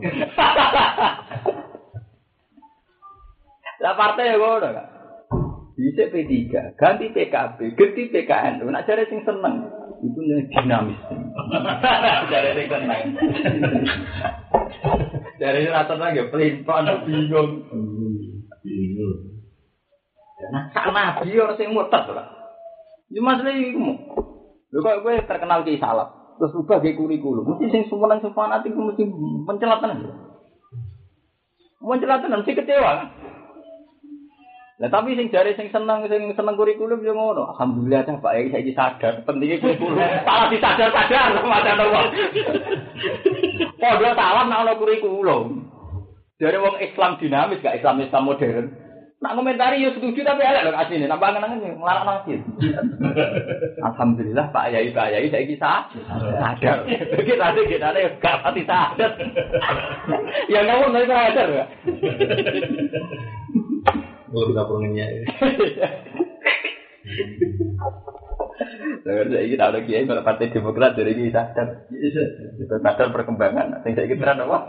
Lah partai yo ngono kan. Dhisik P tiga, ganti P K B, ganti P K N. Nek jare sing seneng, iku dinamis. Jare sing seneng. Jare ora tenang yo pelin-pelan bingung. Bingung. Nah, sak nabi ora sing murtad ora. Yo masalah iku. Lho kok kowe terkenal ki salaf. Terus ubah ge kurikulum. Mesti sing sumelang sing fanatik mesti mencelatan. Mencelatan mesti kecewa. Lah tapi sing jare sing seneng sing seneng kurikulum yo ngono. Alhamdulillah ta Pak Yai saiki sadar pentingnya kurikulum. Salah disadar-sadar macam wong. Padha salah nek ana kurikulum. Jare wong Islam dinamis gak Islam Islam modern. Nak komentari yo setuju tapi elek lho asline nambah angen-angen nglarang nangis. Alhamdulillah Pak Yai Pak Yai saiki sadar. Iki tadi kita ada gak pati sadar. Ya ngomong nek sadar ya. Ngurus kapunnya. Lah saiki tak ada kiai kalau Partai Demokrat dari iki sadar. Sadar perkembangan. Sing saiki tenan apa?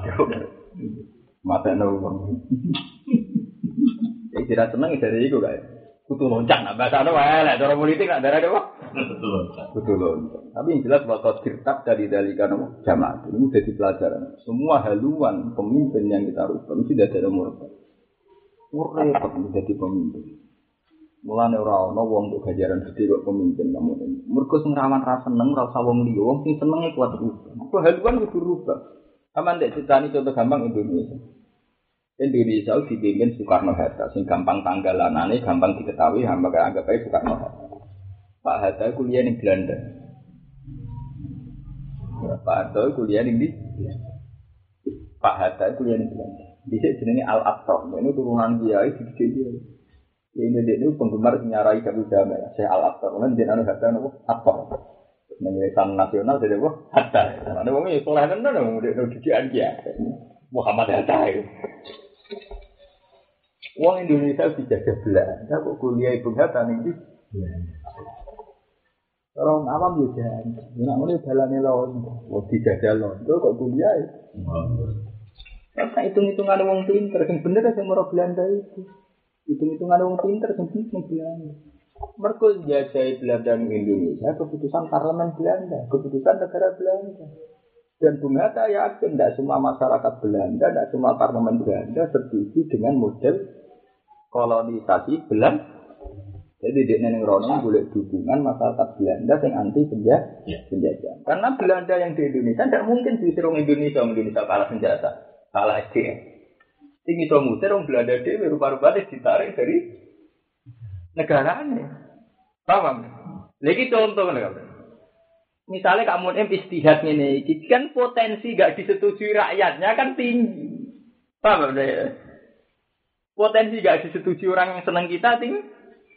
Mata wong. Iki tidak seneng dari itu guys. Kutu loncat, nak bahasa apa? Lah, cara politik nak darah apa? Kutu loncat. Kutu loncat. Tapi yang jelas bahwa kirtab dari dari kan jamaah ini sudah dipelajaran. Semua haluan pemimpin yang kita rubah mesti tidak ada murtad. Murtad menjadi pemimpin. Mulane ora ana wong untuk gajaran gede kok pemimpin kamu ini. Mergo sing rawan ra seneng, ra usah wong liya, wong sing senenge kuat rubah. Kok haluan kudu rubah. Aman dek critani contoh gampang Indonesia. Indonesia dipimpin Soekarno Hatta, sing gampang tanggalanane, gampang diketahui, hamba anggap aja Soekarno Hatta. Pak Hatta kuliah di Belanda. Pak Hatta kuliah di Pak Hatta kuliah di Belanda. Di sini jenenge Al Aqsa, ini turunan kiai di dia. Ini dia itu penggemar penyarai Abu Dhabi, Syekh Al Aqsa. Kemudian dia anu Hatta nopo Aqsa. Menyesan nasional jadi apa? Hatta. Ada wong iki soleh tenan wong didikan dia. Muhammad Hatta itu. Wong Indonesia dijajah Belanda, kok kuliah Ibnu Hatta ning iki. Orang awam yo jan. Nek ngene dalane lho, wong dijajah lho, kok kuliah. Karena hitung-hitungan wong pinter, yang bener yang merah Belanda itu. Hitung-hitungan wong pinter yang bener yang Belanda. Mereka jajai Belanda di Indonesia, keputusan parlemen Belanda, keputusan negara Belanda. Dan Bung Hatta yakin tidak semua masyarakat Belanda, tidak semua parlemen Belanda setuju dengan model kolonisasi Belanda. Jadi dia neng Rono boleh dukungan masyarakat Belanda yang anti penjajah. Karena Belanda yang di Indonesia tidak mungkin diusir orang Indonesia, Indonesia kalah senjata, kalah S D M. Tinggi so musir orang Belanda dia rupa-rupanya ditarik dari negaranya. Paham? Lagi contoh kan. Misalnya kamu em istihad ini, kan potensi gak disetujui rakyatnya kan tinggi. Paham ya? Potensi gak disetujui orang yang senang kita tinggi.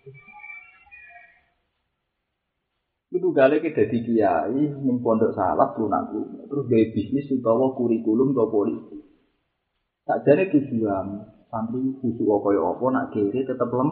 Itu gale kita di kiai, ning pondok salaf lunakku, terus gawe bisnis utawa kurikulum utawa politik. Sakjane tujuan santri khusuk kaya apa nak kiri tetep lem.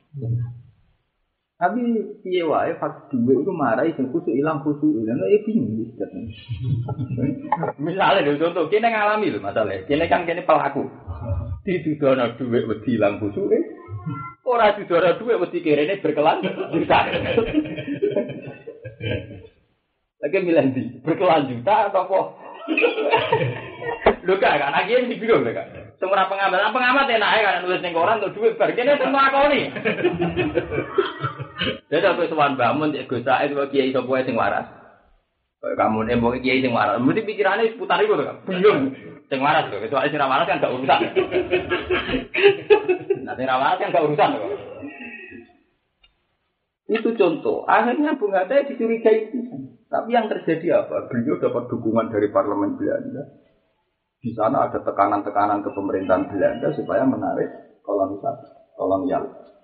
Tapi piye wae fak duwe iku marai sing khusuk ilang khusuk ilang ya bingung wis ketemu. Misale lho contoh kene ngalami lho masalah. Kene kan kene pelaku. Ditudono dhuwit wedi ilang khusuke. Ora didono dhuwit wedi kirene berkelanjutan. Lagi milih di berkelanjutan atau apa? Lho gak kan akhirnya di bingung lho kan. Semua pengamat, pengamat enak ya kan nulis ning koran untuk duit bar kene semua akoni. Jadi aku sowan bangun cek Gus Said kok kiai sapa sing waras. Kayak kamu nembok kiai sing waras, mesti pikirane seputar iku lho kan. Bingung. Sing waras lho, kecuali sing waras kan gak urusan. Nah, sing waras kan gak urusan kok. Itu contoh. Akhirnya Bung Hatta dicurigai itu. Tapi yang terjadi apa? Beliau dapat dukungan dari parlemen Belanda. Di sana ada tekanan-tekanan ke pemerintahan Belanda supaya menarik kolonisasi, kolonial.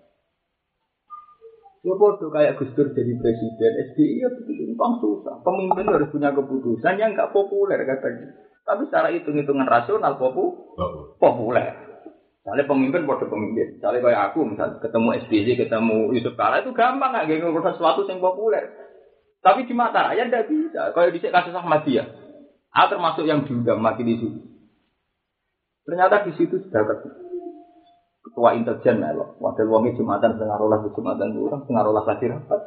Ya bodoh kayak Gus Dur jadi presiden, S B I ya begitu, bang susah. Pemimpin harus punya keputusan yang nggak populer katanya. Tapi secara hitung-hitungan rasional popu, populer. Misalnya pemimpin bodoh pemimpin. Misalnya kayak aku, misalnya ketemu S B Y, ketemu Yusuf Kala itu gampang nggak gak ngurus sesuatu yang populer. Tapi di mata rakyat tidak bisa. Kalau di kasus Ahmadiyah, aku termasuk yang diundang mati di situ. Ternyata di situ sudah ketua intelijen melok. Wakil wongi Jumatan setengah rolas di Jumatan kurang, setengah rolas lagi rapat.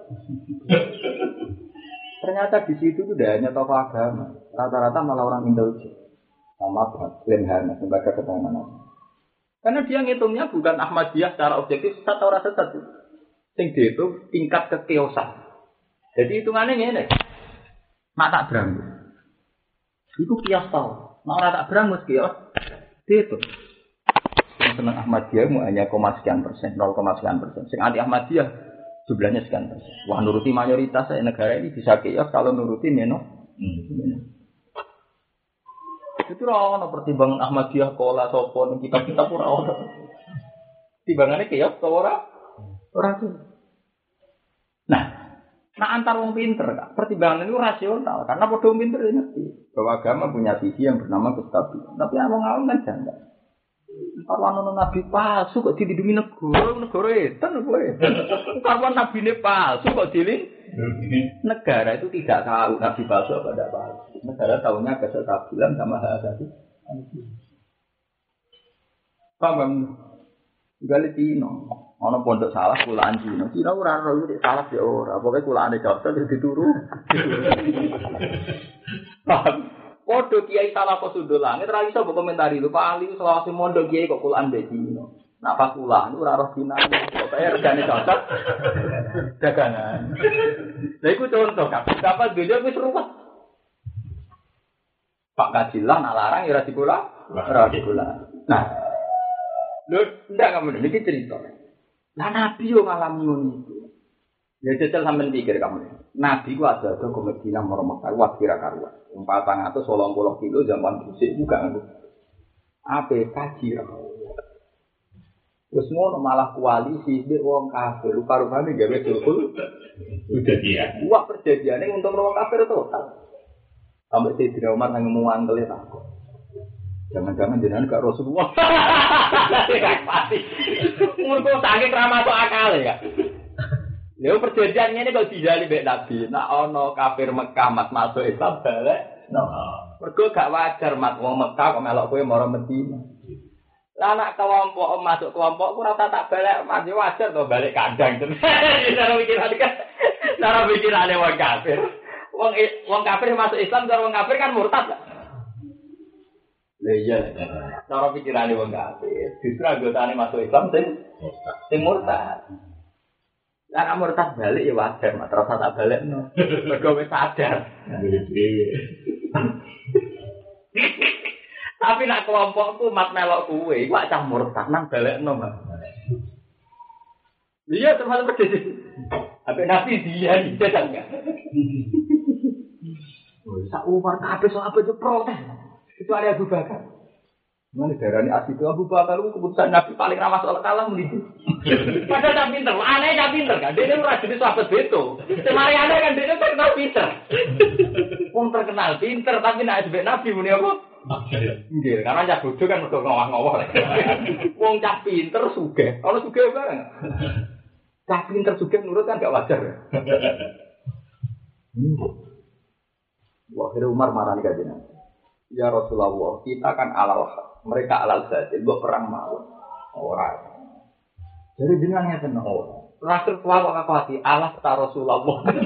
Ternyata di situ itu tidak hanya tokoh agama, rata-rata malah orang intelijen. Sama Lemhana, sebagai keterangan. Karena dia ngitungnya bukan Ahmadiyah secara objektif, sesat atau rasa sesat. Sing dia itu tingkat kekeosan. Jadi hitungannya ini, nak tak berangus. Itu kios tau. Nak orang tak berangus kios. Itu yang senang Ahmadiyah mu hanya koma sekian persen, nol koma sekian persen. Sing anti Ahmadiyah jumlahnya sekian persen. Wah nuruti mayoritas negara ini bisa kios kalau nuruti meno. Hmm. Itu ora ono pertimbangan Ahmadiyah kola sapa ning kitab-kitab ora ono. Timbangane kios to ora? Ora tuh. Nah, nah antar wong pinter kan. Pertimbangan itu rasional karena padha wong pinter ngerti bahwa agama punya visi yang bernama kestabilan. Tapi awang-awang kan janggal. Kalau ana nabi palsu kok dilindungi negara, negara edan kowe. Kalau nabine palsu kok dilindungi negara itu tidak tahu nabi palsu apa tidak palsu. Negara tahunya kestabilan sama hal asasi. Paham? Gale Cina, ana pondok salah kulaan Cina. Cina ora ora iki salah ya ora. Pokoke kulaane cocok wis dituru. Paham? Podo kiai salah kok sundul langit ora iso mbok komentari lho Pak Ali selawase mondok kiai kok kulaan mbek Cina. Nak pas kulaan ora roh Cina. Pokoke regane cocok. Dagangan. Lha iku contoh kabeh. Kapan dhewe wis ruwet. Pak Kajilah nak larang ya ora dikula. Ora dikula. Nah, lho, ndak kamu niki cerita. Lah Nabi yo ngalami ngono iku. Ya jajal sampean pikir kamu. Nabi ku ada ke Madinah Mekah wae kira karuan. empat ratus delapan puluh kilo zaman dhisik juga ngono. Ape kaji ra. Wes ngono malah koalisi mbek wong kafir, rupa-rupane gawe sulhul. Udah dia. Wah perjanjiane untung wong kafir total. Sampai Sayyidina Umar nang ngomong angel takut. Jangan-jangan jenengan gak Rasulullah. Kayak mati. Umurku saking ra masuk akal ya. Lha perjanjian ngene kok dijali mbek Nabi. Nek ana kafir Mekah mas masuk Islam balik. No. Mergo gak wajar mat wong Mekah kok melok kowe mara Madinah. Lah anak kelompok masuk kelompok ora tak balik mat yo wajar to balik kandang. Cara pikiran kan. Cara pikirane wong kafir. Wong wong kafir masuk Islam cara wong kafir kan murtad. Lah iya. Cara pikirane wong kafir. Justru anggotane masuk Islam sing sing murtad. Lah nek murtad balik ya wajar mat terus tak balekno. Mergo wis sadar. Tapi nak kelompokku mat melok kuwe, iku acah murtad nang balekno, Mas. Iya, termasuk persis. Apa nabi dia iki kan enggak? Oh, sak umur kabeh sok apa itu protes. Itu ada Abu Bakar. Mana darani asli itu Abu Bakar itu keputusan nabi paling ramah soal kalah muni. Padahal tak pinter, aneh tak pinter kan. Dia ora jadi sahabat beto. Semari aneh kan dia terkenal pinter. Wong terkenal pinter tapi nek sebek nabi muni apa? Nggih, karena cah bodoh kan mergo ngowah-ngowah. Wong cah pinter sugih, ana sugih bareng. Cah pinter sugih nurut kan gak wajar ya. Wah, kira Umar marani kajian. Ya Rasulullah, kita kan alal mereka alal saja, mbok perang mawon. Ora. Jadi jenengan ngeten ora. Rasul tua kok hati Allah ta Rasulullah.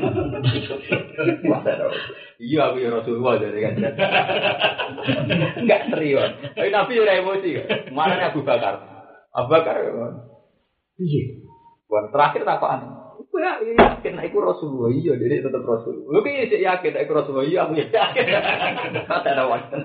Iya aku ya Rasulullah jadi kan. Enggak serius. Tapi Nabi ora emosi. Mana Abu Bakar? Abu Bakar. Iya. Buat terakhir takokan. Aku ya yakin iku Rasulullah. Iya, jadi tetap Rasul. Lu ki sik yakin iku Rasulullah. Iya, aku yakin. Kata ada wajan.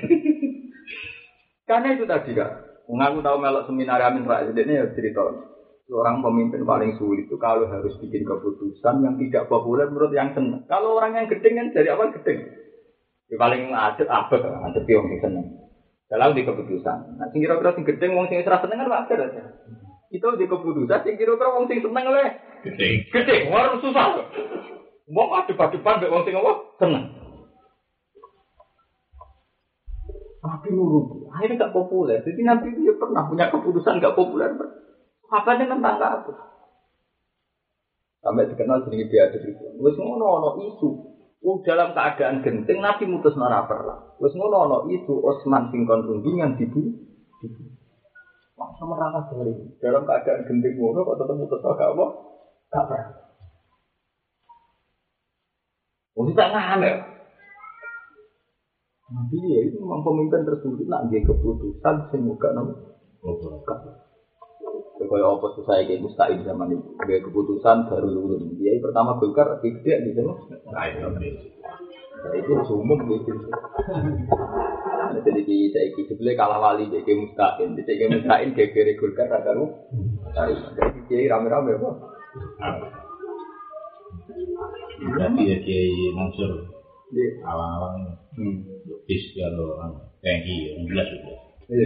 Karena itu tadi kan. Mengaku tahu melok seminar Amin Rais ini ya cerita. Seorang pemimpin paling sulit itu kalau harus bikin keputusan yang tidak populer menurut yang senang. Kalau orang yang gedeng kan dari awal gedeng. Yang paling adet abet, adet yang senang. Kalau di keputusan. Nah, sing kira-kira sing gedeng wong sing ora seneng kan wajar aja. Itu di keputusan sing kira-kira wong sing seneng oleh gedeng. Gedeng, ora susah. Wong adep-adepan mek wong sing apa? Seneng. Tapi nurut, akhirnya gak populer. Jadi nanti dia pernah punya keputusan gak populer. Apa nih tentang apa? Sampai dikenal jadi biasa itu. Wes ngono ono isu. Oh, dalam keadaan genting Nabi mutus nara perlah. Wes ngono ono isu Utsman sing kon rundingan dibunuh. Mak sama raka dari dalam keadaan genting ngono kok tetep mutus agak apa? Gak pernah. Oh, tidak ngane. Nabi ya itu memang pemimpin tersulit nak dia keputusan sing muga nang. Oh, kaya apa susah iki mustahil zaman itu. Dia keputusan baru lulus. Dia pertama Golkar gede gitu loh. Nah, itu umum gitu. Jadi kita iki sebelah kalah wali jadi mustahil. Jadi mustahil gegere Golkar ra karo. Jadi kiai rame-rame apa? Berarti ya Kiai Mansur. Iya, awang-awang. Hmm. Bis kalau tangki jelas sudah.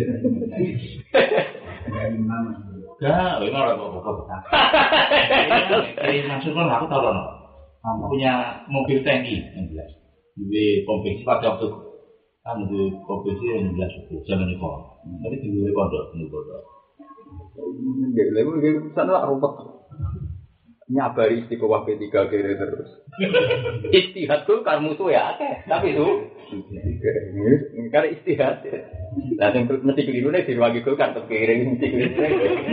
Iya. Enggak, ini orang bawa-bawa. Kiai Mansur kan aku tahu loh. Kamu punya mobil tangki yang jelas. Di kompetisi pada waktu kan di kompetisi yang jelas itu zaman itu. Tapi di luar pondok, di pondok. Enggak, lagi sana rumput. Nyabari istiqomah P tiga kira terus. Istihad tuh kan musuh ya, tapi itu karena istihad. Lah sing mesti kelirune diwagi kan tetep kira mesti kelirune.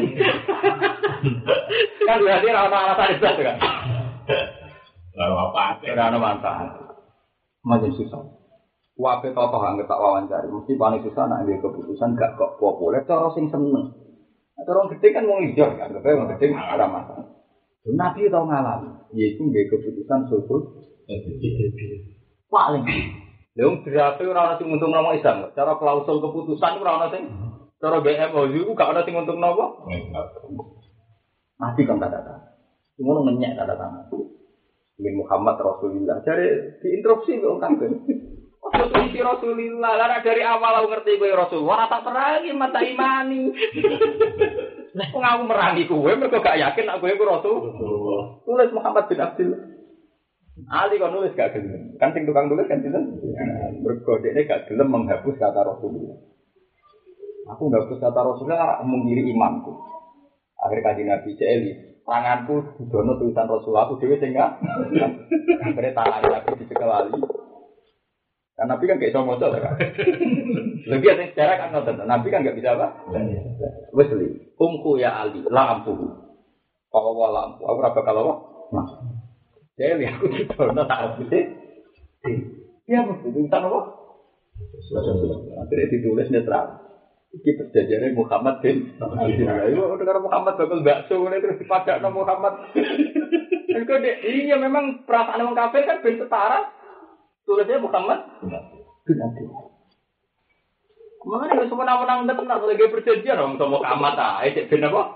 Kan berarti ora ana alasan itu kan. Lalu apa? Ora ana manfaat. Makin susah. Wae tokoh anggap tak wawancara, mesti paling susah nek dia keputusan gak kok populer cara sing seneng. Cara wong gede kan wong ijo, anggap wong gede ora masalah. Nabi tahu ngalami, yaitu nggak keputusan subuh, paling. Leung berarti orang nasi untuk nama Islam. Cara klausul keputusan orang nasi, cara B M O U gak ada sing untuk nama. Nabi kan kata kata, semua ngenyek kata kata. Bin Muhammad Rasulullah. Jadi diinterupsi kok kan? Waktu itu Rasulullah, karena dari awal aku ngerti gue Rasulullah, tak perangi mata imani. Nah, kok aku merangi kowe mergo gak yakin aku iku Rasul. Tulis Muhammad bin Abdul. Ali kok nulis gak gelem. Kan sing tukang tulis kan sinten? Mergo dekne gak gelem menghapus kata Rasulullah. Aku menghapus kata Rasulullah menggiri imanku. Akhir kanjeng Nabi Celi, tanganku didono tulisan Rasulullah aku dhewe sing gak. Akhire tangan aku dicekel ali. Kan Nabi kan gak bisa maca kan. Lebih ada sejarah kan ngoten. Nabi kan gak bisa apa? Wes li. Umku ya Ali, la ampu. Kalau wala ampu, aku ora bakal apa? Nah. Jadi aku ditono tak habis. Iya, betul. Itu apa? Akhirnya ditulis netral. Iki perjanjiannya Muhammad bin Abdullah. Itu dengan Muhammad bakal bakso terus dipadakno Muhammad. Itu iya memang perasaan orang kafir kan ben setara. Tulisnya Muhammad bin Abdullah. Kemana nih semua menang menang tenang lagi perjanjian orang sama Muhammad ah, itu ben apa?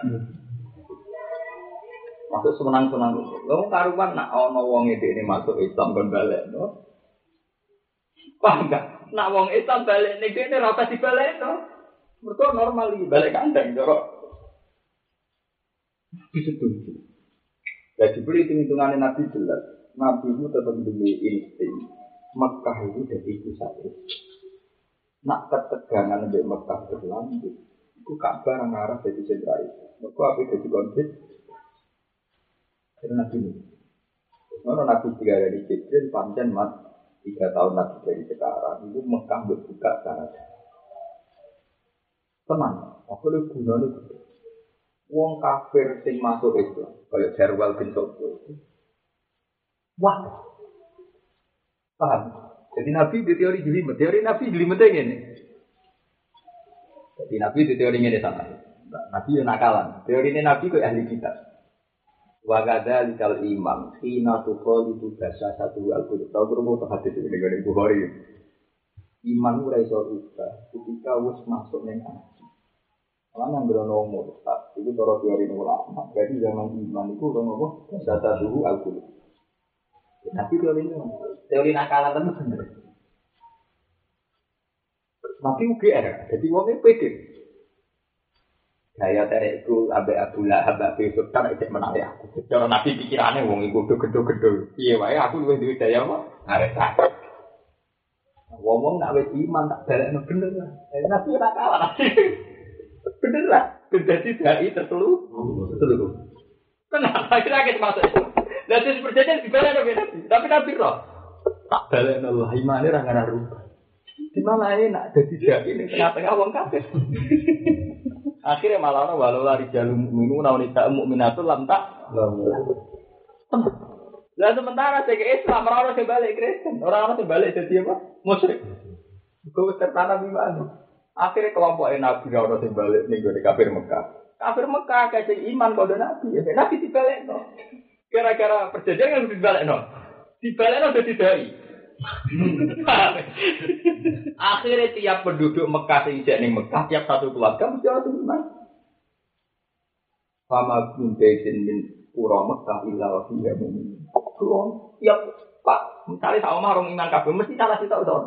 Masuk semenang senang. Lo karuan nak ono wong ini masuk Islam kon balik, no? Paham enggak? Nak wong Islam balik ning kene ora usah dibalik to. Mergo normal iki balik kandang cara disetuju. Jadi beri hitung-hitungannya Nabi jelas. Nabi itu tetap demi insting. Mekah itu jadi itu satu. Nak ketegangan di Mekah berlanjut. Itu Ka'bah yang arah jadi sentra itu. Mereka apa jadi konflik? Karena Nabi ini. Karena Nabi tiga dari Jibril, pancen mat tiga tahun lagi dari sekarang. Itu Mekah berbuka sangat. Tenang. Aku lebih gunanya itu. Wong kafir sing masuk Islam. Kayak Jarwal bin Sobo. Wah, paham? Jadi Nabi di teori jelimet, teori Nabi jelimetnya ini. Jadi Nabi di teori ini sama. Nabi yang nakalan. Teori ini Nabi ke ahli kitab. Wagada likal imam, hina tukol itu bahasa satu al-Qur'an. Tahu berumur terhadap ini dengan Bukhari. Iman urai sorga ketika wis masuk neng hati. Karena yang bernomor, itu cara teori ulama. Jadi zaman iman itu nomor bahasa satu al-Qur'an. Tapi teori ini, teori nakalan itu benar. Tapi U G R, jadi wongnya pede. Saya tarik itu Abu Abdullah, Abu Abdullah, kan itu menarik aku. Cara Nabi pikirannya wong itu gedhe-gedhe. Iya, wae aku luwih duwe daya apa? Arek tak. Wong nak wis iman tak balekno bener lah. Nabi ora kalah. Bener lah. Dadi dai tertelu. Tertelu. Kenapa kira kita masuk itu? Lah terus perjanjian dibalekno Nabi. Tapi Nabi roh. Tak balekno lah imane ora ngara rubah. Di mana enak dadi dai ning tengah-tengah wong kafir. Akhirnya malah orang walau lari jalur mukminu nauni tak mukminatul lam tak. Lah sementara saya ke Islam orang orang balik Kristen, orang orang balik jadi apa? Musyrik. Kau tertanam iman. Akhirnya kelompok Nabi orang orang balik nih gue kafir Mekah. Kafir Mekah kayak iman pada Nabi. Ya Nabi dibalik no. Gara-gara perjanjian kan dibalik no. Dibalik no jadi dai. Akhirnya tiap penduduk Mekah sing jek ning Mekah tiap satu keluarga mesti ana iman. Fama kuntesin min pura Mekah illa wa fiha mu'min. Kulo tiap Pak, misale sak omah rong iman kabeh mesti salah sitok to.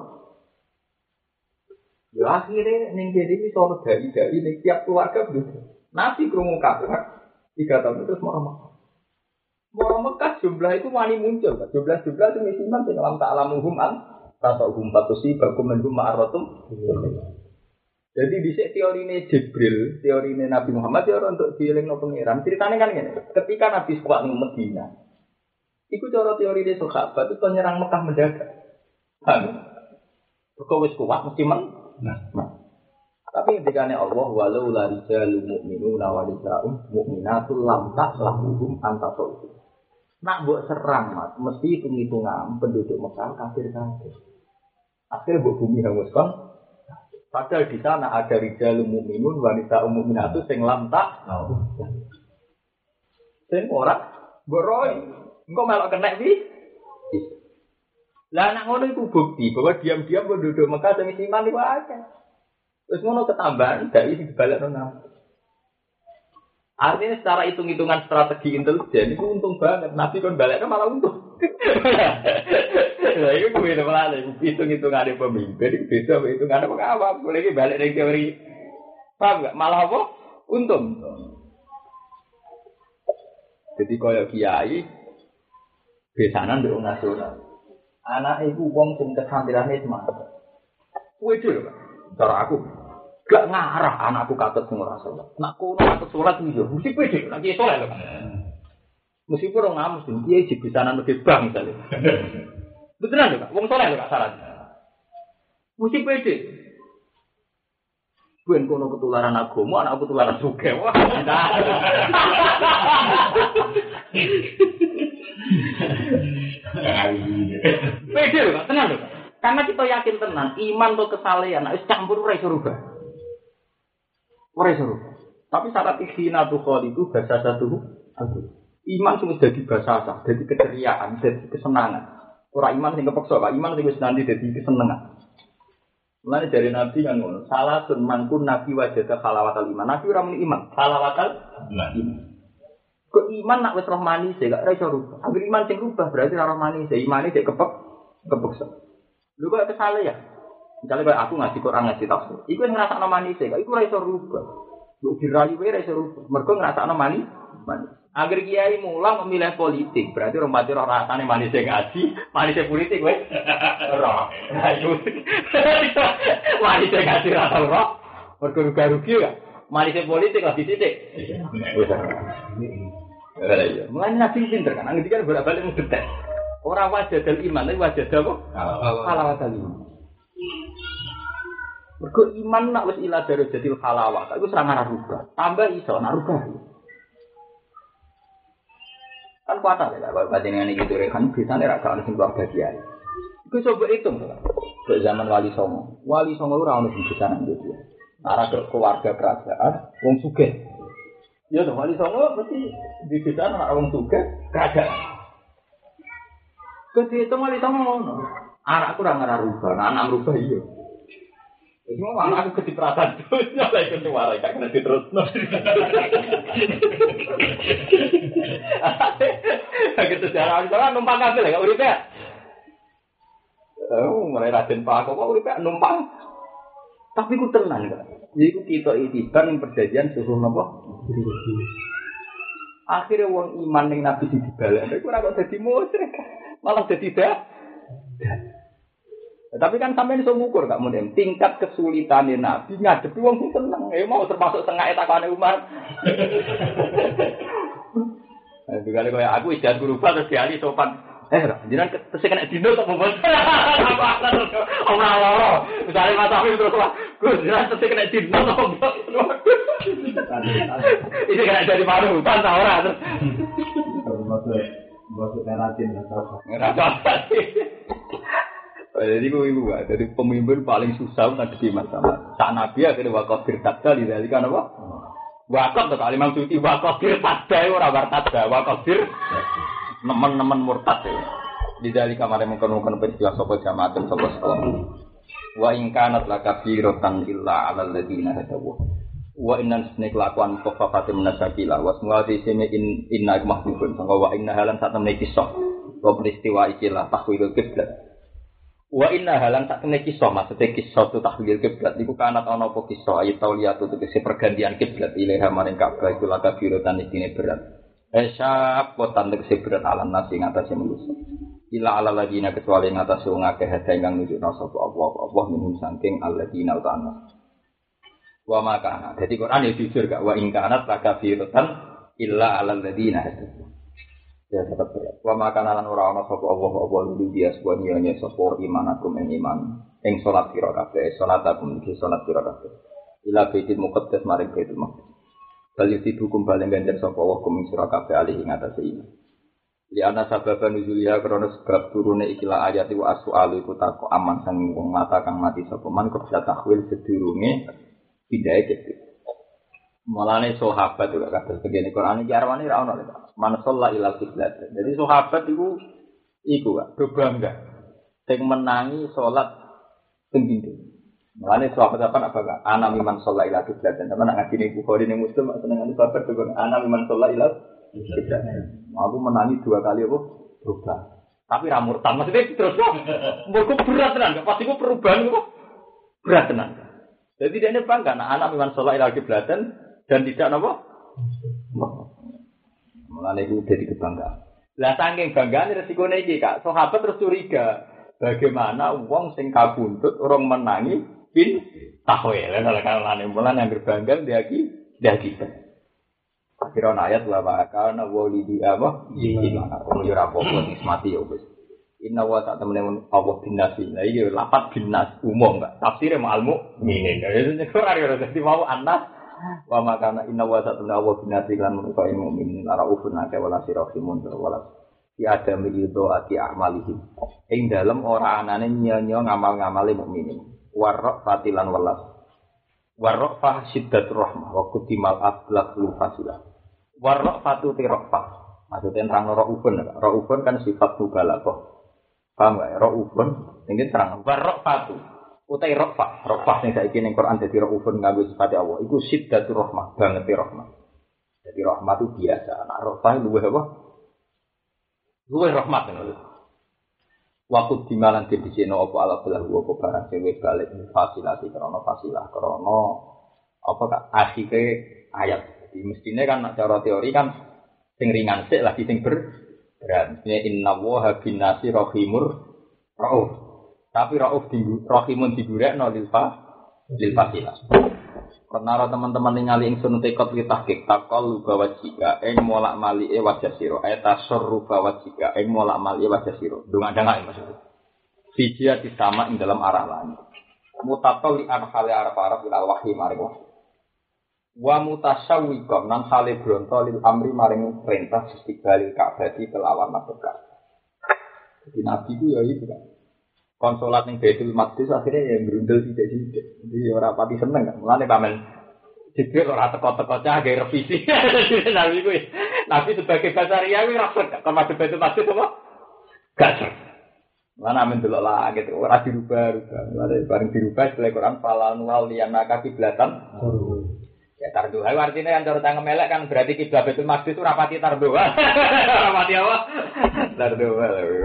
Ya akhirnya ning kene iki sono dai-dai ning tiap keluarga penduduk. Nabi krungu kabeh tiga tahun terus mau Mekah. Mau Mekah jumlah itu wani muncul, jumlah-jumlah itu misiman sing alam tak alamuhum an atau hum patusi bakum menhum ma'aratum. Jadi dhisik teorine Jibril, teorine Nabi Muhammad ya untuk dielingno pangeran. Ceritane kan ngene, ketika Nabi suwak ning Madinah. Iku cara teorine sahabat itu penyerang Mekah mendadak. Kan. Kok wis kuat mesti men. Nah. Tapi ketikane Allah walau la rijalul mu'minuna wa rijalul mu'minatul lam ta'lamuhum antasau. Nak mbok serang Mas, mesti hitung-hitungan penduduk Mekah kafir kabeh. Akhirnya mbok bumi hangus kon. Padahal di sana ada rijalul mu'minun wanita mu'minatu sing lam tak. Sing ora mbok roy. Engko melok kenek pi. Lah nak ngono iku bukti bahwa diam-diam penduduk Mekah sing iman iku akeh. Wis ngono ketambahan dai dibalekno nang. Artinya secara hitung-hitungan strategi intelijen itu untung banget. Nabi kon balekno malah untung. Lah iku kuwi malah hitung-hitungane pemimpin itu beda hitungane wong awam. Boleh iki balik ning teori. Paham enggak? Malah apa? Untung. Jadi kaya kiai besanan ndek nasional. Anak iku wong sing kesantirane semangat. Kuwi dhewe, Pak. Cara aku gak ngarah anakku katut sing ora salat. Nak kono katut salat iki yo mesti pede, lagi salat lho. Meskipun ora ngamus, dia jibisanan lebih bang misale. Beneran lho, Pak. Wong salat lho Kak saran. Mesti pede. Ben kono ketularan agama, anak ketularan sugih. Wah, pede lho, tenang lho. Karena kita yakin tenan, iman atau kesalehan, nek campur ora iso rubah. Ora iso rubah. Tapi syarat ikhina tu khol itu bahasa satu aku. Iman sing dadi bahasa sah, dadi keceriaan, dadi kesenangan. Ora iman sing kepeksa, Pak. Iman sing wis nanti dadi kesenangan. Mulane dari Nabi kan ngono, salah sun mangkun Nabi wajada halawatal iman. Nabi ora muni iman, halawatal iman. Kok iman nak wis roh manis e gak iso rubah. Angger iman sing rubah berarti ora roh manis e, imane sik kepek kepeksa. Lho kok kesale ya? Misalnya kayak aku ngaji Quran ngaji tafsir, iku ngrasakno manis e, iku ora iso rubah. Mbok dirayu wae ora iso rubah. Mergo ngrasakno manis. Manis. Agar kiai mulang memilih politik, berarti orang mati roh rasane manis e ngaji, manis e politik kowe. Roh. Ayo. Manis e ngaji ra tau roh. Mergo rugi ya. Manis e politik lah disitik. Ora iya. Mulane nabi pinter kan, ngendikan bolak-balik mung detek. Ora wajah dal iman, tapi wajah apa? Halawatal iman. Mergo iman nak wis ila darajatil halawah, iku ora ngarah rubah. Tambah iso nak rubah. Kan kuat ya, kalau batingan ini gitu rekan, biasanya rasa ada sing keluarga kiai. Itu coba hitung, ke zaman Wali Songo, Wali Songo itu orang yang bisa nanti dia. Arah ke keluarga kerajaan, wong sugih. Ya tuh Wali Songo berarti di desa anak wong sugih kerajaan. Ketika Wali Songo, anakku orang ngarah rubah, anak rubah iya. Semua anak aku kecipratan tuh, nyala ikut suara, gak kena diterus. Gitu sejarah, misalnya numpang kabel ya, gak urip ya? Oh, mulai Raden Pak, kok urip ya numpang? Tapi ku tenang gak? Jadi ku kita itibar yang perjanjian suruh nopo? Akhirnya wong iman yang Nabi dibalik, aku ora kok dadi musyrik, malah dadi dah. Tapi kan sampeyan iso ngukur gak mungkin tingkat kesulitane Nabi ngadepi wong sing seneng. Ya mau termasuk setengah etakane Umar. Nah, kali kaya aku ijan guru pas terus diali sopan. Eh, jenengan tesih kena dino kok mbon. Ora loro. Misale Mas Afif terus wah, Gus, jenengan tesih kena dino kok mbon. Iki kena dari paru, kan ta ora terus. Maksud maksud teratin atau apa? Jadi gue ibu, jadi pemimpin paling susah ngadepi masalah. Sak Nabi akhirnya wakaf dirtadda di dalam kan apa? Wakaf tuh kali maksudnya wakaf dirtadda orang wartadda wakaf dir nemen-nemen murtad ya. Di dalam kamar yang mengkonon peristiwa sopo jamaah dan sopo sekolah. Wa ingkanat lakabirotan illa alal ladina hadawu. Wa innan sene kelakuan tofafatim nasabila. Wa semua di sini in inna mahbubun. Sangka wa inna halan saat temen kisah. Wa peristiwa ikilah tahwilul kiblat. Wa inna halan tak kene kisah maksudnya kisah tu tahlil kiblat iku kanat ana apa kisah ayat tauliyatu tegese pergantian kiblat ilaha maring Ka'bah iku laka birotan isine berat esap kotan tegese berat alam nasi ngatasé manusa ila ala ladina kecuali ngatasé wong akeh hada ingkang nunjukna sapa Allah Allah minum saking alladina utana wa makana dadi Quran ya jujur gak wa in kanat laka birotan illa ala ladina hada ya tetap berat. Wa makanan ora ana sapa Allah apa lu dia sebuah nyanyi sapa iman aku iman ing salat kira kabeh salat aku iki salat kira kabeh ila baitul muqaddas maring baitul maqdis bali dihukum bali ganjar sapa Allah kum sira kabeh alih ing atase iman li ana sabab nuzuliha krana sebab turune ikilah ayat wa as-su'alu iku tako aman sang wong mata kang mati sapa man kok bisa takwil sedurunge pindahe gitu. Mulane sahabat juga kabeh begini Quran iki arwane ra ono lho. Man shalla ilal qiblat. Jadi sahabat iku iku Kak, do bangga. Sing menangi salat sing pintu. Mulane sahabat apa nak bangga? Ana miman shalla ilal qiblat. Sampe nak ngajine Bukhari ning Muslim senengane sahabat juga ana miman shalla ilal qiblat. Aku menangi dua kali apa? Berubah. Tapi ra murtad. Maksudnya terus mbok berat tenan, pas iku perubahan kok berat tenan. Jadi dia ini bangga nak ana miman shalla ilal qiblat dan tidak apa? Mulane iku dadi kebanggaan. Lah saking banggane resikone iki Kak, sahabat terus curiga. Bagaimana wong sing kabuntut orang menangi pin tahwil. Lah kalane mulane anggere bangga diaki diaki. Akhirnya ayat wa kana walidi apa? Iki mana? Oh yo ra apa-apa nismati yo wis. Inna wa ta'ala temen Allah bin nasi. Nah iki lapat bin nas umum enggak. Tafsire ma'al mukminin. Jadi ora ora dadi mau anas wa makana inna wa ta'ala Allah bin nasi lan menika mukminin ara ufun ake wala sirahimun wala si adam itu ati amalihim. Ing dalem ora anane nyanyo ngamal-ngamale mukminin. Warra fatilan walas. Warra fa syiddatur rahmah wa kutimal atlaq lu fasilah. Warra fatu tirafah. Maksudnya terang raufun. Raufun kan sifat mubalaghah. Paham gak? Ra'ufun, ini terang. Warra'fatu, utai ra'fah. Ra'fah yang saiki ning Quran jadi ra'ufun nganggo sifat Allah. Iku syiddatur rahmah, banget rahmah. Jadi rahmah itu biasa. Nah ra'fah luwih apa? Luwih rahmat ngono. Waktu dimalan di sini apa ala belah apa barang sing wis balik fasilasi krana fasilah krana apa kak akhire ayat. Jadi mestine kan nek cara teori kan sing ringan sik lagi sing ber berat. Inna woha bin nasi rohimur rauf. Tapi rauf di rohimun digurekno lil fa lil fasilah. Karena teman-teman ningali ingsun tekot li tahqiq takol bawa jika ing molak malike wajah sira eta surru bawa jika ing molak malike wajah sira. Ndang-ndang maksudnya. Fijia disama ing dalam arah langit. Mutatol li an hale araf-araf ila wahyi maring wahyi. Wa mutasawwiqan nang hale bronto lil amri maring perintah istiqbalil Ka'bah kelawan madhep Ka'bah. Jadi nabi ku ya itu kan. Konsolat ning Baitul Maqdis akhirnya ya grundel sithik-sithik. Jadi ora pati seneng kan. Mulane pamen Jibril ora teko-teko cah gawe revisi. Nabi ku nabi sebagai basaria ku ora sek kan madhep Baitul Maqdis apa? Gak sek. Mulane amen delok lah gitu ora dirubah-rubah. Mulane bareng dirubah setelah Quran falan wal liyanaka kiblatan. Ya tarduha artinya kan cara tangga melek kan berarti kiblat Baitul Maqdis itu rapati tarduha. Rapati apa? Tarduha.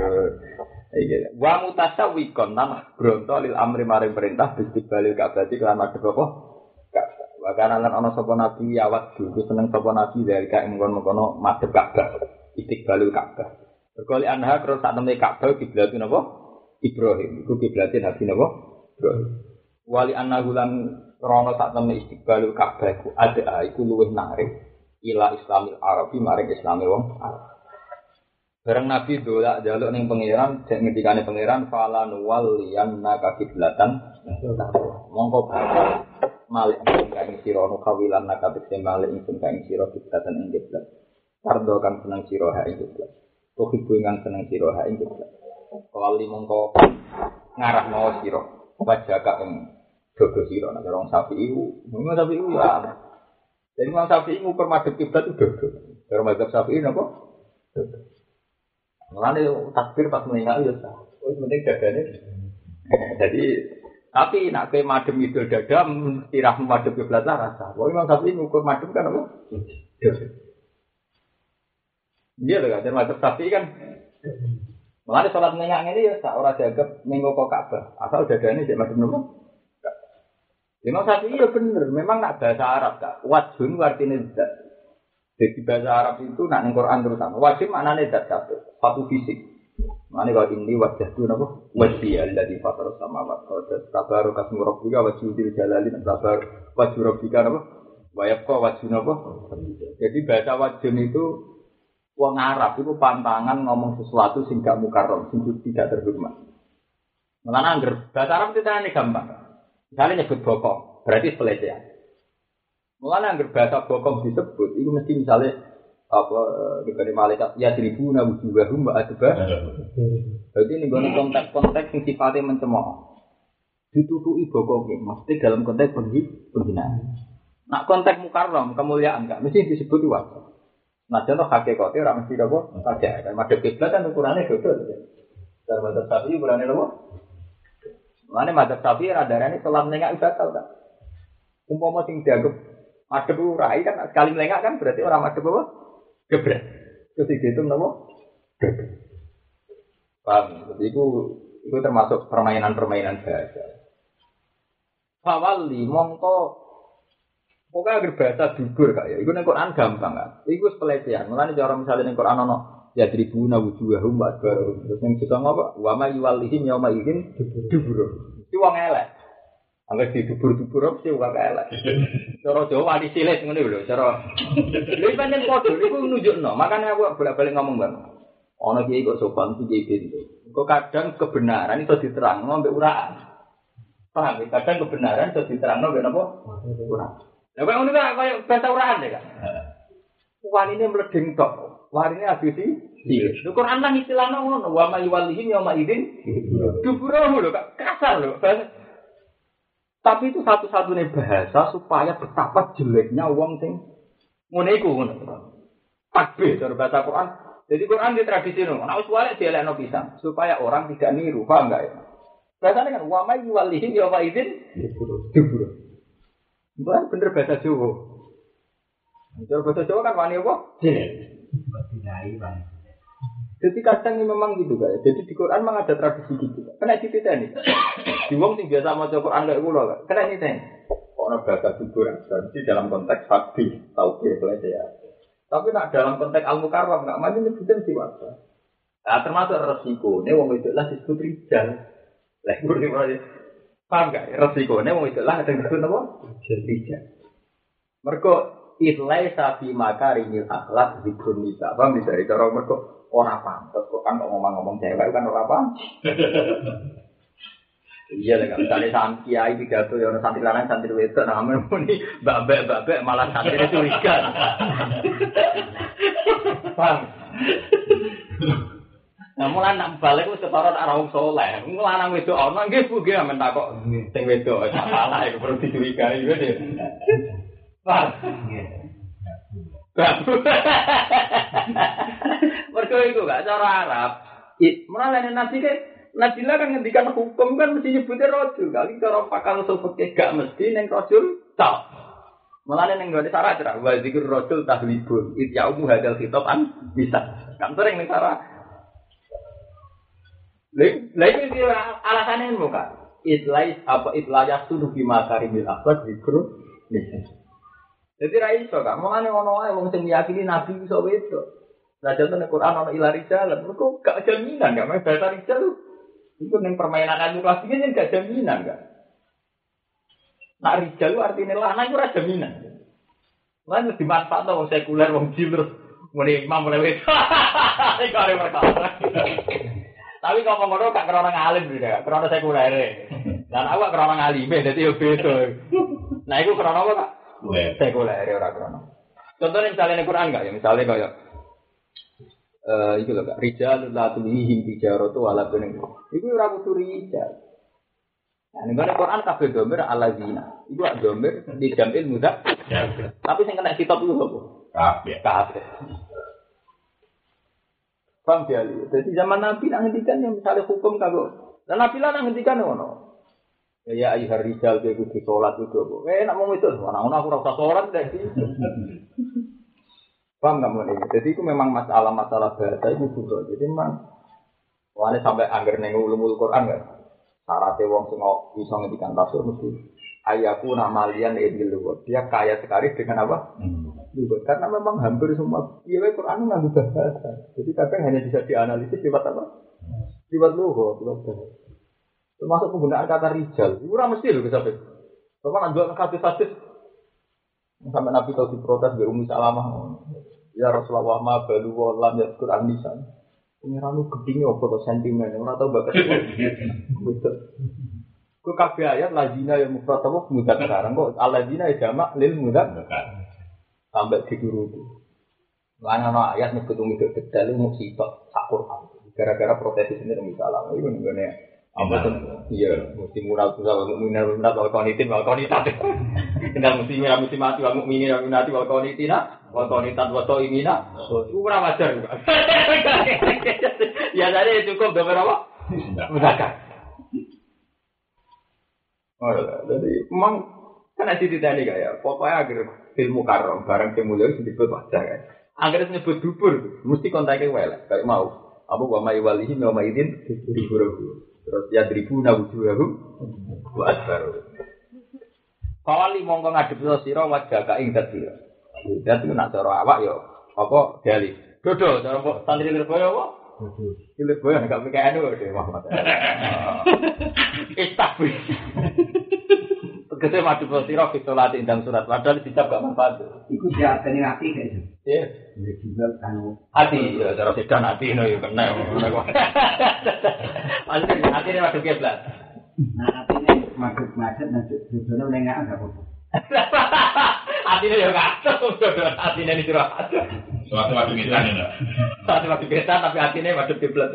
Iki. Wa mutasawwiqan nama bronto lil amri maring perintah istiqbalil Ka'bah lan madhep apa? Ka'bah. Wa kana lan ana sapa nabi awak dulu seneng sapa nabi dari ka mengkon-mengkono madhep Ka'bah. Istiqbalul Ka'bah. Berkali anha terus sak temne Ka'bah kiblatin apa? Ibrahim. Iku kiblatin nabi napa? Ibrahim. Wali annahu lan rono sak temne istiqbalul Ka'bah iku ada iku luwih narik ila Islamil Arabi maring Islame wong Arab. Bareng Nabi dolak njaluk ning pangeran, jek ngendikane pangeran falan waliyanna kiblatan. Monggo bakal malik ing sira ono kawilan nakabik malik ing kang sira kiblatan ing kiblat. Pardo kang seneng sira ha ing kiblat. Kuwi kang seneng sira ha ing kiblat. Wali mongko ngarahno sira wajaka ing dodo sira nek wong Syafi'i ku, wong Syafi'i ku ya. Jadi wong Syafi'i ngukur madhep kiblat itu dodo. Karo madhep Syafi'i napa? Dodo. Mulane takbir pas meninggal ya sah. Wis penting dadane. Jadi tapi nek kowe madhep idul dada tirah madhep kiblat lah rasa. Wong Imam Syafi'i ngukur madhep kan apa? Dodo. Iya lho kan madhep Syafi'i kan. Mulane salat meninggal ngene ya sah ora dianggap ning kok Ka'bah. Asal dadane sik madhep napa? Imam Syafi'i ya bener, memang nak bahasa Arab kak. Wajhun artinya zat. Jadi bahasa Arab itu nak ning Quran terusan. Wajib maknane zat kabeh, satu fisik. Maknane kalau ini wajah itu napa? Wajhi alladzi fatara samawati wal arda. Tabaru kasmu rabbika wajhul jalali tabar wajhu rabbika napa? Wa yabqa wajhu napa? Jadi bahasa wajhun itu wong Arab itu pantangan ngomong sesuatu sing gak mukarram, sing tidak terhormat. Mulane angger bahasa Arab itu tane gampang. Misalnya nyebut bokong, berarti pelecehan. Mulanya anggar bahasa bokong disebut, itu mesti misalnya apa diberi malaikat ya seribu nabi juga rumba adba. Berarti ini guna konteks-konteks yang sifatnya mencemooh. Ditutupi bokongnya, mesti dalam konteks penghinaan. Nak konteks mukarram kemuliaan kan, mesti disebut wajar. Nah contoh hakikatnya orang mesti apa saja. Kan madhep kiblat kan ukurannya dodo. Dalam madhep Syafi'i ukurannya apa? Mane madhep Syafi'i radarane salat nengak batal kan. Umpama sing dianggap madhep urai kan sekali nengak kan berarti orang madhep apa? Gebret. Terus dihitung napa? Gebret. Paham? Jadi itu itu termasuk permainan-permainan bahasa. Fawali mongko pokoknya agar bahasa dubur kak ya. Iku ning Quran gampang kan. Iku pelecehan. Mulane cara misalnya ning Quran ono ya tribuna wujuhahum baru terus yang bisa ngapa wa ma yuwallihim yauma idzin dubur iki wong elek angger di dubur-dubur mesti wong elek cara Jawa di silet ngene lho cara lha pancen padha niku nunjukno makane aku bolak-balik ngomong Bang Ana kiai kok sopan iki pintu. Kok kadang kebenaran itu diterangno mbek uraan. Paham ya? Kadang kebenaran itu diterangno mbek napa? Uraan. Lah kok ngono kok koyo bahasa uraan ya, Kak. Wanine mledeng tok. Warine habis iki. Lho Quran nang istilahno ngono, wa may walihim yauma idzin duburahu lho, Kak. Kasar lho. Tapi itu satu-satunya bahasa supaya betapa jeleknya wong sing ngene iku ngono. Takbir cara bahasa Quran. Jadi Quran di tradisi ngono. Nek wis walek dielekno pisan supaya orang tidak niru, paham enggak ya? Bahasane kan wa may walihim yauma idzin duburahu. Bukan bener bahasa Jawa. Cara bahasa Jawa kan wani apa? Dilai bang. Jadi kadang memang gitu kan. Jadi di Quran memang ada tradisi gitu. Kena dititeni. Di wong sing biasa maca Quran lek kula kan. Kena dititeni. Ono bahasa Quran jadi dalam konteks hadis, tauhid ya. Tapi nak dalam konteks al-mukarram enggak mesti nyebutin siwasa. Nah, termasuk resiko. Nek wong wedok lah disebut rijal. Lah kuwi wae. Paham gak? Resikonya wong wedok lah kadang disebut apa? Rijal. Mergo itlai sapi makarimil akhlak zikrun nisa. Paham bisa dari cara mergo ora pantes kok kan ngomong-ngomong cewek kan ora pantes. Iya lah, misalnya santri kiai pidato ya ono santri lanang santri wedok nah men muni mbak-mbak malah santri curiga. Paham? Nah mulai nak balik wis ketara nak wong saleh. Wong lanang wedok ana nggih Bu nggih men takok sing wedok salah iku perlu dicurigai yo. Paham? Nggih. Mergo iku gak cara Arab. Mulane nabi ke Nabi lah kan ngendikan hukum kan mesti nyebutnya rojul. Kali cara pakal sopeke gak mesti neng rojul tak. Malah neng gak ada syarat cerah. Wa zikir rojul tahlibun. Ityaumu hadal khitoban bisa. Kan sering neng syarat. Lain itu alasannya muka. Itlais apa itlayas tuh bima karimil akhlak zikru. Jadi raiso kak. Malah neng ono ae wong sing meyakini Nabi bisa wedok. Nah contoh neng Quran ono ilari jalan. Mereka gak jaminan gak main bahasa rijal tuh. Itu yang permainan anu klasiknya yang gak jaminan kan. Nak rijal itu artinya lanang itu ada jaminan. Lan lebih manfaat wong sekuler wong jil terus muni imam mulai wis. Iku arep perkara. Tapi kok ngono gak krana ngalim juga, krana sekuler. Dan awak krana ngalime dadi yo beda. Nah iku krana apa Kak? Sekuler ora krana. Contohnya misalnya di Quran enggak ya, misalnya kayak eh itu loh Kak, rijal la tulihim tijaratu wala tuning. Iku ora kudu rijal. Nah, ning Quran kabeh domir alazina. Iku ak domir di jamil mudzak. Tapi sing kena kitab iku apa? Kabeh. Kabeh. Paham ya? Jadi zaman Nabi nang ngendikan yang misalnya hukum kagok. Dan Nabi lah nang ngendikan ngono. Ya ayyuhar rijal kudu salat kudu apa. Eh nek mau itu ana-ana aku ora usah salat dadi. Paham nggak mulai? Jadi itu memang masalah-masalah bahasa itu juga. Jadi memang, wani sampai angger neng ulumul Quran kan, syaratnya wong sing bisa ngendikan tafsir mesti ayaku namalian edil luwat. Dia kaya sekali dengan apa? Luwat. Karena memang hampir semua iya Quran nggak bahasa. Jadi kadang hanya bisa dianalisis lewat apa? Lewat luwat, lewat bahasa. Termasuk penggunaan kata rijal. Itu ora mesti lho sampai. Kalau nanti hadis-hadis sampai Nabi tahu diprotes dari Ummi Salamah. Ya Rasulullah ma balu wa lam yadkur an-nisan. Pengiranmu gedine opo to sentimen ora tau bakat. Betul. Ku kabeh ayat lazina ya mufrad apa mudzakar sekarang kok alladzina ya jamak lil mudzakar. Sampai dituruti. Lan ana ayat nyebut wong itu detail musibah sak Quran. Gara-gara protes ini Ummi Salamah iku ngene. Apa tuh? Iya, mesti murah tuh kalau mukminin murah kalau konitin kalau konitat. Tinggal mesti murah mesti mati kalau mukminin murah kalau konitina, kalau konitat kalau imina. Itu kurang wajar juga. Ya tadi cukup berapa apa? Mudakan. Oh, jadi memang kan ada cerita ini kayak pokoknya agar ilmu karom barang kemuliaan disebut wajar kan. Agar disebut dubur, mesti kontaknya welek kayak mau. Abu wa may walihi wa may idin diburu. Terus ya ribu nawujuhum wa asbaru. Kali mongko ngadep sira wajah ka ing dadi. Dadi nak cara awak yo apa dali. Dodo cara santri Lirboyo apa? Dodo. Lirboyo nek mikir anu Dewi Muhammad. Istabri. Tegese madhep sira fi salat indang surat padahal dicap gak manfaat. Iku diarteni ati gak iso. Iya. Ya juga kan Hati ya cara sedan hati ngono ya kena ngono kok. Pasti atine madhep kiblat. nah atine madhep-madhep madhep dodono ning gak ada apa. Atine ya kacau, atine iki ora. Suatu waktu kita nih, Satu waktu kita tapi atine madhep kiblat.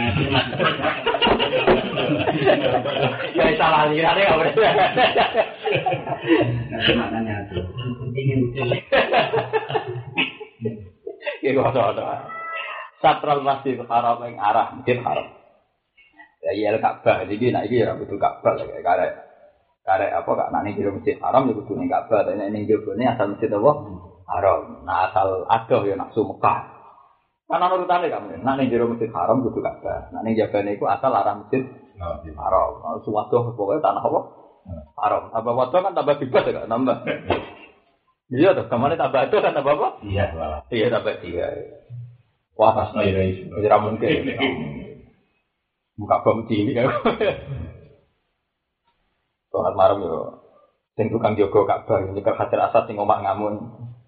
Ya salah lirane gak boleh. Maknanya itu. Ingin betul. Ya kok ada. Satral Masjidil Haram yang arah Masjid Haram. Ya iya Ka'bah iki nek iki ya kudu Ka'bah lek karek karek apa gak nek ning Masjid Haram ya kudu ning Ka'bah, nek ning jebone asal Masjid apa? Haram. Nah asal adoh ya nafsu Mekah. Kan ana urutane kamu. Nek ning jero Masjid Haram kudu Ka'bah. Nek ning jabane iku asal arah Masjid Haram. Suwadoh pokoke tanah apa? Haram. Tambah wadoh kan tambah bebas ya tambah. Iya toh, kemana tambah itu kan tambah apa? Iya, lah. Iya tambah tiga. Wah, pas No ira iso. ora mungkin. Buka bom cilik ya. Soal marem yo. Sing tukang jaga Ka'bah iki Hajar Asad sing omak ngamun.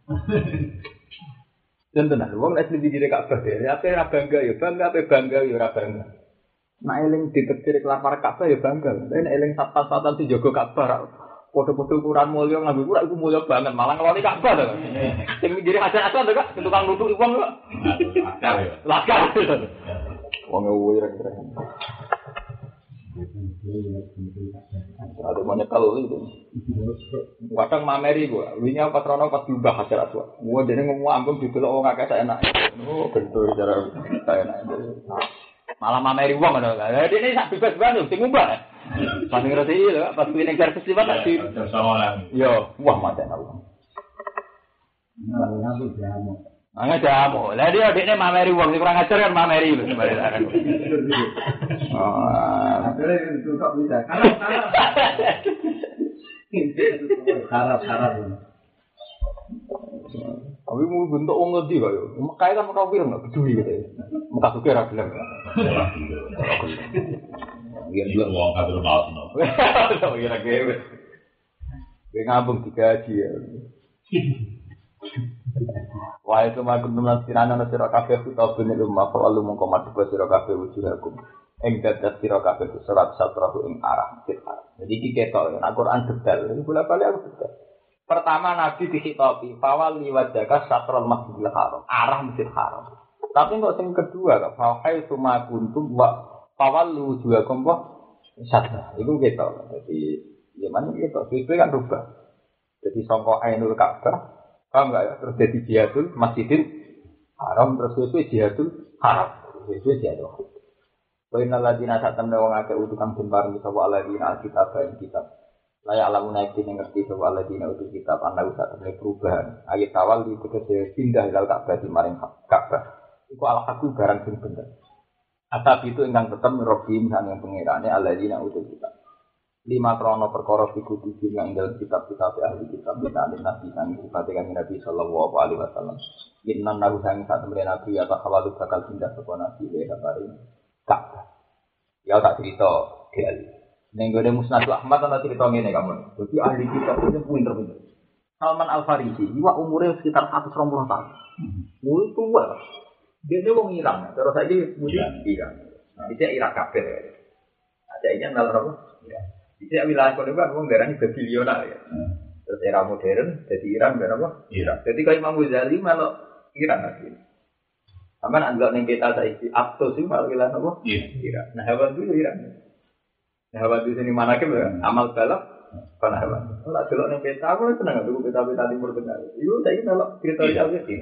Dan tenan wong nek di diri Ka'bah dhewe ape ora bangga ya bangga ape bangga ya ora bangga. Nek eling ditetir kelar Ka'bah ya bangga. Nek eling sat-satan sing jaga Ka'bah foto-foto ukuran mulya nganggo ora iku mulya banget malah ngeloni Ka'bah to. Sing diri Hajar Asad kok tukang nutuk wong kok. Akal ya. Lakar. Wong wireng-wireng. Ada banyak kali itu. Kadang mameri gua, wingi pas rono pas diubah Hajar Aswad. Gua dene ngomong ambung didelok wong akeh sak enak. Oh, bentuk cara sak enak. Malah mameri wong ngono. Lah dene sak bebas-bebas sing ngubah. Pas ngerti lho, pas kuwi ning servis liwat tak di. Yo, wah mate aku. Nah, aku jamu. Angga jamu. Lah dia dekne mameri wong sing kurang ajar kan mameri lho sebenarnya. Oh, Akhirnya itu kok bisa. Harap-harap. tapi mau bentuk wong ngerti kok yo. Mekah kan ora pirang gak peduli gitu. Mekah suke ra gelem. Yen dua wong kabeh mau no. Kira gewe. Ge ngabung digaji ya. Wa itu mah kudu nasirana ana sira kabeh utawa bene rumah lalu mongko mati sira kabeh wujudakum. Ing dadat sira kabeh surat satrahu ing arah masjid haram. Jadi iki ketok Al-Qur'an detail. Iki bola-bali aku detail. Pertama Nabi dihitopi fawal liwajaka satrul masjidil haram, arah masjid haram. Tapi kok sing kedua kok fahai suma kuntum wa fawal wujudakum wa satra. Iku ketok. Jadi ya mana ketok sesuai kan rubah. Jadi sangka Ainul Ka'bah paham enggak ya? Terus jadi jihadul masjidil haram terus sesuai jihadul haram. Sesuai jihadul haram. Bainal ladina satamna wong akeh utukang den paring sapa aladina kitab ing kitab. Layak alamuna iki ngerti sapa aladina utuk kitab ana usah temne perubahan. Ayat awal di tegese pindah ilal Ka'bah di maring Ka'bah. Iku ala aku barang sing bener. Atap itu ingkang tetep mirobim sang pengirane aladina utuk kitab. Lima krono perkara fiku tujuh yang dalam kitab-kitab ahli kitab kita nabi sang sifatikan Nabi sallallahu alaihi wasallam. Inna nabi sang sak temne nabi ya takhawalu bakal pindah sapa nabi le kabarin Ka'bah. Ya tak cerita diali. Ning gone Musnad Ahmad ana cerita ngene kamu. Dadi ahli kitab itu pinter-pinter. Salman Al-Farisi, iwa umure sekitar seratus dua puluh tahun. Wis tua. Dia wong Iran, terus saiki musik Iran. Dia Irak kabeh. Ada iki nang apa? Ya. Bisa wilayah kono kan wong darani Babilonia ya. Terus era modern jadi Iran ben apa? Irak. Jadi kalau Imam Ghazali malah Iran lagi. Aman anggap ning kita saiki Aptos iki malah wilayah apa? Irak. Nah, hewan dulu Iran. Nah, hewan di sini mana ke amal balap kana hewan. Ora delok ning peta aku seneng tuku peta-peta timur tengah. Iku saiki delok cerita iki iki.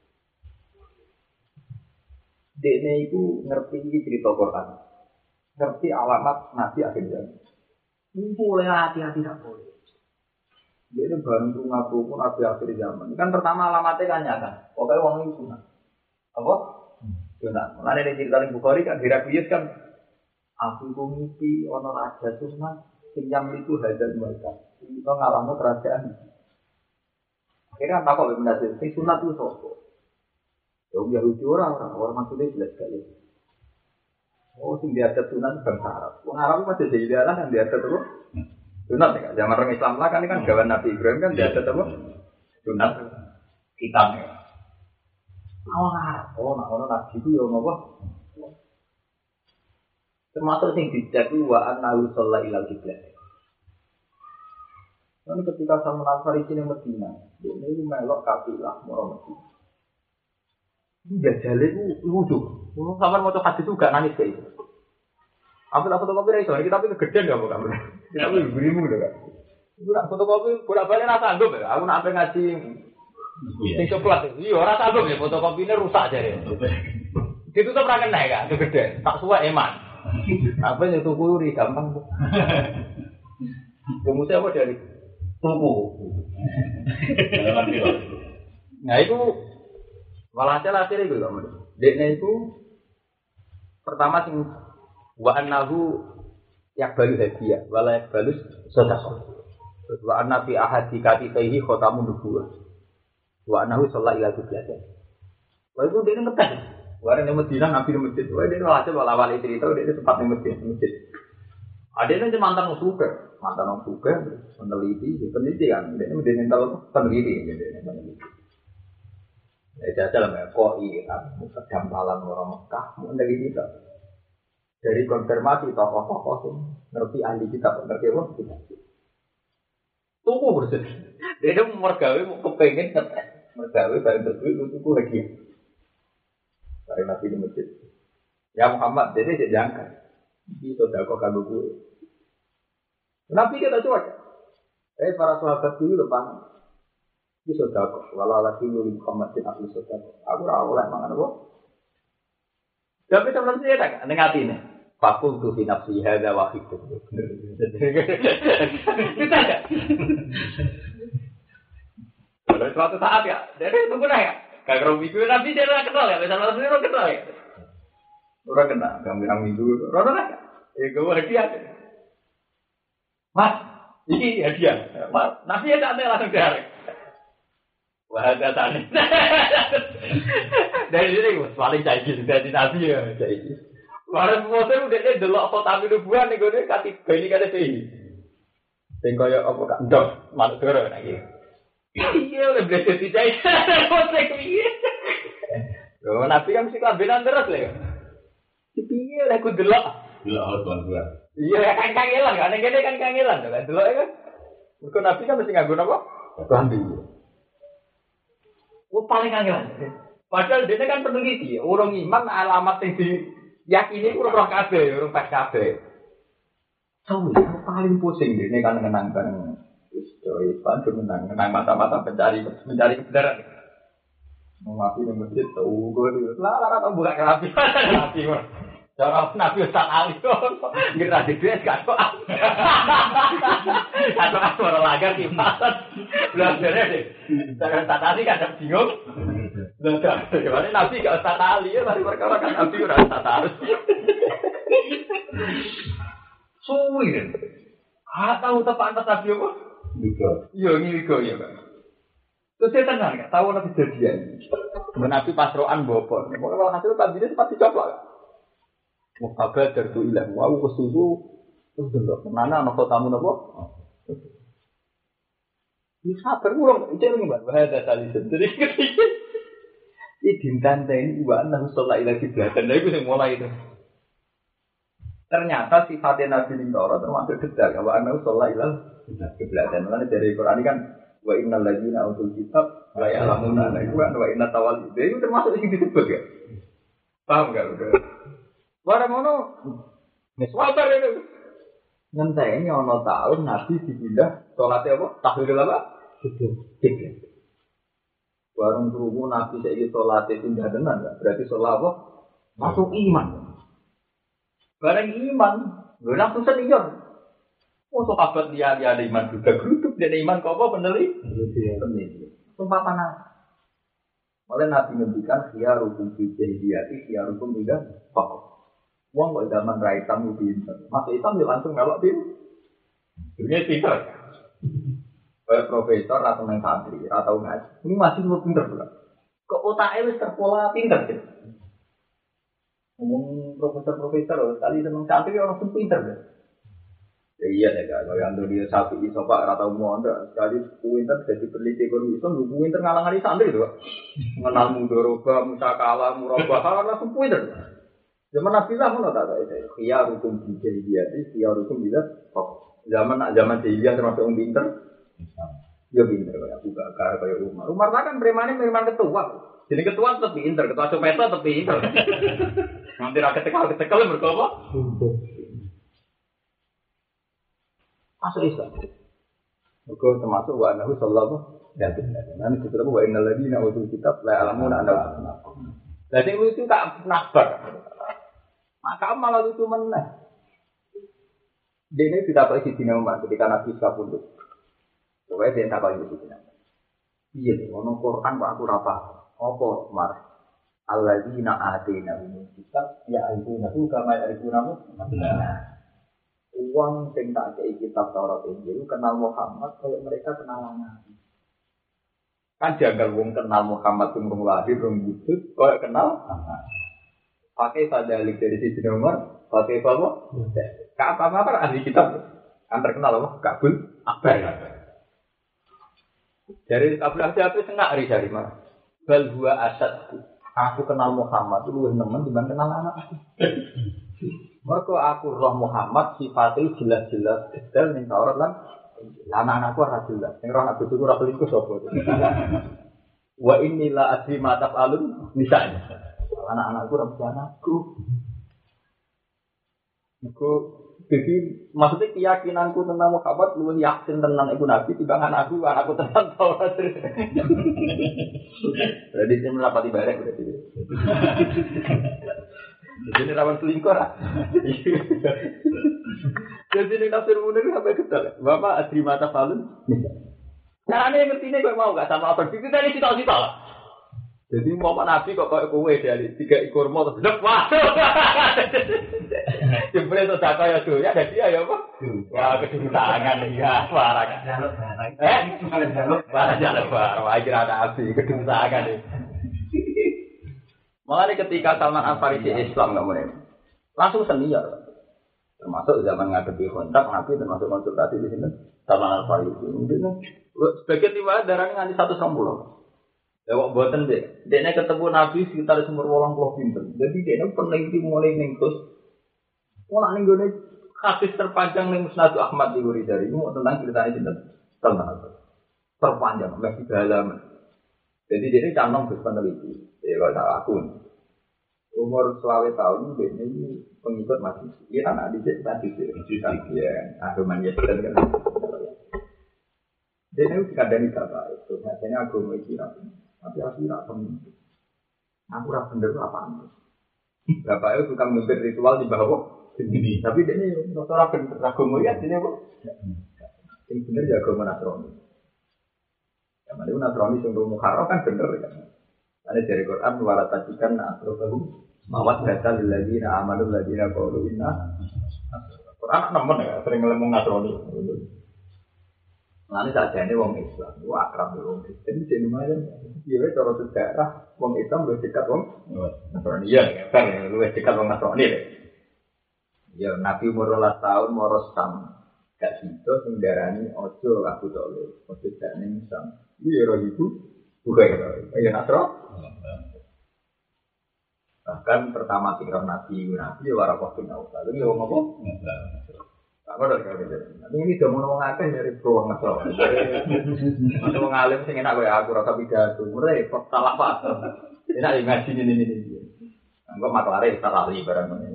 Dene iku ngerti iki cerita Quran. Ngerti alamat Nabi akhir zaman. Boleh hati-hati tak boleh. Dia bareng tuh ngaku pun nabi akhir zaman. Kan pertama alamatnya kan nyata. Pokoknya uang itu sunat. Apa? Sunat. Mulai dari cerita di Bukhari kan dirabiyat kan. Aku kumiti ono raja sunat. Pinjam itu hajar mereka. Kita ngalamin kerajaan. Akhirnya kan takut benda sih. Sunat itu sopo. Ya Yahudi orang orang orang maksudnya jelas sekali. Oh, sing diadat sunan bangsa Arab. Wong Arab masih jadi dalan yang diadat apa? Sunat ya, zaman orang Islam lah kan ini kan gawan Nabi Ibrahim kan dia ada apa? Sunat kitabnya. Awak, oh, nak orang Nabi itu ya apa? Termasuk yang dijak itu wa annahu shalla ilal qiblah. Ini ketika Salman Al-Farisi di Medina, ini melok kafilah orang Medina. Ini jajale itu lucu. Sampai mau hadis juga nangis kayak itu. Ambil fotokopi itu, kita tapi kegedean enggak kamu? Kita lebih berimu gitu kan. Ibu nak fotokopi, bolak-balik rasa sanggup ya. Aku nak sampai ngaji sing coklat. Iya, ora sanggup ya fotokopinya rusak aja ya. Ditutup ra kena ya, kegedean. Tak suwe eman. Apa yang tuku ri gampang kok. Kemudian apa dari tuku? Nah itu walhasil hasil itu kamu. Dekne itu pertama sing wa annahu yakbalu hadiah wala yakbalu sedekah. Wa anna fi ahadi katifaihi khatamun nubuwah. Wa annahu shalla ila qiblah. Wah itu dia ngetes. Warna di Medina, Nabi di masjid. Wah, dia hasil walawali cerita, dia sempat di masjid. masjid. Ada yang mantan musuhnya, mantan musuhnya, peneliti, peneliti kan. Dia ini mental peneliti, dia peneliti. Ya, jajal lah, koi, kedampalan orang Mekah, meneliti kita. Dari konfirmasi tokoh-tokoh itu, ngerti ahli kitab, ngerti apa? Kita. Tunggu bersih. Dia itu mergawe, kepengen ngetes. Mergawe, bareng tertulis, tunggu lagi. Dari Nabi di masjid. Ya Muhammad, jadi dia jangka. Ini sodako kagak gue. Nabi kita cuaca. Eh para sahabat dulu depan. Ini sodako. Walau lagi lu Muhammad bin Abdul sodako. Aku rawol lah mangan apa. Tapi sebelum saya tak dengan hati ini. Fakul tu fi nafsi hadza wahid. Kita ada. Kalau suatu saat ya, jadi tunggu lah ya. Kalau minggu Nabi dia orang kenal ya, misalnya Nabi orang kenal ya. Orang kenal, gambar minggu, orang kenal. Eh, gue hadiah. Mas, ini hadiah. Mas, Nabi ya tak ada langsung cari. Wah, ada tadi. Dari sini, paling cair sudah di Nabi ya, cair. Walau semua saya udah ada delok foto Nabi nubuan nih, gue kati beli kata sih. Tengok ya apa kan, dok, malu dorong lagi. Iya, udah belajar di cahaya. Kosek piye? Loh, Nabi kan mesti kelambenan terus lah. Piye lah aku delok. Delok tuan gua. Iya, kan kangelan kan, ngene kan kangelan kan. Delok kan. Mergo Nabi kan mesti nganggo apa? Kelambi. Oh, paling kangelan. Padahal dia kan peneliti, orang iman alamat yang diyakini urung roh kabeh, urung pas kabeh. Tahu, paling pusing dia kan mengenangkan Istri panjang menang, menang mata-mata pencari mencari kebenaran. Mengaku yang masjid tahu gue, lah lah tahu bukan nabi, nabi mah. Cara nabi Ustaz Ali kok, ngira di duit kan kok. Atau aku orang lagar kipasan, belajarnya deh. Cara Ustaz Ali kan bingung. Belajar, gimana nabi gak Ustaz Ali ya, mari perkara kan nabi udah Ustaz Ali. Suwi, ah tahu tepat atas nabi apa? Wigo. Iya, ini wigo ya, Pak. Terus saya tenang, nggak tahu nabi jadian. Nabi pasroan bopor. Pokoknya kalau hasil kabinet sempat dicoba. Mau kabar dari tu ilang, mau kesusu, terus dulu. Mana anak tamu nabo? Ini sabar, ulang. Itu yang mbak. Bahasa tali sendiri. Ini dintan ini mbak. Nabi sholat ilagi belakang. Dari itu yang mulai itu. Ternyata sifatnya Nabi Lintoro termasuk detail. Kalau Nabi sholat ilagi kebelakang, karena dari Quran ini kan wa innal ladzina utul kitab la ya'lamuna la wa inna tawal itu termasuk yang disebut ya. Paham enggak udah? Barang ngono. Wis wabar itu. Ngenteni ana taun Nabi dipindah salate apa? Tahwil apa? Kiblat. Warung krungu Nabi saiki salate pindah tenan enggak? Berarti salat apa? Masuk iman. Barang iman, lho langsung senior. Oh, sahabat dia dia ada iman juga geruduk, dia ada iman kau apa peneliti? Peneliti. Sumpah panas. Malah Nabi ngendikan khiyarukum fi jahiliyati khiyarukum tidak pokok. Wong kok zaman ra hitam pinter. Masuk hitam dia langsung melok pin. Dunia pinter. Kayak profesor atau nang santri atau ngaji. Ini masih lu pinter pula. Kok otake wis terpola pinter sih. Ngomong profesor-profesor, tadi seneng santri orang pun pinter deh. Ya iya deh kan, kalau yang dia sapi itu pak rata umum anda sekali pinter jadi peneliti ekonomi itu lu pinter ngalang-ngalang santri itu, mengenal mudoroba, musakala, murabah, langsung pinter. Zaman Nabi lah mana tak ada itu, dia hukum jahiliyah, dia hukum bila, zaman zaman jahiliyah termasuk orang pinter, dia pinter kayak Abu Bakar, kayak Umar. Umar kan premannya preman ketua, jadi ketua tetap pinter, ketua copeta tetap pinter. Nanti rakyat tekal-tekal berkapa? Masuk Islam. Maka termasuk wa annahu sallallahu alaihi wasallam. Nanti kita tahu wa innal ladina utul kitab la ya'lamuna annahu. Jadi lucu tak nakbar. Maka malah lucu meneh. Dene tidak pakai sidina Umar ketika Nabi kabundut. Kowe den tak pakai sidina. Iya, ono Quran kok aku ora paham. Apa Umar? Alladzina atina min kitab ya'rifuna kama ya'rifuna abna'ahum. Uang sing tak kei kitab Taurat Injil kenal Muhammad kalau mereka kenal Nabi. Kan jagal wong kenal Muhammad sing wong lahir wong wujud kaya kenal pakai sadalik dari sisi nomor, pakai apa? Ka apa apa ahli kitab kan terkenal apa? Kabul Akbar. Dari Kabul Akbar itu sengak dari dari mana? Bal huwa asad. Aku kenal Muhammad itu luwih nemen dibanding kenal anak aku. Mergo aku roh Muhammad sifatnya jelas-jelas detail ning Taurat lan anak-anakku ora jelas. Sing roh aku ora selingkuh sapa. Wa inni la adri ma taf'alun misalnya. Anak-anakku ora anakku. Iku jadi maksudnya keyakinanku tentang Muhammad luwih yakin tenan iku nabi timbang anakku, anakku tenan Taurat. Jadi saya melapati bareng berarti. Jadi rawan selingkuh lah. Jadi ini tafsir munir sampai ketal. Bapak adri mata falun. Nah, ini ngerti ini kok mau gak sama apa? Itu tadi cita-cita lah. Jadi mau nabi kok kayak kowe dari tiga ekor mau terus lepas. Jempol itu tak kaya tuh ya ada dia ya apa? Wah kedudukan ya parah kan. Eh? Parah jalan parah. Wah kira ada api kedudukan ini. Makanya ketika Salman Al-Farisi Islam nggak mulai, langsung senior. Termasuk zaman ngadepi kontak, Nabi termasuk konsultasi di sini. Salman Al-Farisi mungkin sebagai tiba darahnya nganti satu sambul. Lewat buatan deh, dia ketemu Nabi sekitar sumber walang pulau pinter. Jadi dia peneliti mulai nengkus. Mulai nenggone hadis terpanjang neng Musnadu Ahmad di Wuridari itu tentang ceritanya cinta Salman Al-Farisi. Terpanjang, masih dalam. Jadi dia canong terus peneliti. Ya kalau aku umur selawe tahun ini pengikut masih dia anak didik masih didik ya agama Yahudi kan dia itu kadang tidak baik itu biasanya agama Islam tapi aku tidak pemimpin aku tidak benar apa bapak itu tukang memimpin ritual di bawah sendiri tapi dia ini orang benar agama ya ini kok yang benar ya agama Nasrani yang mana Nasrani sungguh Muharram kan benar kan. Ada dari Quran wala tajikan asrofahum mawat data lilladzina amanu ladzina qalu inna Quran nemen ya sering ngomong Nasrani. Nah ini sajane wong Islam, wong akrab wong Kristen jadi lumayan. Iya cara sejarah wong Islam luwih dekat wong Nasrani ya, kan luwih dekat wong Nasrani deh. Ya Nabi umur delapan tahun moros Sam. Gak sido sing darani ojo Abu Thalib, ojo jane Sam. Iya roh ibu bukan ya Nasrani. Bahkan pertama tinggal Nabi, Nabi warakah bin Ausal. Ini ngomong apa? Apa dari kau ini? Nanti ini sudah ngomong akeh dari peruang Nasrani. Nanti mengalim sing enak gue aku rasa pidato. Mulai salah pak. Enak ngaji ini ini ini. Enggak maklare salari barang ini.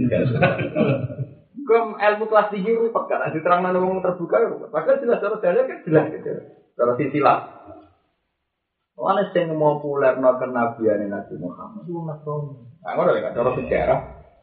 Kum ilmu kelas tinggi rupa kan diterang nang wong terbuka. Padahal jelas cara dalil kan jelas gitu. Cara silsilah. Ana sing mau populer nang kenabiane Nabi Muhammad itu Nasrani. Nah, ngono lek cara sejarah.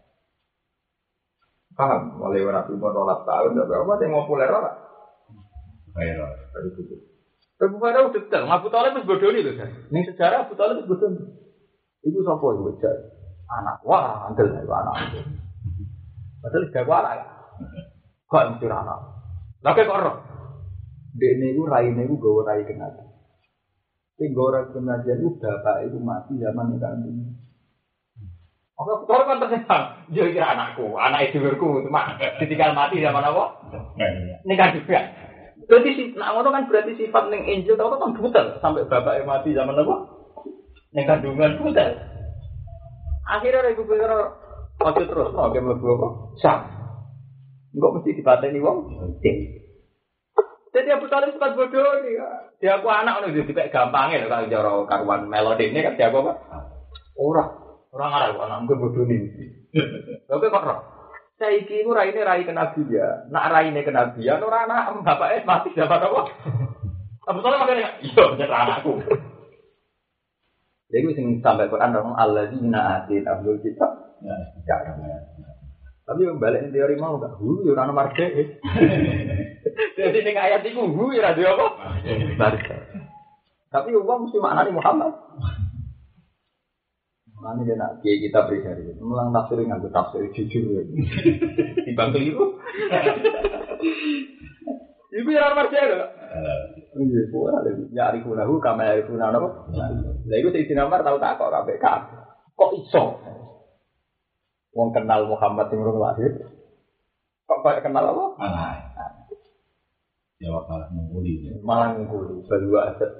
Paham, mulai Nabi umur delapan tahun dan berapa sing mau populer ora? Ayo, tadi itu. Tapi pada udah detail, Abu Thalib wis bodoni lho, Mas. Ning sejarah Abu Thalib wis bodoni. Iku sapa iku bocah? Anak wah, andel anak. Padahal gak anak. Kok mesti anak. Lah kok ora? Dene iku raine iku gawe rai kenal. Sing ora pengajian itu bapak itu mati zaman kandung. Aku betul kan tersenang. Yo kira anakku, anak edulurku cuma ditinggal mati zaman apa? Ini kan juga. Berarti si nak ngono kan berarti sifat ning Injil tau kan butel sampai bapaknya mati zaman apa? Ning kandungan butel. Akhirnya ibu pikir ojo terus mau ke mlebu apa? Sam. Enggak mesti dipateni wong. Jadi Abu Thalib sempat bodoh nih. Dia aku anak ngono dipek gampange lho kalau cara karuan melodi ini kan dia apa? Ora orang Arab, anak mungkin bodoh nih. Tapi kok roh? Saya iki ku raine rai kenabian. Nak raine kenabian ora anak bapake mati dapat apa? Abu Thalib makane iya bener anakku. Jadi sing sampai Quran ngomong alladzina atina Abdul kitab. Ya, ya. Tapi yang balik teori mau enggak? Hu yo ora ana marge. Jadi ning ayat iku hu ora ada apa? Marge. Tapi uang mesti maknane Muhammad. Mana dia nak kiai kita pribadi, melang tafsir nganggo tafsir jujur, timbang keliru. Ibu yang marah dia, iya, boleh. Ya arifunahu, kami arifunah apa? Lah itu si Sinamar tahu tak kok K B K? Kok iso? Wong kenal Muhammad yang urung lahir, kok kayak kenal apa? Malah, jawab malah mengguli, malah mengguli, berdua aja.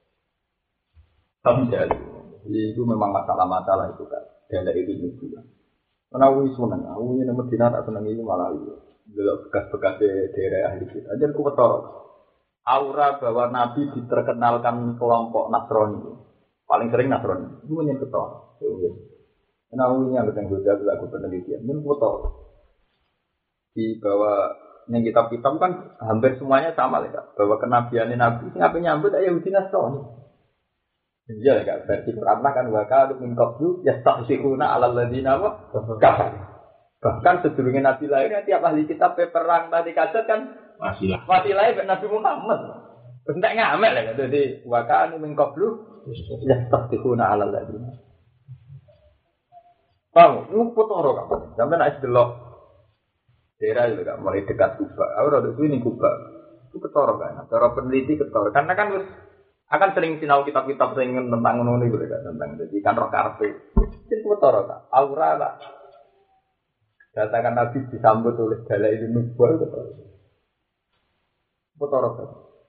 Kamu jadi. Itu memang masalah-masalah itu kan. Dari itu juga. Karena aku senang, aku ini Medina tak senang itu malah itu. Dulu bekas-bekas daerah ahli kita. Jadi aku betul. Aura bahwa Nabi diterkenalkan kelompok Nasrani. Paling sering Nasrani. Itu menyentuh betul. Karena aku ini yang bertanggung jawab aku penelitian. Ini betul. Di bawah yang kitab-kitab kan hampir semuanya sama ya. Bahwa kenabiannya Nabi. Ngapain nyambut aja Yahudi Nasrani. Iya kan versi Quran kan wakal min qablu yastahsiruna 'alal ladzina kafar. Bahkan sebelumnya Nabi lahir tiap ahli kitab perang tadi kaset kan masih lah. Masih lahir Nabi Muhammad. Entek ngamek lah dadi wakal min qablu yastahsiruna 'alal ladzina. Paham, lu potoro kan. Sampai nek delok daerah itu kan mulai dekat Kuba. Ora ada sini Kuba. Itu ketoro kan. Cara peneliti ketoro karena kan wis akan sering sinau kitab-kitab sing tentang ngono niku lho tentang jadi kan roh karpe. Itu betul ta? Aura lah. Datakan Nabi disambut oleh dalail nubuwah itu betul. Betul ta?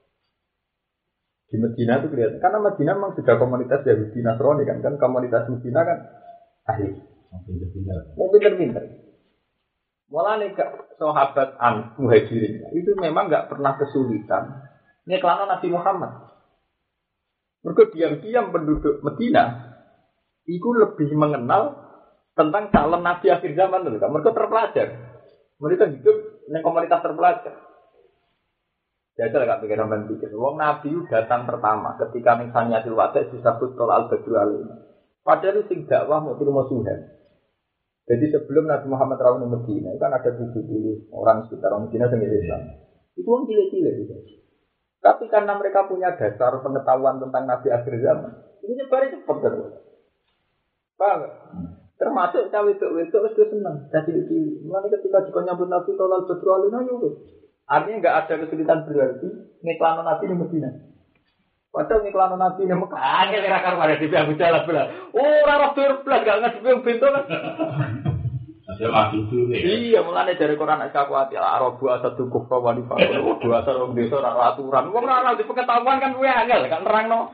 Di Medina itu kelihatan karena Medina memang sudah komunitas Yahudi Nasrani kan kan komunitas Medina kan ahli. Mau pinter-pinter. Mulane sahabat an muhajirin itu memang enggak pernah kesulitan ngeklano Nabi Muhammad. Mereka diam-diam penduduk Medina itu lebih mengenal tentang calon Nabi akhir zaman dulu kan. Mereka terpelajar. Mereka hidup di komunitas terpelajar. Jajal gak pikir sampean pikir. Wong Nabi datang pertama ketika misalnya di Wada disebut Tol Al-Badru Alim. Padahal sing dakwah mau terima Tuhan. Jadi sebelum Nabi Muhammad rawuh di Medina kan ada tujuh puluh orang sekitar orang Medina yang Islam. Itu orang cilik-cilik gitu. Tapi karena mereka punya dasar pengetahuan tentang Nabi akhir zaman, ini nyebar cepat terus. Paham? Termasuk cawe itu itu itu senang. Jadi itu, mulai ketika juga nyambut Nabi Tolal Badru Alina itu, artinya nggak ada kesulitan berarti ngiklano Nabi di Medina. Padahal ngiklano Nabi di Mekah, angel rakar pada di Abu Jalal belah. Oh, rara berblas gak ngasih yang pintu kan? Saya maju dulu nih. Iya, mulanya dari Quran aku hati Arabu asal tukuh kawan di Papua, dua asal orang desa rara aturan. Wong rara di pengetahuan kan gue angel kan terang no.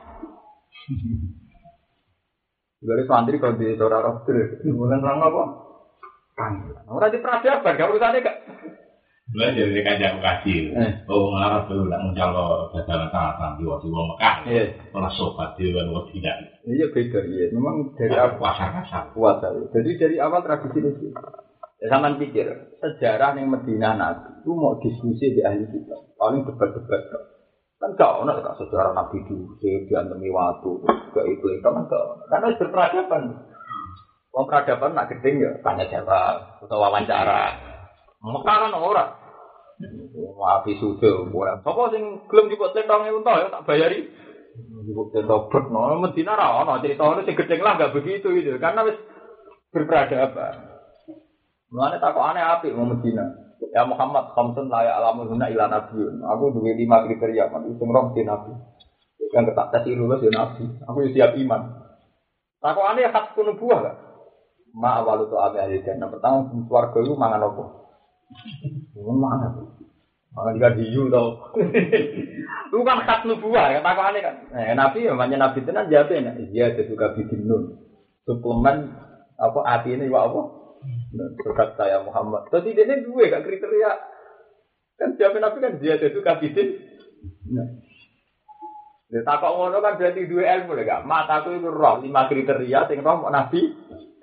Dari santri kalau di desa rara terus, bukan terang apa? Kan, orang di peradaban, kalau urusannya gak. Mulai dari kajian kaji. Oh, ngarap dulu lah menjalo dagangan tangan di waktu Wong Mekah. Ora sobat di luar waktu tidak. Iya beda iya. Memang dari awal pasar pasar puasa. Jadi dari awal tradisi itu. Ya sampean pikir sejarah yang Medina Nabi itu mau diskusi di ahli kita. Paling debat-debat kan gak ono kan sejarah Nabi dulu diantemi waktu gak itu itu kan gak. Karena berperadaban. Wong peradaban nak gedeng ya tanya jawab atau wawancara. Mekah kan ora. Wapi sudah ora. Sapa sing gelem cukup tentang unta ya tak bayari. Cukup tentang bet no Medina ra ono ceritane sing gedeng lah enggak begitu itu karena wis berperadaban. Mulane takokane apik wong Medina. Ya Muhammad khamsun la ya'lamuhunna illa nabiyyun. Aku duwe lima kriteria kan sing roh di nabi. Yang ketak tes lulus ya nabi. Aku siap iman. Takokane hak nubuwah gak? Ma awalu tu abe ahli jannah. Pertama swarga iku mangan apa? Mangan. Mangan ikan hiu tau. Itu kan khas nubuah, takokane kan. Nah, Nabi ya banyak Nabi tenan jawab ya. Iya juga bikin nun. Suplemen apa atine iwak apa? Surat saya Muhammad. Jadi dia dua gak kriteria. Kan jawab Nabi kan dia juga bikin. Nah. Dia takok ngono kan berarti dua ilmu lho gak. Mataku itu roh lima kriteria sing roh Nabi.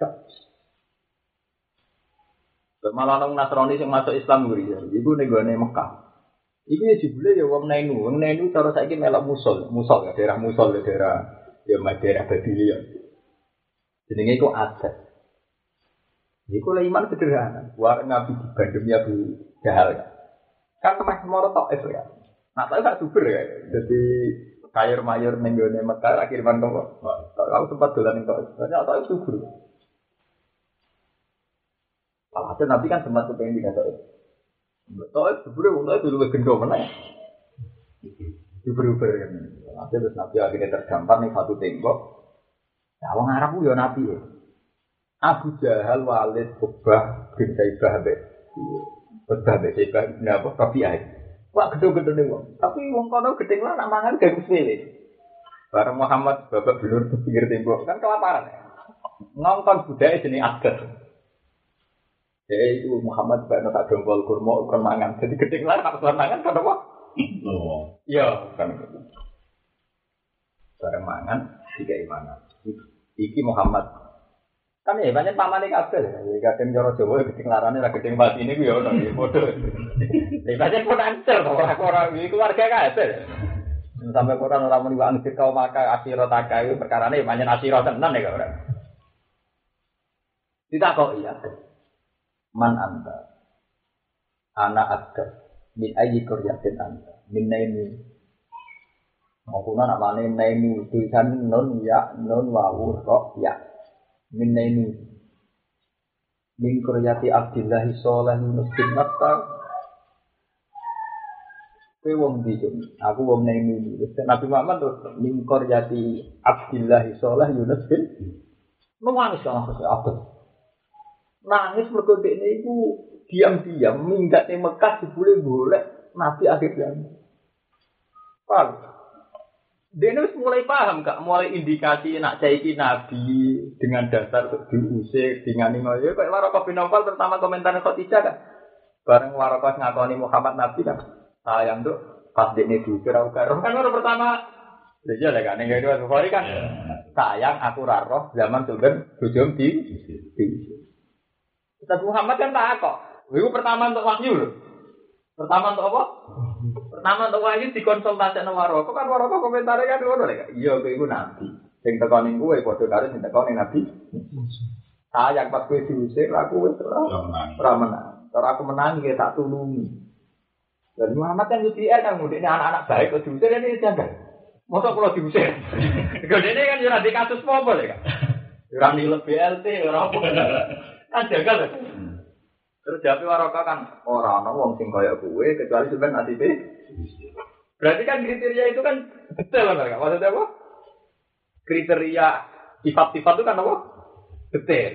Malah orang Nasrani yang masuk Islam guri ya. Iku ning gone Mekah. Iku ya jebule ya wong Nainu. Wong Nainu cara saiki melok musul, musul ya daerah musul ya daerah ya daerah Babylon. Jenenge iku adat. Iku lah iman sederhana. War Nabi di Bandung ya Bu Jahal. Kan meh moro tok itu ya. Nah, tak gak subur ya. Jadi kayur mayur ning gone Mekah akhiran kok. Kalau sempat dolan ning tok. Banyak tok subur. Alhasil Nabi kan sempat kepengen tidak tahu. Tahu sebenarnya untuk itu lebih gendong mana ya? Uber-uber kan. Alhasil terus Nabi akhirnya terdampar nih satu tembok. Nah, orang Arab itu ya Nabi ya. Abu Jahal, Walid, Ubah, bin Saibah, Ubah, bin Saibah, bin apa? Rabi'ah. Wah gedung-gedung nih wong. Tapi wong kono gedeng lah nak mangan gak sepele. Bareng Muhammad babak belur di pinggir tembok kan kelaparan ya. Ngongkon budaya jenis adat. Jadi itu Muhammad juga nak dongkol kurma ukuran mangan. Jadi gedeng lah nak ukuran mangan kan apa? Iya kan. Bareng mangan tiga imanan. Iki Muhammad. Kan ya banyak paman ini kabel. Kadang cara Jawa gedeng larane ra gedeng pati ini ku ya ono ya padha. Lah banyak pun ancer orang-orang iki keluarga kabel. Sampai Quran ora muni wa angkir kau maka akhirah takai perkarane banyak akhirah tenan ya ora. Ditakoki ya. Man anta anak ada min ayyi qaryatin anta min naimi maupun anak mana naimi tulisan non ya non wawu ro ya min naimi min qaryati Abdillah salih muslim matta kowe wong ndi aku wong naimi Nabi Muhammad terus min qaryati Abdillah salih Yunus bin nangis kan apa nangis mergo dekne iku diam-diam minggat ning Mekah dibule golek Nabi akhir zaman. Paham? Dekne wis mulai paham gak mulai indikasi nak saiki Nabi dengan dasar diusir dengan ngoyo kok Waraqah bin Nawfal pertama komentar Khadijah kan. Bareng Waraqah ngakoni Muhammad Nabi kan. Sayang tuh pas dekne diusir aku karo kan orang pertama lha iya lek ning ngene Bukhari kan. Sayang aku ra roh zaman Sultan bojom di diusir. Ustaz Muhammad kan tak kok. Itu pertama untuk wahyu lho. Pertama untuk apa? Pertama untuk wahyu dikonsultasikan Waraqah. Kok kan Waraqah komentare kan ngono lek. Iya kowe iku nabi. Sing teko ning kowe padha karo sing teko ning nabi. Sayang pas kowe diusir aku wis ora menang. Ora aku menang iki tak tulungi. Dan Muhammad kan U T R kan ngene anak-anak baik kok diusir ini janggal. Mosok kula diusir. Gedene kan ora di kasus apa lho kan. Ora nilep B L T ora apa. Kan jagal. Terus jawab Waraqah kan ora ana wong sing kaya kowe kecuali sampean nasibe. Berarti kan kriteria itu kan detail kan? Maksudnya apa? Kriteria sifat-sifat itu kan apa? Detail.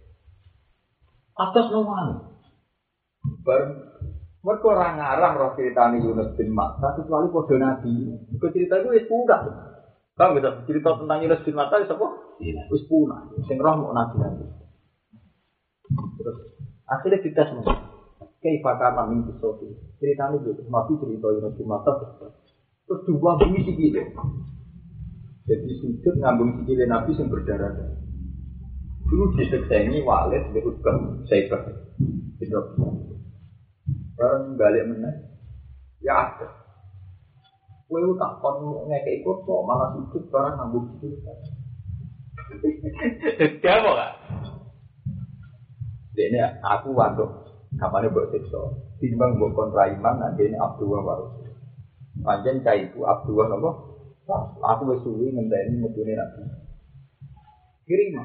Atas nomor. Bar mergo ora ngarang roh critane Yunus bin Matta kecuali padha nabi. Iku cerita itu wis punah. Bang bisa cerita tentang Yunus bin Matta wis apa? Wis punah. Sing roh mau nabi. Terus akhirnya kita semua kayak pakar min filosofi ceritanya gitu nabi cerita Yunus bin Matta terus dua bunyi sikile jadi sujud ngambung sikile nabi yang berdarah dulu diseksengi Walid di Utbah Saibah itu bareng balik meneh ya ada kowe tak kon ngekek ikut kok malah sujud bareng ngambung sikile demo gak ini aku waduk kapannya buat seksual timbang buat kontra iman nanti ini Abdullah baru panjang cah itu Abdullah apa aku bersuwi ngenteni mutune nabi kirim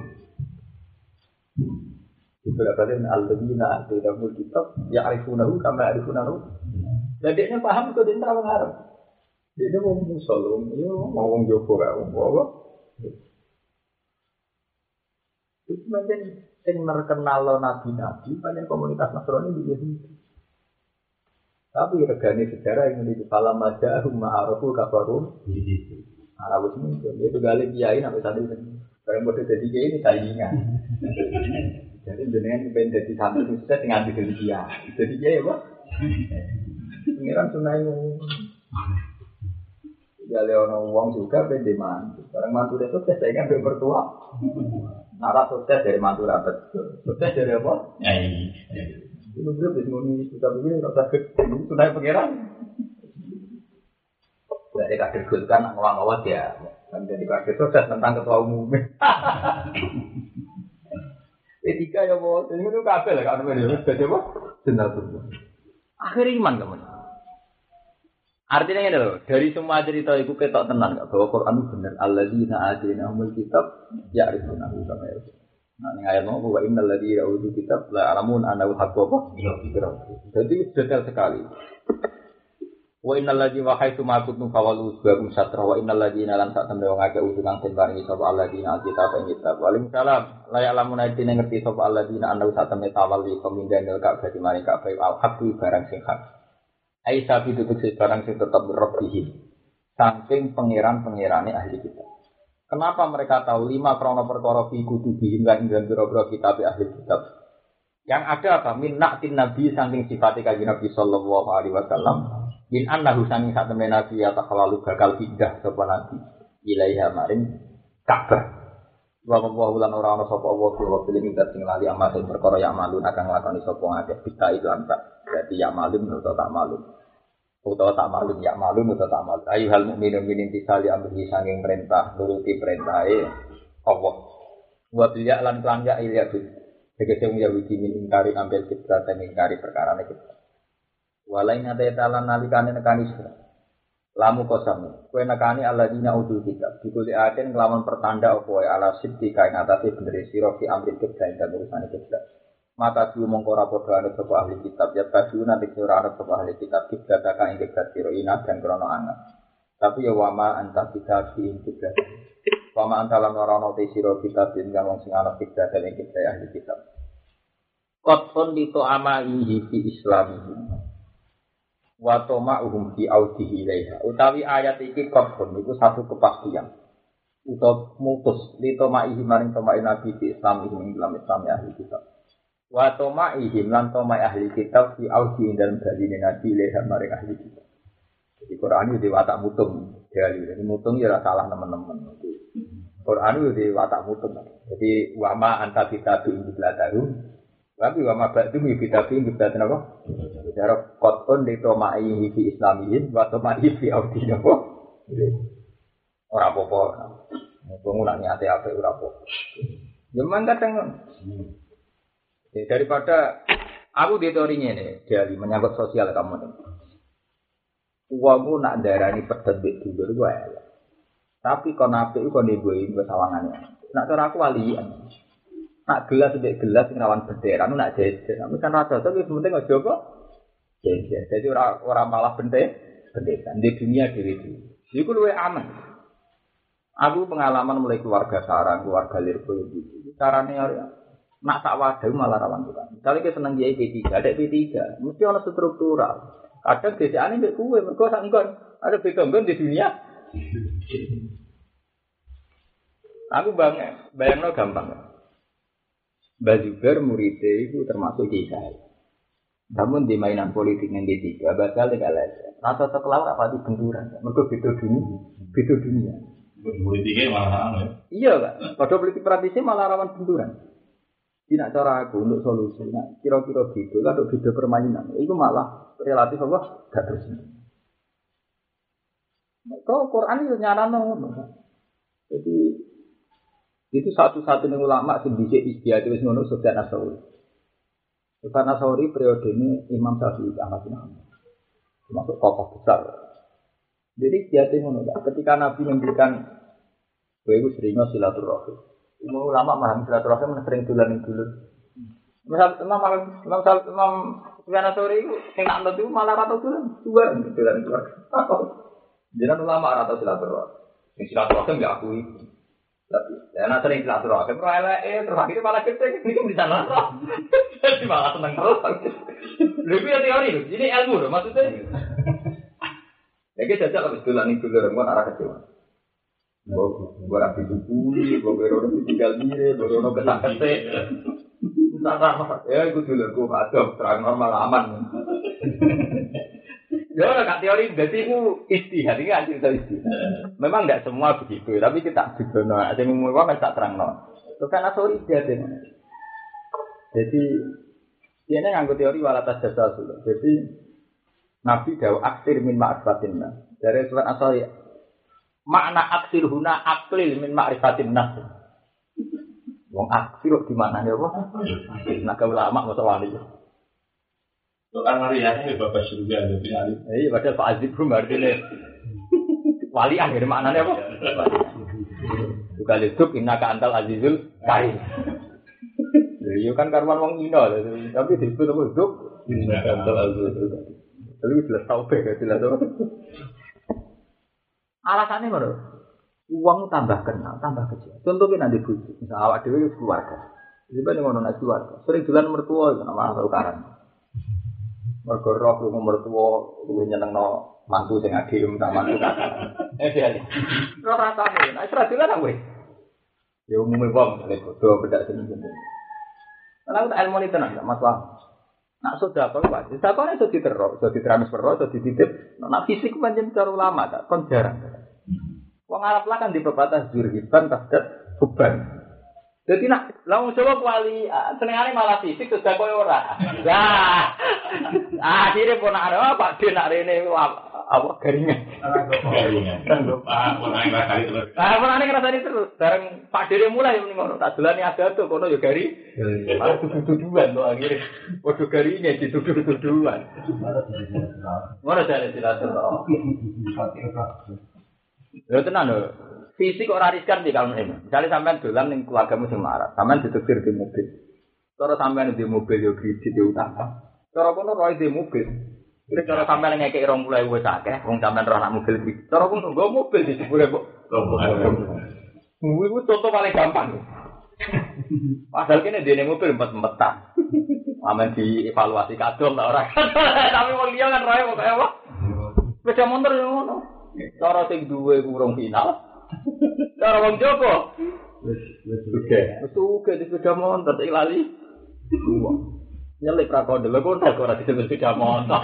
beberapa kali al-ladina atayahumul kitab ya'rifunahu kama ya'rifunahu dadeknya paham kok dia terang Arab dia mau musolum dia mau ngomong Joko gak ngomong apa itu macam sing terkenal nabi-nabi banyak komunitas Nasrani di Yahudi. Tapi regane sejarah yang menjadi falam maja ma'arufu kafarum. Arab ini itu gale kiai sampai tadi bareng bodoh jadi kiai ini saingan. Jadi jenengan ben dadi santri sukses sing nganti dadi kiai. Jadi kiai apa? Pengiran sunai ya leono wong juga ben di mantu. Bareng mantu itu sukses saingan ben mertua. Nara sukses dari mantu rapat. Sukses dari apa? Nyai. Itu grup wis muni kita begini rasa gede sunai pengiran. Dari kader Golkar nak ngawang-ngawang ya, kan jadi kader sukses tentang ketua umum. P tiga ya bos, ini itu kabel lah kan ini sudah coba jenal tuh. Akhir iman kamu. Artinya ini loh, dari semua cerita itu ketok tenan nggak bahwa Quran itu benar. Alladzina atainahumul kitab ya'rifunahu kama ya'rifun. Nah ini ayat mau bahwa innal ladzina utul kitab la ya'lamun annahu haqqun apa? Jadi detail sekali. Wa innal ladzina haitsu ma kuntum fawalu subakum satra wa innal ladzina lan sak tembe wong akeh utungan den paringi sapa alladzina alkitab ing kitab walim salam la ya'lamun aidine ngerti sapa alladzina annahu sak tembe tawalli pemindahan ka'bah di mari ka'bah al haqqu barang sing hak ai sapi tutuk sing barang sing tetep rabbih saking pangeran-pangerane ahli kitab. Kenapa mereka tahu lima krono perkara fi kutubihim lan ing biro-biro kitab ahli kitab? Yang ada apa min na'tin nabi saking sifate kanjeng Nabi sallallahu alaihi wasallam. Min annahu sami sak temen nabi ya takhlalu bakal pindah sapa nabi ilaiha maring Ka'bah. Wa wallahu lan ora ana sapa Allah wa bil minta sing lali amal sing perkara ya malun akan nglakoni sapa ngakeh kita itu antak. Berarti ya malun utawa tak malun. Utawa tak malun ya malun utawa tak malun. Ayu hal mukminun min intisali amri sanging perintah nuruti perintahe Allah. Wa bil ya lan lan ya iliyatu. Tegese wong Yahudi min ingkari ambil kiblat dan ingkari perkarane kiblat. Walain ada talan nalikane nekani sira. Lamu kosam. Kowe nekani alladzina utul kitab. Dikuli aten nglawan pertanda apa wae ala siddi kain atase bener sira fi amri kiblat dan urusane kiblat. Mata diu mongko ora padha ana sapa ahli kitab ya kadu nanti ora ana sapa ahli kitab kiblat ka ing kiblat sira ina dan krana anget. Tapi ya wama anta kitab ing kiblat. Wama anta lan ora ana te sira kitab ing wong sing ana kiblat ing kiblat ahli kitab. Qatfun dito amaihi fi islamihim. Wa tama'uhum fi audihi ilaiha. Utawi ayat iki qatfun iku satu kepastian. Utawa mutus li tama'ihi maring tama'i nabi fi islamihim ing dalam Islam ahli kitab. Wa tama'ihim lan tama'i ahli kitab fi audihi dalam baline nabi ilaiha maring ahli kitab. Jadi Quran itu watak mutung dari ini mutung ya salah teman-teman. Quran itu watak mutung. Jadi wama anta kitab ing beladaru. Tapi wa ma ba'du mi bitabi ngibatan apa? Cara qatun li toma'i fi islamiyin wa toma'i fi audin apa? Ora apa-apa. Wong nak niate apik ora apa. Ya man kadang daripada aku di teori ngene, jadi menyangkut sosial kamu. Uangmu nak darani pedet mbek dulur wae. Tapi kon apik kon ndeboi sawangane. Nak cara aku walian. Nak gelas mbek gelas sing rawan bendera nak jejer. Tapi kan rada tapi penting aja kok jejer. Jadi ora ora malah bendera bendera di dunia dhewe iki. Iku luwih aman. Aku pengalaman mulai keluarga sarang, keluarga Lirboyo gitu. Carane nak sak wadah malah rawan tukang. Misalnya kita seneng kiai P tiga, ada P tiga, mesti ana struktural. Kadang desane mbek kowe mergo sak engkon ada beda-beda di dunia. Aku bang, bayangno gampang. Mbak Zubair muridnya itu termasuk kisah. Namun di mainan politik yang P tiga bakal tidak lagi. Rasa terkelawar apa di benturan? Mereka beda dunia, beda dunia. Politiknya malah rawan ya? Iya kan? Pada politik praktisnya malah rawan benturan. Tidak cara aku untuk solusi. Nah, kira-kira gitu, kalau beda permainan, itu malah relatif apa? Gak terus. Kau Quran itu nyarano. Jadi itu satu-satunya ulama sing dhisik istiadat wis ngono Sufyan Ats-Tsauri. Sufyan Ats-Tsauri periode ini Imam Syafi'i Ahmad bin Hanbal. Termasuk tokoh besar. Jadi istiadat ngono. Ketika Nabi memberikan kowe iku sering silaturahim. Umum ulama paham silaturahim sering dolan dulu. Misal Imam Imam Imam Sufyan Ats-Tsauri iku sing nak nut iku malah ra tau dolan, dua dolan keluar. Jenengan ulama ra tau silaturahim. Sing silaturahim gak akui. Ya nak sering silaturahmi, terus elek, terus akhirnya malah gede, ini kan di sana roh. Jadi malah seneng terus. Lebih ya teori loh, ini ilmu loh maksudnya. Ya kita jajak habis dolan itu dulu, kan arah kecil. Gue rapi dukuli, gue berono tinggal diri, berono ketak ketek. Nah, ya itu dulu, gue ada terang normal aman. Ya orang kat teori, jadi itu istihad, ini kan cerita istihad. Memang tidak semua begitu, tapi kita juga no, ada yang mengumumkan tak terang no. Itu kan asal istihad ini. Jadi dia ini nganggo teori walatas jasa dulu. Jadi Nabi dawu aksir min ma'rifatinna. Dari surat asal ya, makna aksir huna aklil min ma'rifatinna. Wong aksir di mana ya apa? Nak ulama masa wali. Soal ngariane bapak surga ada pilih. Iya, padahal Pak Azib pun artinya wali akhir maknanya apa? Juga hidup innaka antal azizul karim. Iya kan karuan wong Cina, tapi disebut apa hidup innaka antal azizul karim. Tapi jelas tauhid ya jelas apa? Alasannya mana? Uang tambah kenal, tambah kecil. Contohnya nanti bujuk, misal awak dewi keluarga. Jadi ngono nak keluarga. Sering jalan mertua itu nama tukaran. Mergo roh lu mertua luwih nyenengno mantu sing adil tak mantu kakak. Eh dia. Ora rasane, nek ora dilan aku. Ya umume wong lek bodho bedak sing-sing. Ana tak ilmu tenan gak masalah. Nak sedekah wae, sedekah iso diterok, iso ditransfer, iso dititip. Nak fisik pancen cara ulama tak kon jarang. Wong Arab lah kan di pebatas jurhiban tasdat beban. Jadi nak langsung coba kuali, senengane malah fisik sudah koyo ora. Lah, akhirnya pun ada Pak Din nak rene apa garingan. Garingan. Ah, pun ana ngrasani terus. Ah, pun ana ngrasani terus. Bareng Pak Din mulai ngono, tak dolani ada tuh kono yo gari. Malah tuduh-tuduhan to akhirnya. Padha garinge dituduh-tuduhan. Ora jane silaturahmi. Lho tenan lho. Fisik ora riskan di kalau ini. Misalnya sampean dolan ning keluargamu sing marah, sampean ditektir di mobil. Cara sampean di mobil yo kredit yo utang. Cara kono roe di mobil. Kira cara sampean ngekek dua puluh ribu wis akeh, wong sampean roh nak mobil iki. Cara kono nggo mobil di sepuluh kok. Kuwi contoh paling gampang. Padahal kene dene mobil empet-empetan. Amen dievaluasi kadol ta ora. Tapi wong liya kan roe kok apa? Sepeda motor yo ngono. Cara sing duwe kurang final. Cara wong jopo wis wis oke. Wis oke di sepeda motor iki lali. Nyelip ra kok lho kok ora disebut sepeda motor.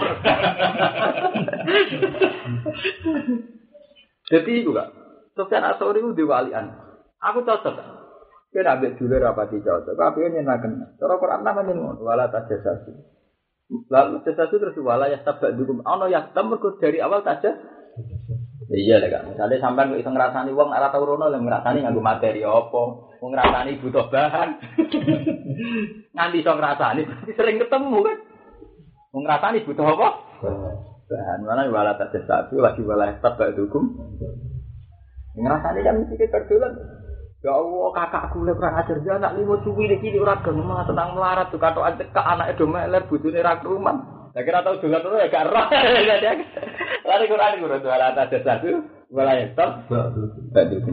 Jadi juga Sofyan Asori ku diwalian. Aku cocok. Kira ambek dulur rapati cocok. Tapi nyenaken. Cara Quran namane ngono wala tajassasu. Lalu tajassasu terus wala yastabadukum. Ono yang mergo dari awal tajassasu. Iya lah kan, misalnya sampai iso ngrasani wong ora tau rono lho ngrasani nganggo materi apa, wong ngrasani butuh bahan. Nganti iso ngrasani sering ketemu kan. Wong ngrasani butuh apa? Bahan. Mana wala tajassasu lagi wala tabadukum. Ngrasani kan mesti keberdolan. Ya Allah, kakakku lek kurang ajar dia anak limo suwi iki ora gelem malah tentang melarat tuh katokan cekak anake do meler bojone ra keruman. Lah kira tau dolan terus ya gak roh. Lari Quran guru dua ratus satu mulai stop. Betul.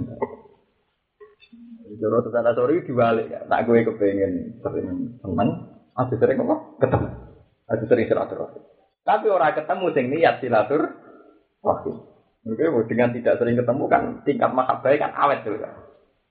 Jero tenan sore dibalik ya. Tak kowe kepengin sering temen, ada sering apa? Ketemu. Ada sering silaturahmi. Tapi ora ketemu sing niat silaturahmi. Mungkin dengan tidak sering ketemu kan tingkat mahabbah kan awet tuh kan.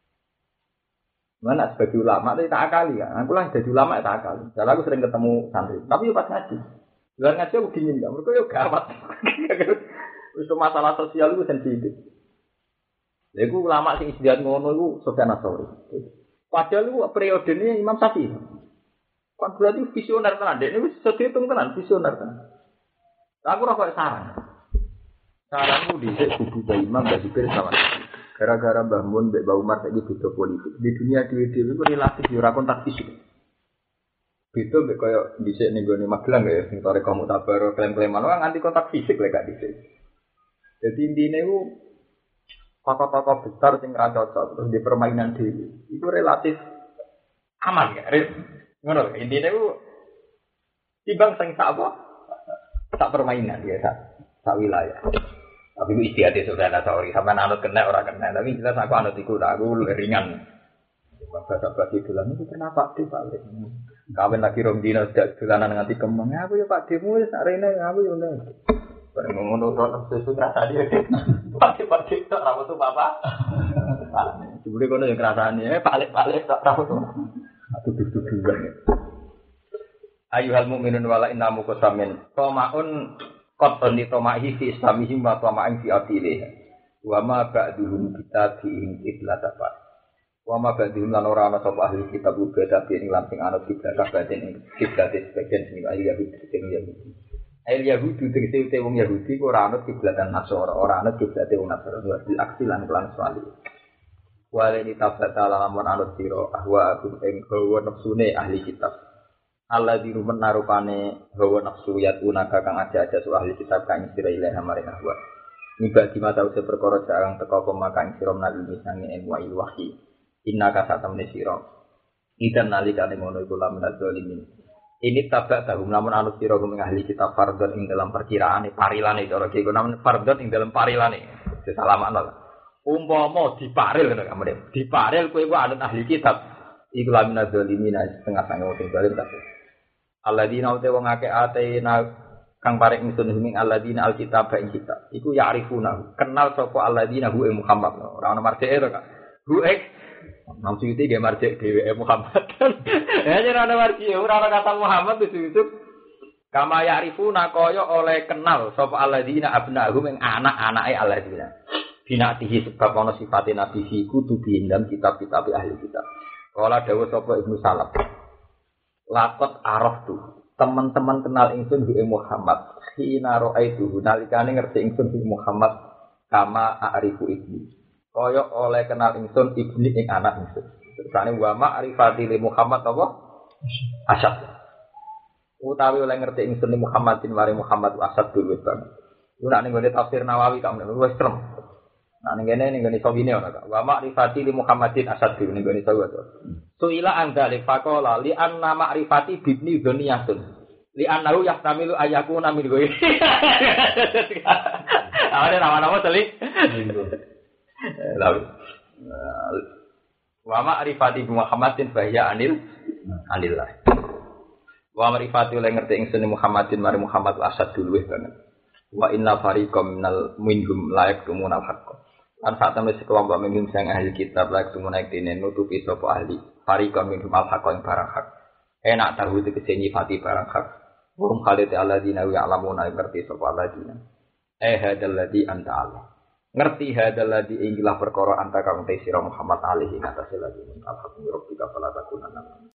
Mana sebagai ulama itu tak akali kan. Aku lah jadi ulama tak akali. Jadi aku sering ketemu santri. Tapi pas ngaji. Luar ngaji aku dingin kan. Mereka yo gawat. Itu masalah sosial itu sensitif. Jadi ulama sing istiadat ngono itu Sofyan Asori. Padahal itu periode ini Imam Syafi'i. Kan berarti visioner tenan. Ini wis dihitung tenan visioner tenan. Aku ora kok saran. Saranku dhisik kudu Mbah Imam Mbah Zubir sama. Gara-gara Mbah Mun mbek Mbah Umar saiki beda politik. Di dunia dhewe-dhewe iku relatif yo ora kontak fisik. Beda mbek koyo dhisik ning gone Magelang ya sing tore kamu tabar klaim-klaiman ora nganti kontak fisik lek gak dhisik. Jadi intine iku tokoh-tokoh besar sing ra cocok terus di permainan dhewe. Iku relatif aman ya. Ngono intine iku timbang sing sak apa? Sak permainan biasa, sak wilayah. Tapi itu istihati Sufyan Ats-Tsauri, sampean anut kena ora kena, tapi jelas aku anut iku aku ringan. Bahasa bagi dolan itu kenapa Pak De balik. Kawin lagi rong dino sejak dolanan nganti kemeng. Aku ya Pak Demu wis sak rene aku ya ngono. Bareng ngono ora sesuai rasa dia. Pak De Pak De tok ra metu Bapak. Jebule kono ya ngrasani, balik-balik tok ra metu. Aku duduk-dudukan. Ayuhal mukminun wala innamu qasamin. Tomaun qatun tomahi fi islamihim wa toma'in fi atilih. Wa ma ba'duhum kita diing iblat apa. Wa ma ba'duhum lan ora ana sapa ahli kitab beda ing lamping anut kiblat batin ing kiblat sebagian sing ahli Yahudi sing Yahudi. Ahli Yahudi tegese te wong Yahudi ora anut kiblatan Nasara, ora anut kiblat wong Nasara wa bil aksi lan lan swali. Wale ni tabata lamun anut sira ahwa aku ing hawa nafsune ahli kitab. Allah di rumah narupane hawa nafsu yatuna kakang aja-aja surah ahli kitab kang sira ilaha maring ahwa. Niba di mata usia perkara jarang teka pemakang sira menawi misange ilmu wahyi. Inna kasatamne sira. Idan nalikane ngono iku lamun zalimin. Ini tabak tahum lamun anut sira kumeng ahli kitab fardhon ing dalam perkiraane parilane cara iki namun fardhon ing dalam parilane. Sesalamakno. Umpama diparil ngono kamane. Diparil kowe ku anut ahli kitab. Iku lamun zalimin setengah sange wong zalim kabeh. Alladzina uta wong akeh atena kang paring ingsun ing alladzina alkitab ing kitab iku ya'rifuna kenal sapa alladzina hu Muhammad ora ana marjeke to Kak hu ek maksud iki ge marjek dhewe Muhammad ya ora ana marjek ora ana kata Muhammad itu kama ya'rifuna kaya oleh kenal sapa alladzina abnahum ing anak-anake alladzina binatihi sebab ana sifate nabi fi kutubi dalam kitab-kitab ahli kitab kala dawuh sapa Ibnu Salaf lakot araf tuh teman-teman kenal ingsun bi Muhammad hina ra'aitu nalikane ngerti ingsun bi Muhammad kama a'rifu ibni kaya oleh kenal ingsun ibni ing anak ingsun tersane wa ma'rifati li Muhammad apa asad utawi oleh ngerti ingsun li Muhammadin mari Muhammad asad dulu banget iku nek ngene tafsir Nawawi kamu wis trem nah ning kene ning ngene sawine ora Kak wa ma'rifati li Muhammadin asad dulu ning ngene sawu to suila andalik faqala li anna ma'rifati bibni dzaniyatun li annahu yahtamilu ayyakuna min ghairi awale nama-nama telik lalu wa ma'rifati Muhammadin bahya anil anillah wa ma'rifati oleh ngerti ingsun Muhammadin mari Muhammad asad dulu banget wa inna fariqam minal minhum la yaktumunal haqq lan sak temene sekelompok minhum sing ahli kitab la yaktumuna dene nutupi sapa ahli fariqam minhum al haqq ing barang hak enak tahu tegese nyifati barang hak wong khalid alladzina ya'lamuna ngerti sapa alladzina eh hadal ladzi anta Allah ngerti hadal ladzi ing perkara anta kang te sira Muhammad alaihi ngatasi lagi al haqq rabbika fala takunanna